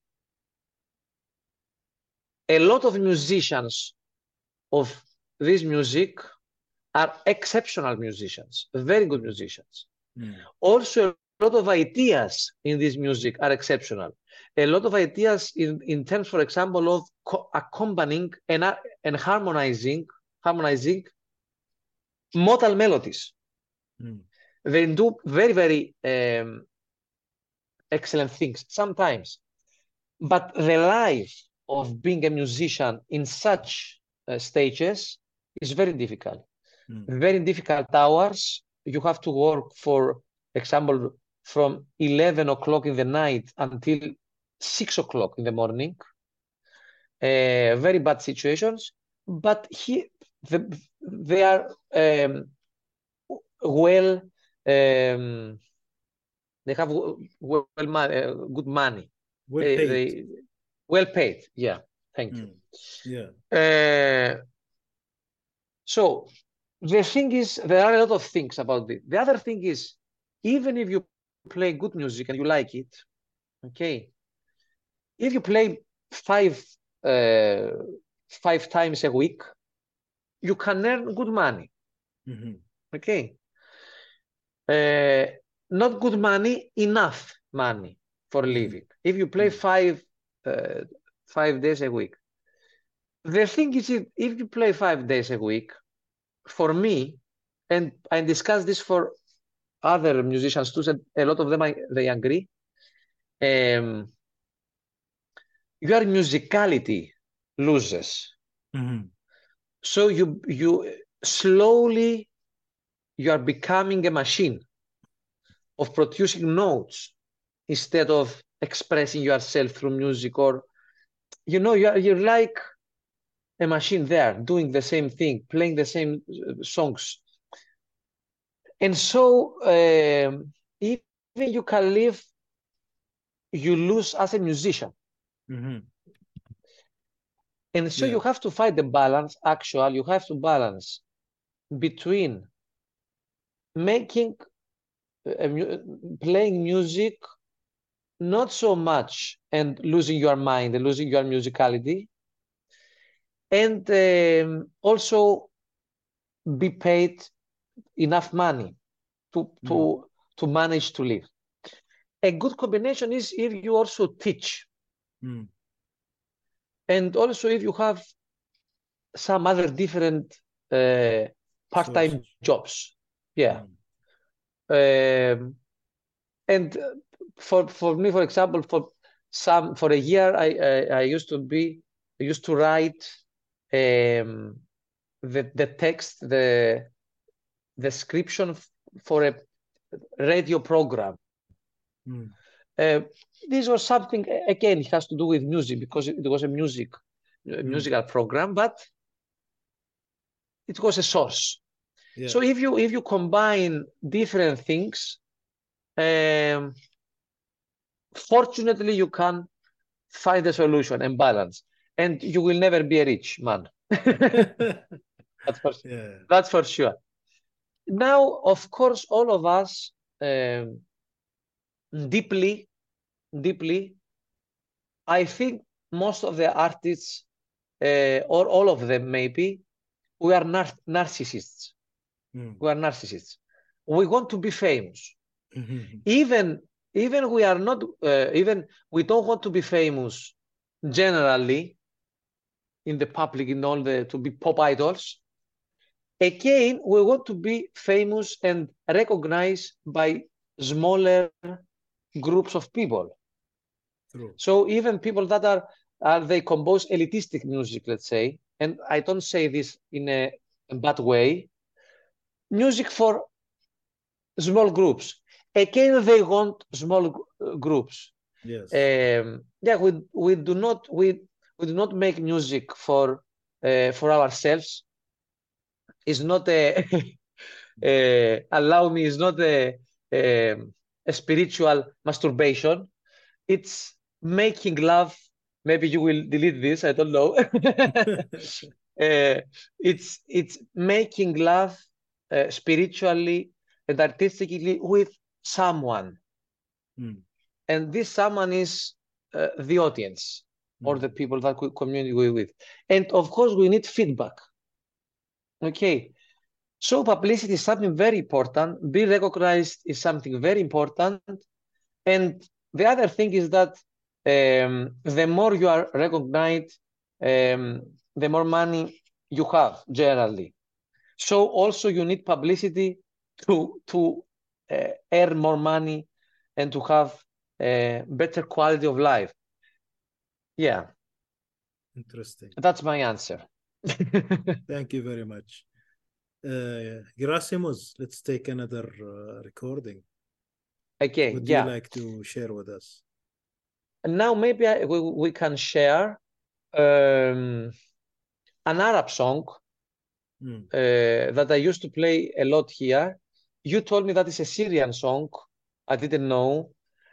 Speaker 2: a lot of musicians of this music are exceptional musicians, very good musicians.
Speaker 1: Mm.
Speaker 2: Also, a lot of ideas in this music are exceptional. A lot of ideas in, in terms, for example, of accompanying and, uh, and harmonizing, harmonizing modal melodies.
Speaker 1: Mm.
Speaker 2: They do very, very um, excellent things sometimes. But the life of being a musician in such uh, stages is very difficult. Mm. Very difficult hours. You have to work, for example, from eleven o'clock in the night until six o'clock in the morning. Uh, very bad situations, but he, the, they are um, well, um, they have well, well uh, good money.
Speaker 1: Well
Speaker 2: they,
Speaker 1: paid.
Speaker 2: They, well paid, yeah, thank
Speaker 1: mm.
Speaker 2: you.
Speaker 1: Yeah.
Speaker 2: Uh, so the thing is, there are a lot of things about it. The other thing is, even if you play good music and you like it, okay, if you play five uh, five times a week, you can earn good money.
Speaker 1: Mm-hmm.
Speaker 2: Okay. Uh, not good money, enough money for
Speaker 1: Mhm.
Speaker 2: living. If you play
Speaker 1: Mhm.
Speaker 2: five uh, five days a week, the thing is, if, if you play five days a week, for me, and I discuss this for other musicians too, and a lot of them I, they agree. Um, your musicality loses.
Speaker 1: Mhm.
Speaker 2: So you you slowly you are becoming a machine of producing notes instead of expressing yourself through music, or you know you're you're like a machine there doing the same thing, playing the same uh, songs. And so um, even you can live, you lose as a musician.
Speaker 1: Mhm.
Speaker 2: And so
Speaker 1: Yeah.
Speaker 2: you have to find the balance. Actually, you have to balance between making uh, mu- playing music not so much and losing your mind and losing your musicality, and um, also be paid enough money to
Speaker 1: Mhm.
Speaker 2: to to manage to live. A good combination is if you also teach,
Speaker 1: Mhm.
Speaker 2: and also if you have some other different uh, part-time
Speaker 1: Sources.
Speaker 2: jobs. Yeah.
Speaker 1: Mhm.
Speaker 2: Um, and uh, for for me, for example, for some for a year, I I, I used to be I used to write um, the the text, the description f- for a radio program.
Speaker 1: Mhm.
Speaker 2: Uh, this was something a- again, it has to do with music because it, it was a music a
Speaker 1: Mhm.
Speaker 2: musical program, but it was a source.
Speaker 1: Yeah.
Speaker 2: So if you if you combine different things, um, fortunately you can find a solution and balance, and you will never be a rich man. That's for
Speaker 1: Yeah.
Speaker 2: that's for sure. Now, of course, all of us um, deeply, deeply, I think most of the artists, uh, or all of them maybe, we are nar- narcissists.
Speaker 1: Mhm.
Speaker 2: We are narcissists. We want to be famous.
Speaker 1: Mhm.
Speaker 2: Even even we are not uh, even we don't want to be famous generally in the public, in all the to be pop idols. Again, we want to be famous and recognized by smaller groups of people.
Speaker 1: True.
Speaker 2: So even people that are, are they compose elitistic music, let's say, and I don't say this in a, a bad way, music for small groups. Again, they want small uh, groups.
Speaker 1: Yes.
Speaker 2: Um, yeah, we we do not we we do not make music for uh, for ourselves. It's not a uh, allow me. It's not a, a a spiritual masturbation. It's making love. Maybe you will delete this. I don't know. uh, it's it's making love uh, spiritually and artistically with someone,
Speaker 1: Mhm.
Speaker 2: and this someone is uh, the audience or the
Speaker 1: Mhm.
Speaker 2: people that we communicate with. And of course, we need feedback. Okay, so publicity is something very important. Being recognized is something very important. And the other thing is that um, the more you are recognized, um, the more money you have generally. So also you need publicity to to uh, earn more money and to have a better quality of life. Yeah,
Speaker 1: Interesting.
Speaker 2: that's my answer.
Speaker 1: Thank you very much. Uh, Gerasimos, let's take another uh, recording.
Speaker 2: Okay,
Speaker 1: Would you
Speaker 2: yeah.
Speaker 1: like to share with us?
Speaker 2: And now maybe I, we, we can share um, an Arab song
Speaker 1: Mm.
Speaker 2: uh, that I used to play a lot here. You told me that it's a Syrian song. I didn't know.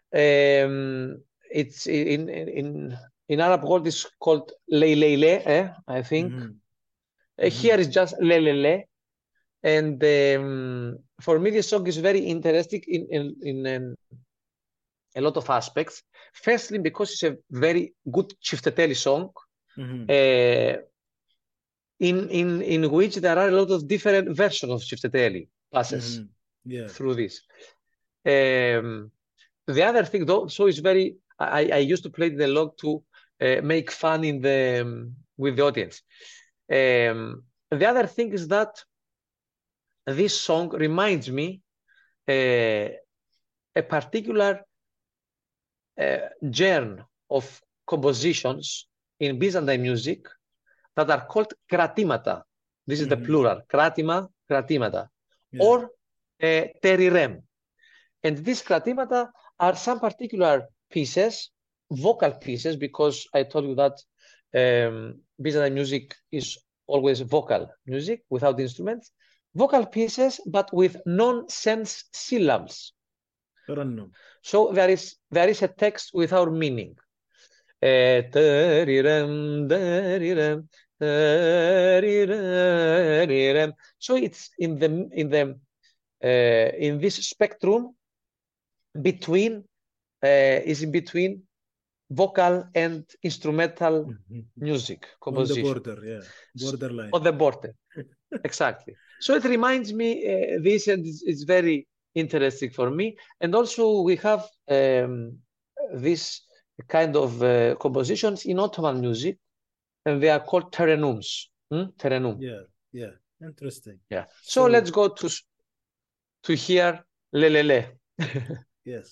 Speaker 2: Um, it's in in in Arab world it's called Leylele, eh, I think.
Speaker 1: Mhm.
Speaker 2: Uh,
Speaker 1: Mhm.
Speaker 2: Here is just Lelele. And um, for me, this song is very interesting in in in, in a lot of aspects. Firstly, because it's a very good Çifteteli song,
Speaker 1: Mhm.
Speaker 2: uh, in, in, in which there are a lot of different versions of Çifteteli passes
Speaker 1: Mhm. Yeah.
Speaker 2: through this. Um, the other thing, though, so it's very, I, I used to play the log to uh, make fun in the um, with the audience. Um, the other thing is that this song reminds me uh, a particular uh, genre of compositions in Byzantine music that are called kratimata. This is the
Speaker 1: Mhm.
Speaker 2: plural, kratima, kratimata,
Speaker 1: Yeah.
Speaker 2: or uh, terirem. And these kratimata are some particular pieces, vocal pieces, because I told you that um, Byzantine music is always vocal music without instruments. Vocal pieces, but with nonsense syllables.
Speaker 1: ترنم.
Speaker 2: So there is there is a text without meaning. Eh, terirem, terirem, terirem. So it's in the in the uh, in this spectrum between uh, is in between vocal and instrumental
Speaker 1: Mhm.
Speaker 2: music
Speaker 1: On the
Speaker 2: composition.
Speaker 1: border, yeah. Borderline.
Speaker 2: On the border. Exactly. So it reminds me uh, this, and it's, it's very interesting for me. And also we have um, this kind of uh, compositions in Ottoman music, and they are called terenums. Hmm? Terenum.
Speaker 1: Yeah, yeah. Interesting.
Speaker 2: Yeah. So,
Speaker 1: So-
Speaker 2: let's go to to hear Lelele.
Speaker 1: Yes.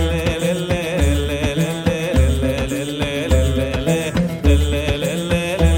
Speaker 3: Le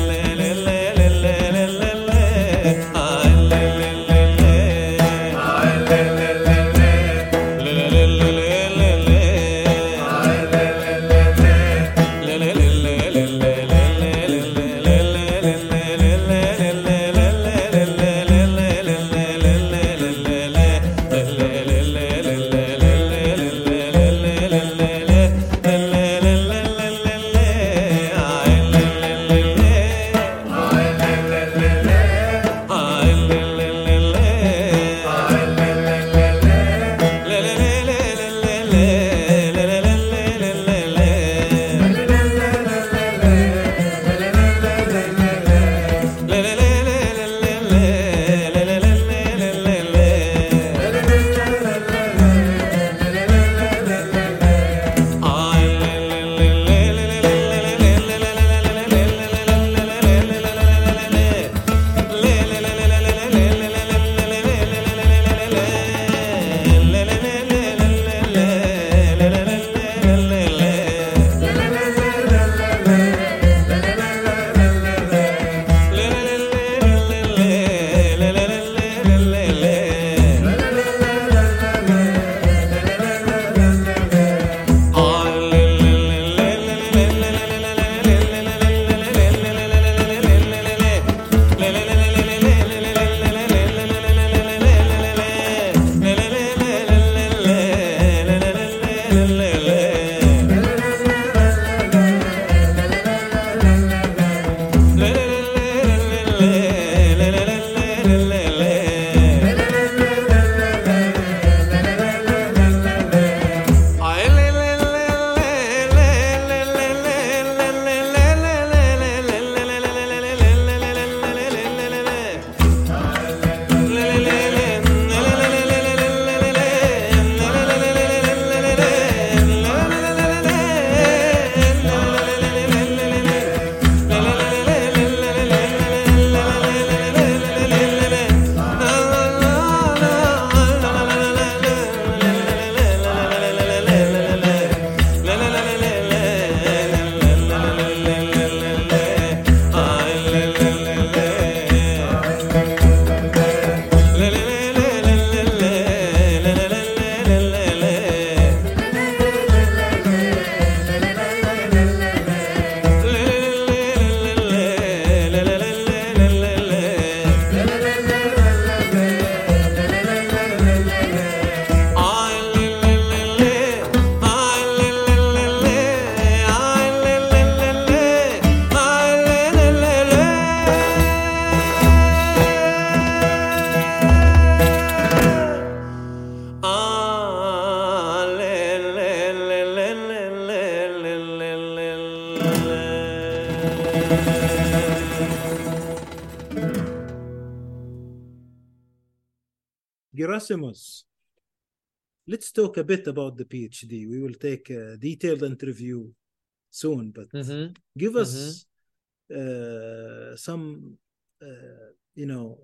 Speaker 1: Gerasimos, let's talk a bit about the PhD. We will take a detailed interview soon, but
Speaker 2: Mm-hmm.
Speaker 1: give
Speaker 2: Mm-hmm.
Speaker 1: us uh, some, uh, you know,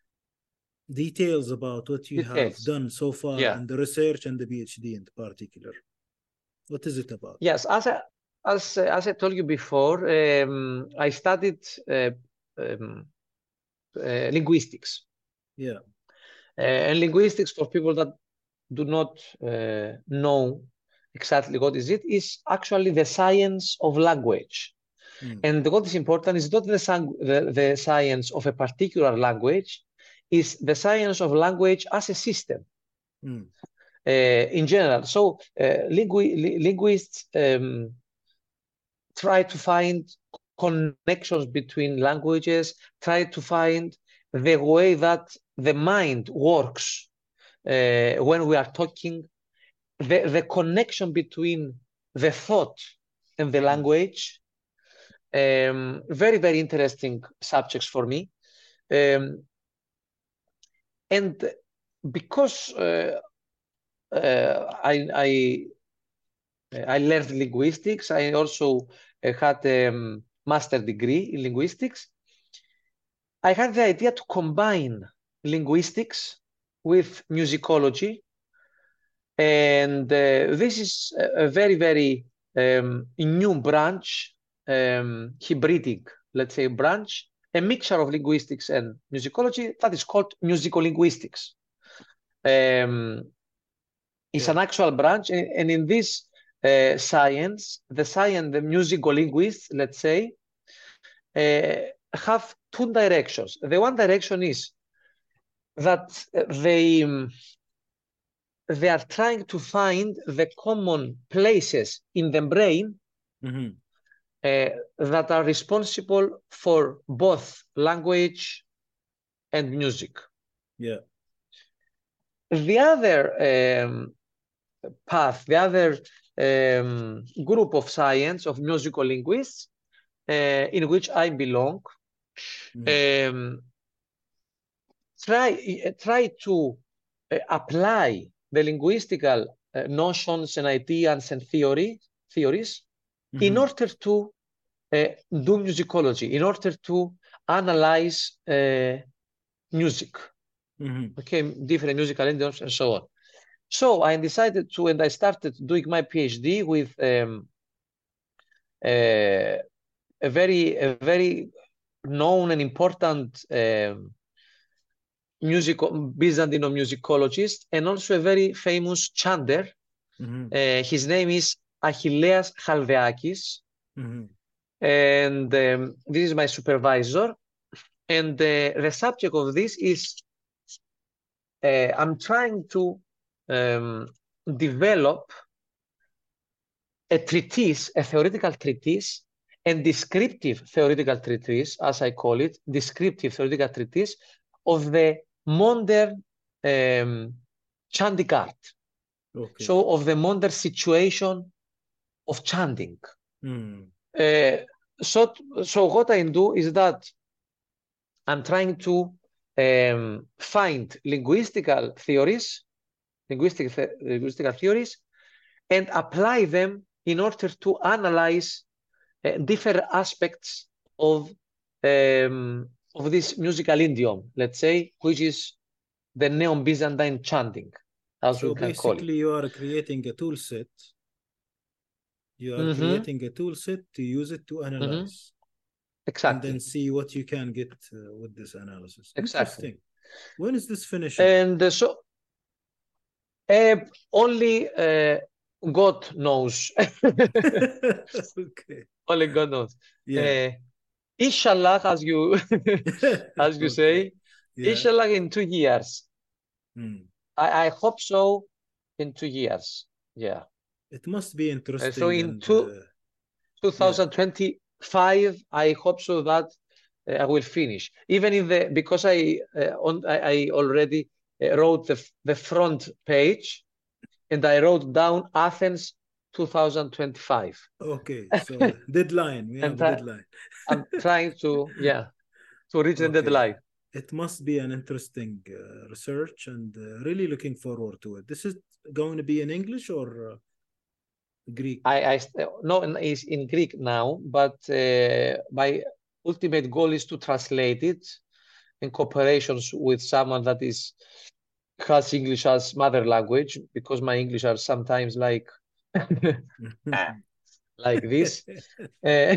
Speaker 1: details about what you have
Speaker 2: Details.
Speaker 1: done so far
Speaker 2: Yeah.
Speaker 1: in the research and the PhD in particular. What is it about?
Speaker 2: Yes, as I, as, uh, as I told you before, um, I studied uh, um, uh, linguistics.
Speaker 1: Yeah.
Speaker 2: Uh, and linguistics, for people that do not uh, know exactly what is it, is actually the science of language.
Speaker 1: Mm.
Speaker 2: And what is important is not the, sang- the, the science of a particular language, is the science of language as a system.
Speaker 1: Mm.
Speaker 2: Uh, in general. So uh, lingu li linguists um, try to find connections between languages, try to find the way that the mind works uh, when we are talking, the, the connection between the thought and the language. Um, very, very interesting subjects for me. Um, and because uh, uh, I, I I learned linguistics. I also uh, had a um, master degree in linguistics. I had the idea to combine linguistics with musicology. And uh, this is a, a very, very um, new branch, um, hybridic, let's say, branch, a mixture of linguistics and musicology that is called musicolinguistics. Um, it's
Speaker 1: Yeah.
Speaker 2: an actual branch, and, and in this Uh, science, the science, the musical linguists, let's say, uh, have two directions. The one direction is that they, um, they are trying to find the common places in the brain
Speaker 1: Mm-hmm.
Speaker 2: uh, that are responsible for both language and music.
Speaker 1: Yeah.
Speaker 2: The other um, path, the other um, group of science of musical linguists, uh, in which I belong,
Speaker 1: Mm-hmm.
Speaker 2: um, try, try to uh, apply the linguistical uh, notions and ideas and theory, theories
Speaker 1: Mm-hmm.
Speaker 2: in order to uh, do musicology, in order to analyze uh, music,
Speaker 1: Mm-hmm.
Speaker 2: okay, different musical idioms and so on. So I decided to, and I started doing my PhD with um, uh, a very, a very known and important um, music Byzantine musicologist, and also a very famous chanter.
Speaker 1: Mm-hmm.
Speaker 2: Uh, his name is Achilleas Chaldeakis,
Speaker 1: Mm-hmm.
Speaker 2: and um, this is my supervisor. And uh, the subject of this is uh, I'm trying to um, develop a treatise, a theoretical treatise, and descriptive theoretical treatise, as I call it, descriptive theoretical treatise of the modern um, chanting art.
Speaker 1: Okay.
Speaker 2: So of the modern situation of chanting.
Speaker 1: Mm.
Speaker 2: Uh, so, so what I do is that I'm trying to um, find linguistical theories, linguistic, th linguistical theories, and apply them in order to analyze uh, different aspects of um, of this musical idiom, let's say, which is the Neo-Byzantine chanting, as
Speaker 1: So
Speaker 2: we can call it.
Speaker 1: basically, you are creating a tool set. You are
Speaker 2: Mm-hmm.
Speaker 1: creating a tool set to use it to analyze.
Speaker 2: Mm-hmm. Exactly.
Speaker 1: And then see what you can get uh, with this analysis.
Speaker 2: Exactly.
Speaker 1: Interesting. When is this finishing?
Speaker 2: And uh, so uh, only uh, God knows.
Speaker 1: Okay.
Speaker 2: Only God knows.
Speaker 1: Yeah.
Speaker 2: Uh, Inshallah, as you as you
Speaker 1: Okay.
Speaker 2: say,
Speaker 1: Yeah.
Speaker 2: Inshallah in two years.
Speaker 1: Hmm.
Speaker 2: I, I hope so in two years. Yeah.
Speaker 1: It must be
Speaker 2: Uh,
Speaker 1: interesting.
Speaker 2: so in
Speaker 1: and,
Speaker 2: two,
Speaker 1: uh,
Speaker 2: twenty twenty-five, I hope so that uh, I will finish. Even in the because I uh, on I, I already uh, wrote the the front page, and I wrote down Athens twenty twenty-five.
Speaker 1: Okay, so deadline. We have
Speaker 2: And
Speaker 1: a
Speaker 2: I,
Speaker 1: deadline.
Speaker 2: I'm trying to yeah to reach the
Speaker 1: Okay.
Speaker 2: deadline.
Speaker 1: it must be an interesting uh, research, and uh, really looking forward to it. This is going to be in English or uh, Greek?
Speaker 2: I, I no, it's in Greek now, but uh, my ultimate goal is to translate it in cooperations with someone that is has English as mother language, because my English are sometimes like like this. Uh,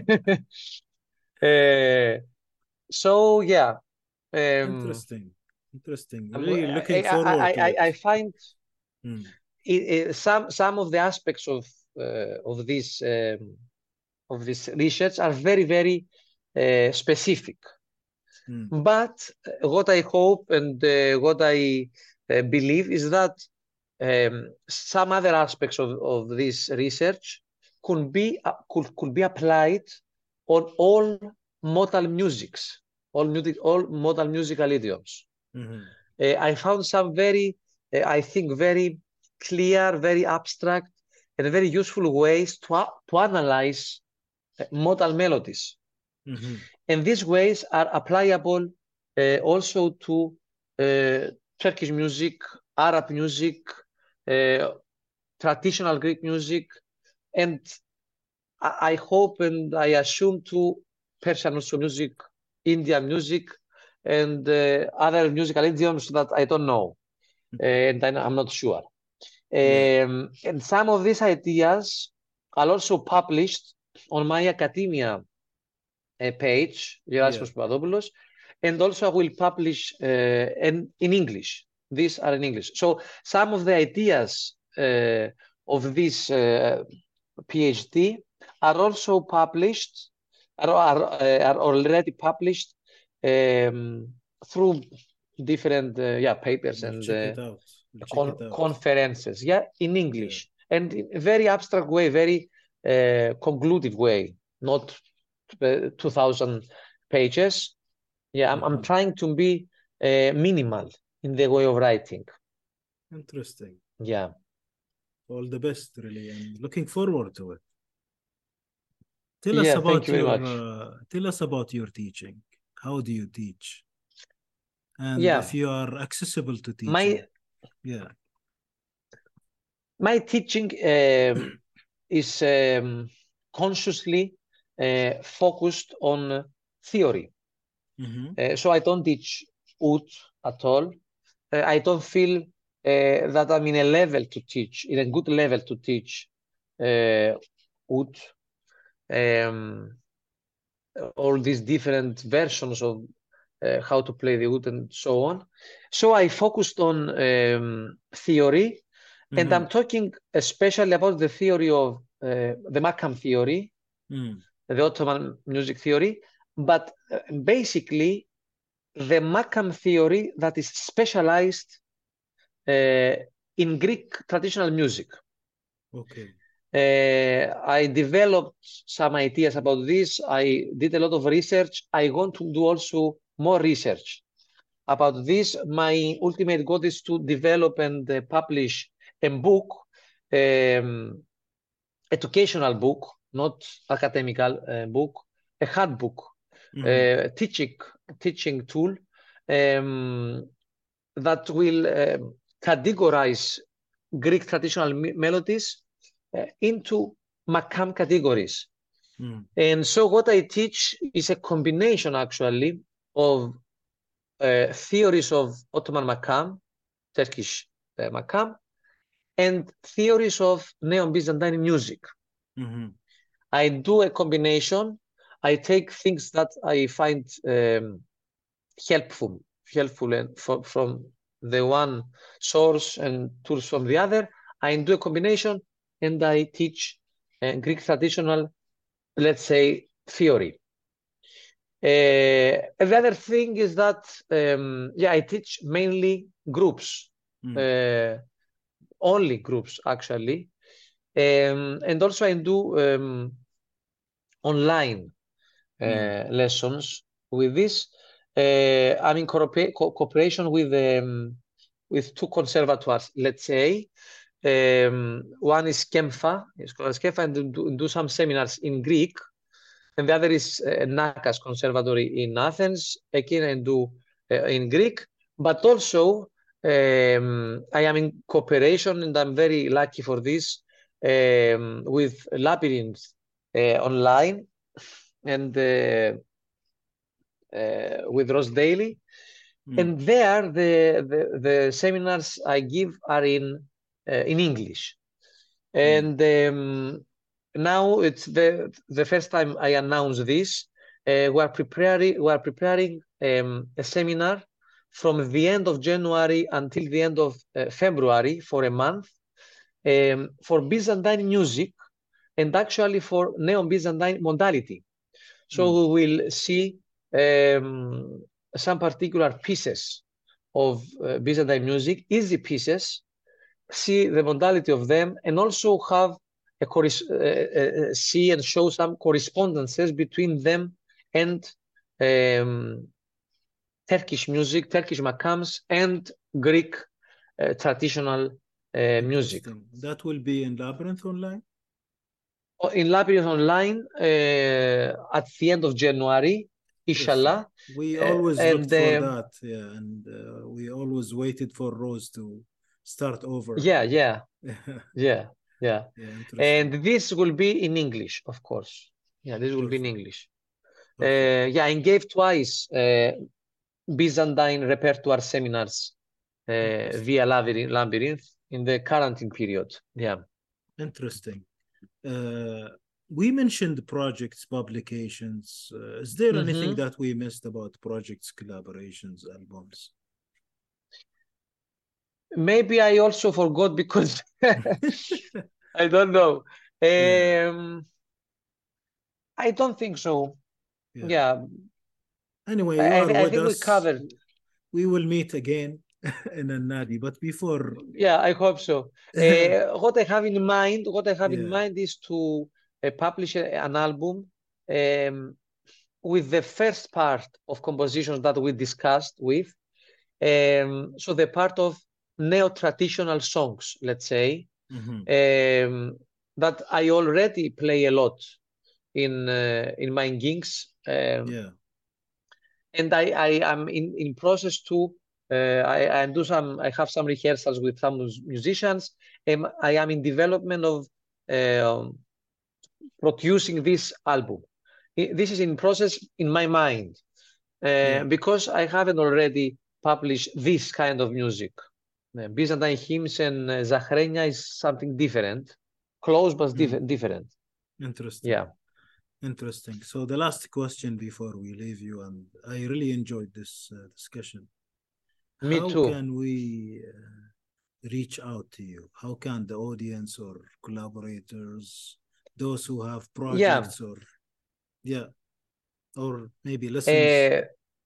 Speaker 2: uh, so yeah, um,
Speaker 1: Interesting, interesting.
Speaker 2: I'm-
Speaker 1: Really looking
Speaker 2: I,
Speaker 1: forward
Speaker 2: I,
Speaker 1: to
Speaker 2: I,
Speaker 1: it.
Speaker 2: I find
Speaker 1: Mm.
Speaker 2: it, it, some some of the aspects of uh, of this um, of this research are very very uh, specific.
Speaker 1: Mm.
Speaker 2: But uh, what I hope and uh, what I uh, believe is that um, some other aspects of, of this research could be uh, could, could be applied on all modal musics, all music, all modal musical idioms.
Speaker 1: Mm-hmm.
Speaker 2: Uh, I found some very, uh, I think, very clear, very abstract, and very useful ways to, to analyze uh, modal melodies.
Speaker 1: Mm-hmm.
Speaker 2: And these ways are applicable uh, also to uh, Turkish music, Arab music, uh, traditional Greek music, and I, I hope and I assume to Persian also music, Indian music, and uh, other musical idioms that I don't know, and I, I'm not sure.
Speaker 1: Yeah.
Speaker 2: Um, and some of these ideas are also published on my academia uh, page, Gerasimos Papadopoulos, and also I will publish uh, in, in English. These are in English. So some of the ideas uh, of this uh, PhD are also published, are, are, uh, are already published um, through different uh, yeah papers
Speaker 1: We'll
Speaker 2: and
Speaker 1: check
Speaker 2: uh,
Speaker 1: it out. We'll check
Speaker 2: con
Speaker 1: it out.
Speaker 2: conferences, yeah, in English, and in a very abstract way, very uh, conclusive way, not uh, two thousand pages. Yeah, I'm, I'm trying to be uh, minimal in the way of writing.
Speaker 1: Interesting.
Speaker 2: Yeah.
Speaker 1: All the best, really, and looking forward to it. Tell us
Speaker 2: Yeah,
Speaker 1: about
Speaker 2: thank you very
Speaker 1: your
Speaker 2: much.
Speaker 1: uh, tell us about your teaching. How do you teach? And
Speaker 2: Yeah.
Speaker 1: if you are accessible to teaching.
Speaker 2: My
Speaker 1: yeah.
Speaker 2: My teaching um, is um, consciously uh, focused on theory.
Speaker 1: Mm-hmm.
Speaker 2: Uh, so I don't teach oud at all. Uh, I don't feel uh, that I'm in a level to teach, in a good level to teach uh, oud, um, all these different versions of uh, how to play the oud and so on. So I focused on um, theory, mm-hmm. and I'm talking especially about the theory of uh, the Makam theory, mm. the Ottoman music theory, but uh, basically the Makam theory that is specialized uh, in Greek traditional music.
Speaker 1: Okay.
Speaker 2: Uh, I developed some ideas about this. I did a lot of research. I want to do also more research about this. My ultimate goal is to develop and uh, publish a book, um, educational book, not academical uh, book, a handbook, mm-hmm. uh, teaching teaching tool um, that will uh, categorize Greek traditional melodies uh, into Makam categories. Mm. And so what I teach is a combination actually of uh, theories of Ottoman Makam, Turkish uh, Makam, and theories of Neo-Byzantine music. Mm-hmm. I do a combination. I take things that I find um, helpful, helpful and for, from the one source and tools from the other. I do a combination and I teach uh, Greek traditional, let's say, theory. Uh, the other thing is that, um, yeah, I teach mainly groups, mm. uh, only groups actually. Um, and also I do um, online uh, mm. lessons with this. Uh, I'm in co cooperation with um, with two conservatoires, let's say. Um, one is Kempha, it's called Kempha, and do, do some seminars in Greek. And the other is uh, Nakas Conservatory in Athens. Again, I do uh, in Greek, but also um, I am in cooperation, and I'm very lucky for this, um, with Labyrinth uh, online, and uh, uh, with Ross Daly.
Speaker 1: Mm.
Speaker 2: And there, the, the, the seminars I give are in uh, in English. And um, now it's the the first time I announce this. Uh, we are preparing we are preparing um, a seminar from the end of January until the end of uh, February for a month, um, for Byzantine music, and actually for Neo-Byzantine modality. So
Speaker 1: Mm.
Speaker 2: we will see um, some particular pieces of uh, Byzantine music, easy pieces, see the modality of them, and also have a corres- uh, uh, see and show some correspondences between them and um, Turkish music, Turkish makams, and Greek uh, traditional uh, music.
Speaker 1: Interesting. That will be in Labyrinth online?
Speaker 2: In Labyrinth online uh, at the end of January, inshallah.
Speaker 1: We
Speaker 2: Uh,
Speaker 1: always
Speaker 2: and
Speaker 1: looked for
Speaker 2: um,
Speaker 1: that, yeah, and uh, we always waited for Rose to start over.
Speaker 2: yeah, yeah, yeah, yeah.
Speaker 1: Yeah, interesting.
Speaker 2: And this will be in English, of course. Yeah, this will be in
Speaker 1: Perfect.
Speaker 2: English. Uh,
Speaker 1: Perfect.
Speaker 2: yeah, and gave twice uh, Byzantine repertoire seminars uh,
Speaker 1: Interesting.
Speaker 2: via Labyrinth, Labyrinth in the quarantine period. Yeah.
Speaker 1: Interesting. Uh, we mentioned projects, publications. Uh, is there anything
Speaker 2: Mhm.
Speaker 1: that we missed about projects, collaborations, albums?
Speaker 2: Maybe I also forgot because I don't know.
Speaker 1: Yeah.
Speaker 2: Um, I don't think so.
Speaker 1: Yeah.
Speaker 2: Yeah,
Speaker 1: Anyway,
Speaker 2: I,
Speaker 1: you
Speaker 2: I,
Speaker 1: are
Speaker 2: thi- I
Speaker 1: with
Speaker 2: think we
Speaker 1: us.
Speaker 2: covered.
Speaker 1: We will meet again in a Nadi. But before,
Speaker 2: Yeah, I hope so. Uh, what I have in mind, what I have in
Speaker 1: yeah.
Speaker 2: mind is to uh, publish a- an album um, with the first part of compositions that we discussed with. Um, so the part of neo-traditional songs, let's say,
Speaker 1: Mhm.
Speaker 2: um, that I already play a lot in uh, in my gigs. Um,
Speaker 1: Yeah.
Speaker 2: and I, I am in, in process to uh, I, I do some I have some rehearsals with some mus- musicians, and I am in development of um, producing this album. I- This is in process in my mind uh,
Speaker 1: Yeah.
Speaker 2: because I haven't already published this kind of music. Uh, Byzantine hymns and uh, Zachrenia is something different, close but
Speaker 1: Mm.
Speaker 2: diff- different.
Speaker 1: Interesting.
Speaker 2: Yeah.
Speaker 1: Interesting. So the last question before we leave you, and I really enjoyed this uh, discussion.
Speaker 2: Me
Speaker 1: How
Speaker 2: too.
Speaker 1: can we uh, reach out to you? How can the audience or collaborators, those who have
Speaker 2: Yeah.
Speaker 1: projects or yeah, or maybe listeners?
Speaker 2: Uh,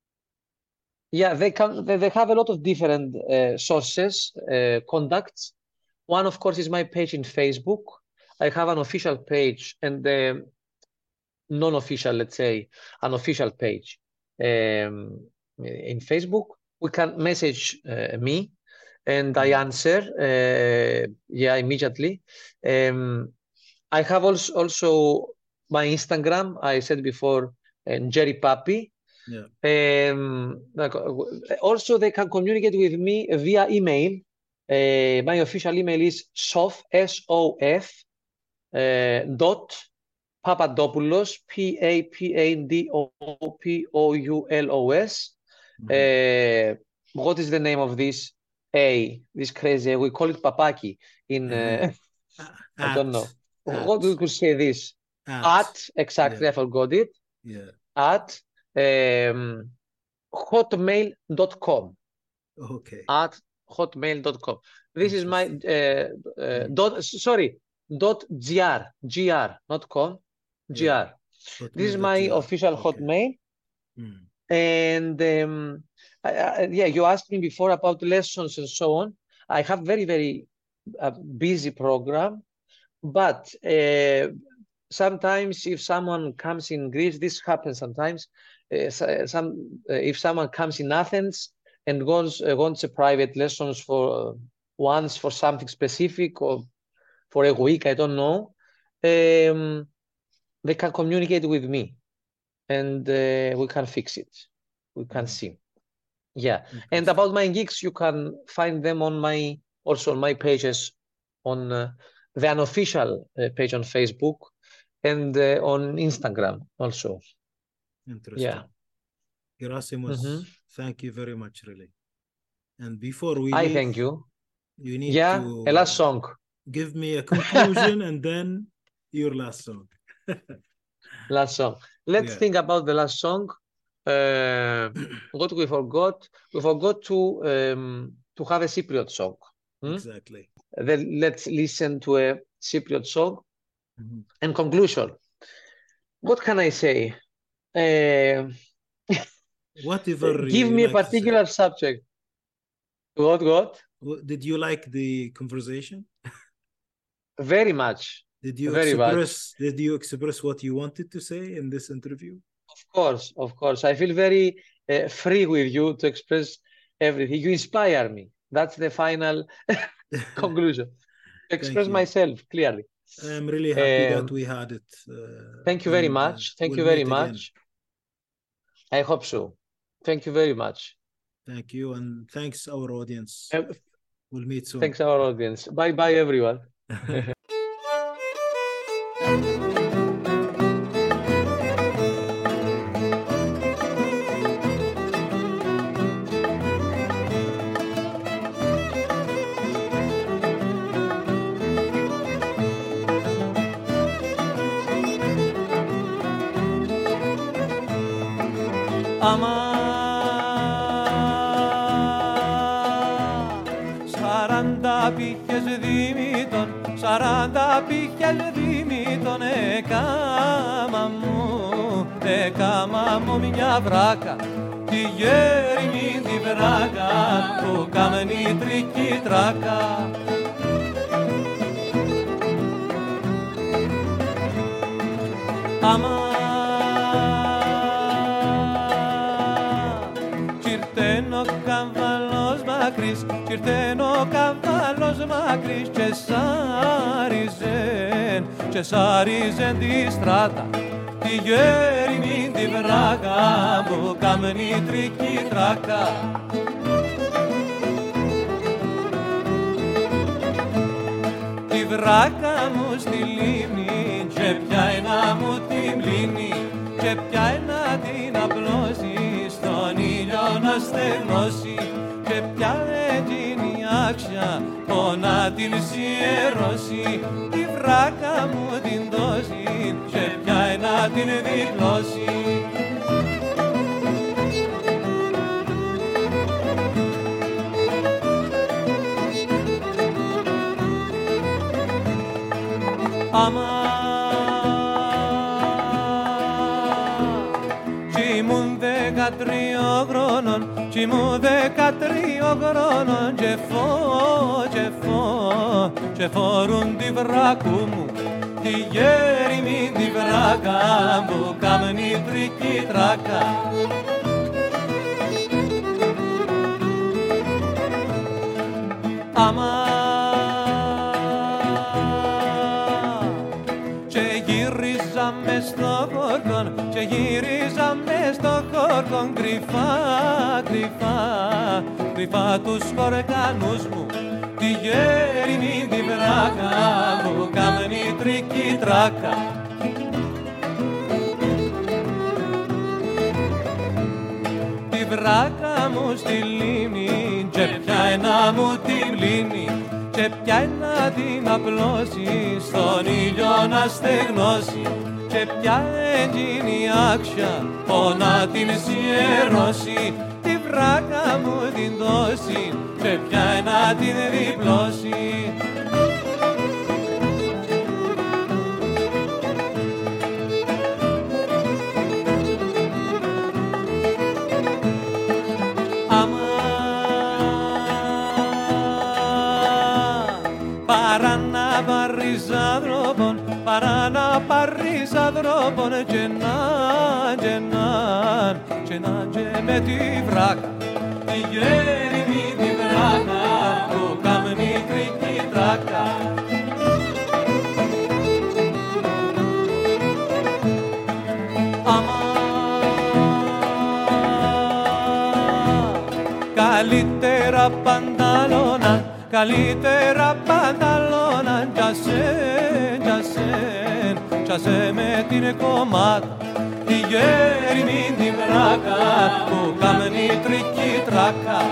Speaker 2: Yeah, they can. They, they have a lot of different uh, sources, uh, contacts. One, of course, is my page in Facebook. I have an official page and the non-official, let's say, an official page um, in Facebook. We can message uh, me, and I
Speaker 1: Yeah.
Speaker 2: answer. Uh, yeah, immediately. Um, I have also also my Instagram. I said before, uh, Jerry Papi.
Speaker 1: Yeah.
Speaker 2: Um, like, uh, also, they can communicate with me via email. Uh, my official email is sof, S O F, uh, dot Papadopoulos, P A P A D O P O U L O S.
Speaker 1: Mhm.
Speaker 2: Uh, what is the name of this A? This crazy, we call it Papaki in, uh, I don't
Speaker 1: At,
Speaker 2: know. What we
Speaker 1: at,
Speaker 2: could say this?
Speaker 1: at,
Speaker 2: At, exactly,
Speaker 1: yeah,
Speaker 2: I forgot it.
Speaker 1: yeah.
Speaker 2: At um, hotmail dot com.
Speaker 1: Okay.
Speaker 2: At hotmail dot com. This is my
Speaker 1: Interesting.
Speaker 2: uh, uh,
Speaker 1: Mm.
Speaker 2: dot, sorry, dot gr, gr, not com,
Speaker 1: Yeah.
Speaker 2: gr. This is my
Speaker 1: Hotmail.gr.
Speaker 2: official
Speaker 1: Okay.
Speaker 2: Hotmail.
Speaker 1: Mm.
Speaker 2: And um, I, I, yeah, you asked me before about lessons and so on. I have very, very uh, busy program, but uh, sometimes if someone comes in Greece, this happens sometimes. Uh, so- some uh, if someone comes in Athens and wants uh, wants a private lessons for uh, once for something specific or for a week, I don't know. Um, they can communicate with me, and uh, we can fix it. We can
Speaker 1: Mm.
Speaker 2: see. Yeah. And about my gigs, you can find them on my, also on my pages on uh, the unofficial uh, page on Facebook and uh, on Instagram also.
Speaker 1: Interesting.
Speaker 2: Yeah.
Speaker 1: Gerasimos,
Speaker 2: Mhm.
Speaker 1: thank you very much, really. And before we
Speaker 2: I
Speaker 1: leave,
Speaker 2: thank you.
Speaker 1: you need
Speaker 2: Yeah,
Speaker 1: to
Speaker 2: a last song.
Speaker 1: give me a conclusion and then your last song.
Speaker 2: Last song. Let's
Speaker 1: Yeah.
Speaker 2: think about the last song. Uh, what we forgot. We forgot to um, to have a Cypriot song. Hmm?
Speaker 1: Exactly.
Speaker 2: Then let's listen to a Cypriot song.
Speaker 1: Mhm.
Speaker 2: And conclusion. What can I say? Uh,
Speaker 1: Whatever
Speaker 2: give
Speaker 1: you
Speaker 2: me a
Speaker 1: like to say.
Speaker 2: particular subject. What, what?
Speaker 1: Wh- Did you like the conversation?
Speaker 2: Very much.
Speaker 1: Did you
Speaker 2: Very much.
Speaker 1: express did you express what you wanted to say in this interview?
Speaker 2: Of course, of course. I feel very uh, free with you to express everything. You inspire me. That's the final conclusion. To express
Speaker 1: you.
Speaker 2: myself clearly.
Speaker 1: I'm really happy
Speaker 2: Um,
Speaker 1: that we had it. Uh,
Speaker 2: Thank you very
Speaker 1: and, uh,
Speaker 2: much. Thank
Speaker 1: we'll
Speaker 2: you very
Speaker 1: meet again.
Speaker 2: much. I hope so. Thank you very much.
Speaker 1: Thank you, and thanks our audience.
Speaker 2: Uh,
Speaker 1: We'll meet soon.
Speaker 2: Thanks our audience. Bye bye everyone.
Speaker 3: Αμά σαράντα πύχες δίμητον, σαράντα πύχες δίμητον, έκαμα μου, έκαμα μου μια βράκα, τη γέριμη τη βράκα που κάμνει τρική τράκα. Αμά ο καβάλος μακρύς, κι ήρθεν ο καβάλος μακρύς και σάριζεν, και σάριζεν τη στράτα, τη γέριμη τη βράκα που κάμνει τρική τράκα. Τη βράκα μου στη λίμνη και πιάει να μου την πλύνει και πιάει να την απλώσει στον ήλιο να στεγνώσει και πια εκείνη άξια να την σιερώσει τη βράκα μου την δώσει και πια να την διπλώσει. Αμά δεκατρία χρόνων, κι ήμουν δεκατρία χρόνων και φω, και φω, και φορούν τη βράκου μου τη γέριμη τη βράκα που κάμνει τρική τράκα. Αμά και γύριζαμε στο χορκόν και γύριζαμε στο χορκόν κρυφά, κρυφά, κρυφά τους χορκανούς μου τη γέριμη τη βράκα που κάμνει τρική τράκα. Τη βράκα μου στη λίμνη και πιάει να μου την πλύνει και πιάει να την απλώσει στον ήλιο να στεγνώσει και πια εκείνη άξια να την σιερώσει τη βράκα μου την δώσει και πια να την διπλώσει. Παρά να πάρεις άνθρωπον, παρά να πάρεις ανθρώπων και να, και να, και να, και με τη βράκα, τη γέριμη τη βράκα που κάμνει τρική τράκα. Αμά καλύτερα πανταλώνα, καλύτερα πανταλώνα, τζασέν, τζασέν, τζασέ με την κομμάτα, τη γέριμη την βράκα, που κάμνει τρική τράκα.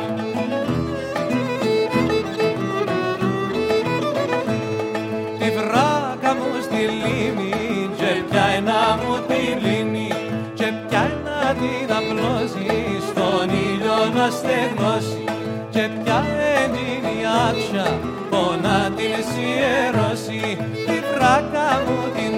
Speaker 3: Τη βράκα μου στη λίμνη, και πια ένα μου τη λύνει, και πια ένα την απλώσει, στον ήλιο να στεγνώσει, και πια έντυνη άξια, πόνα την σιερώσει, τη βράκα μου την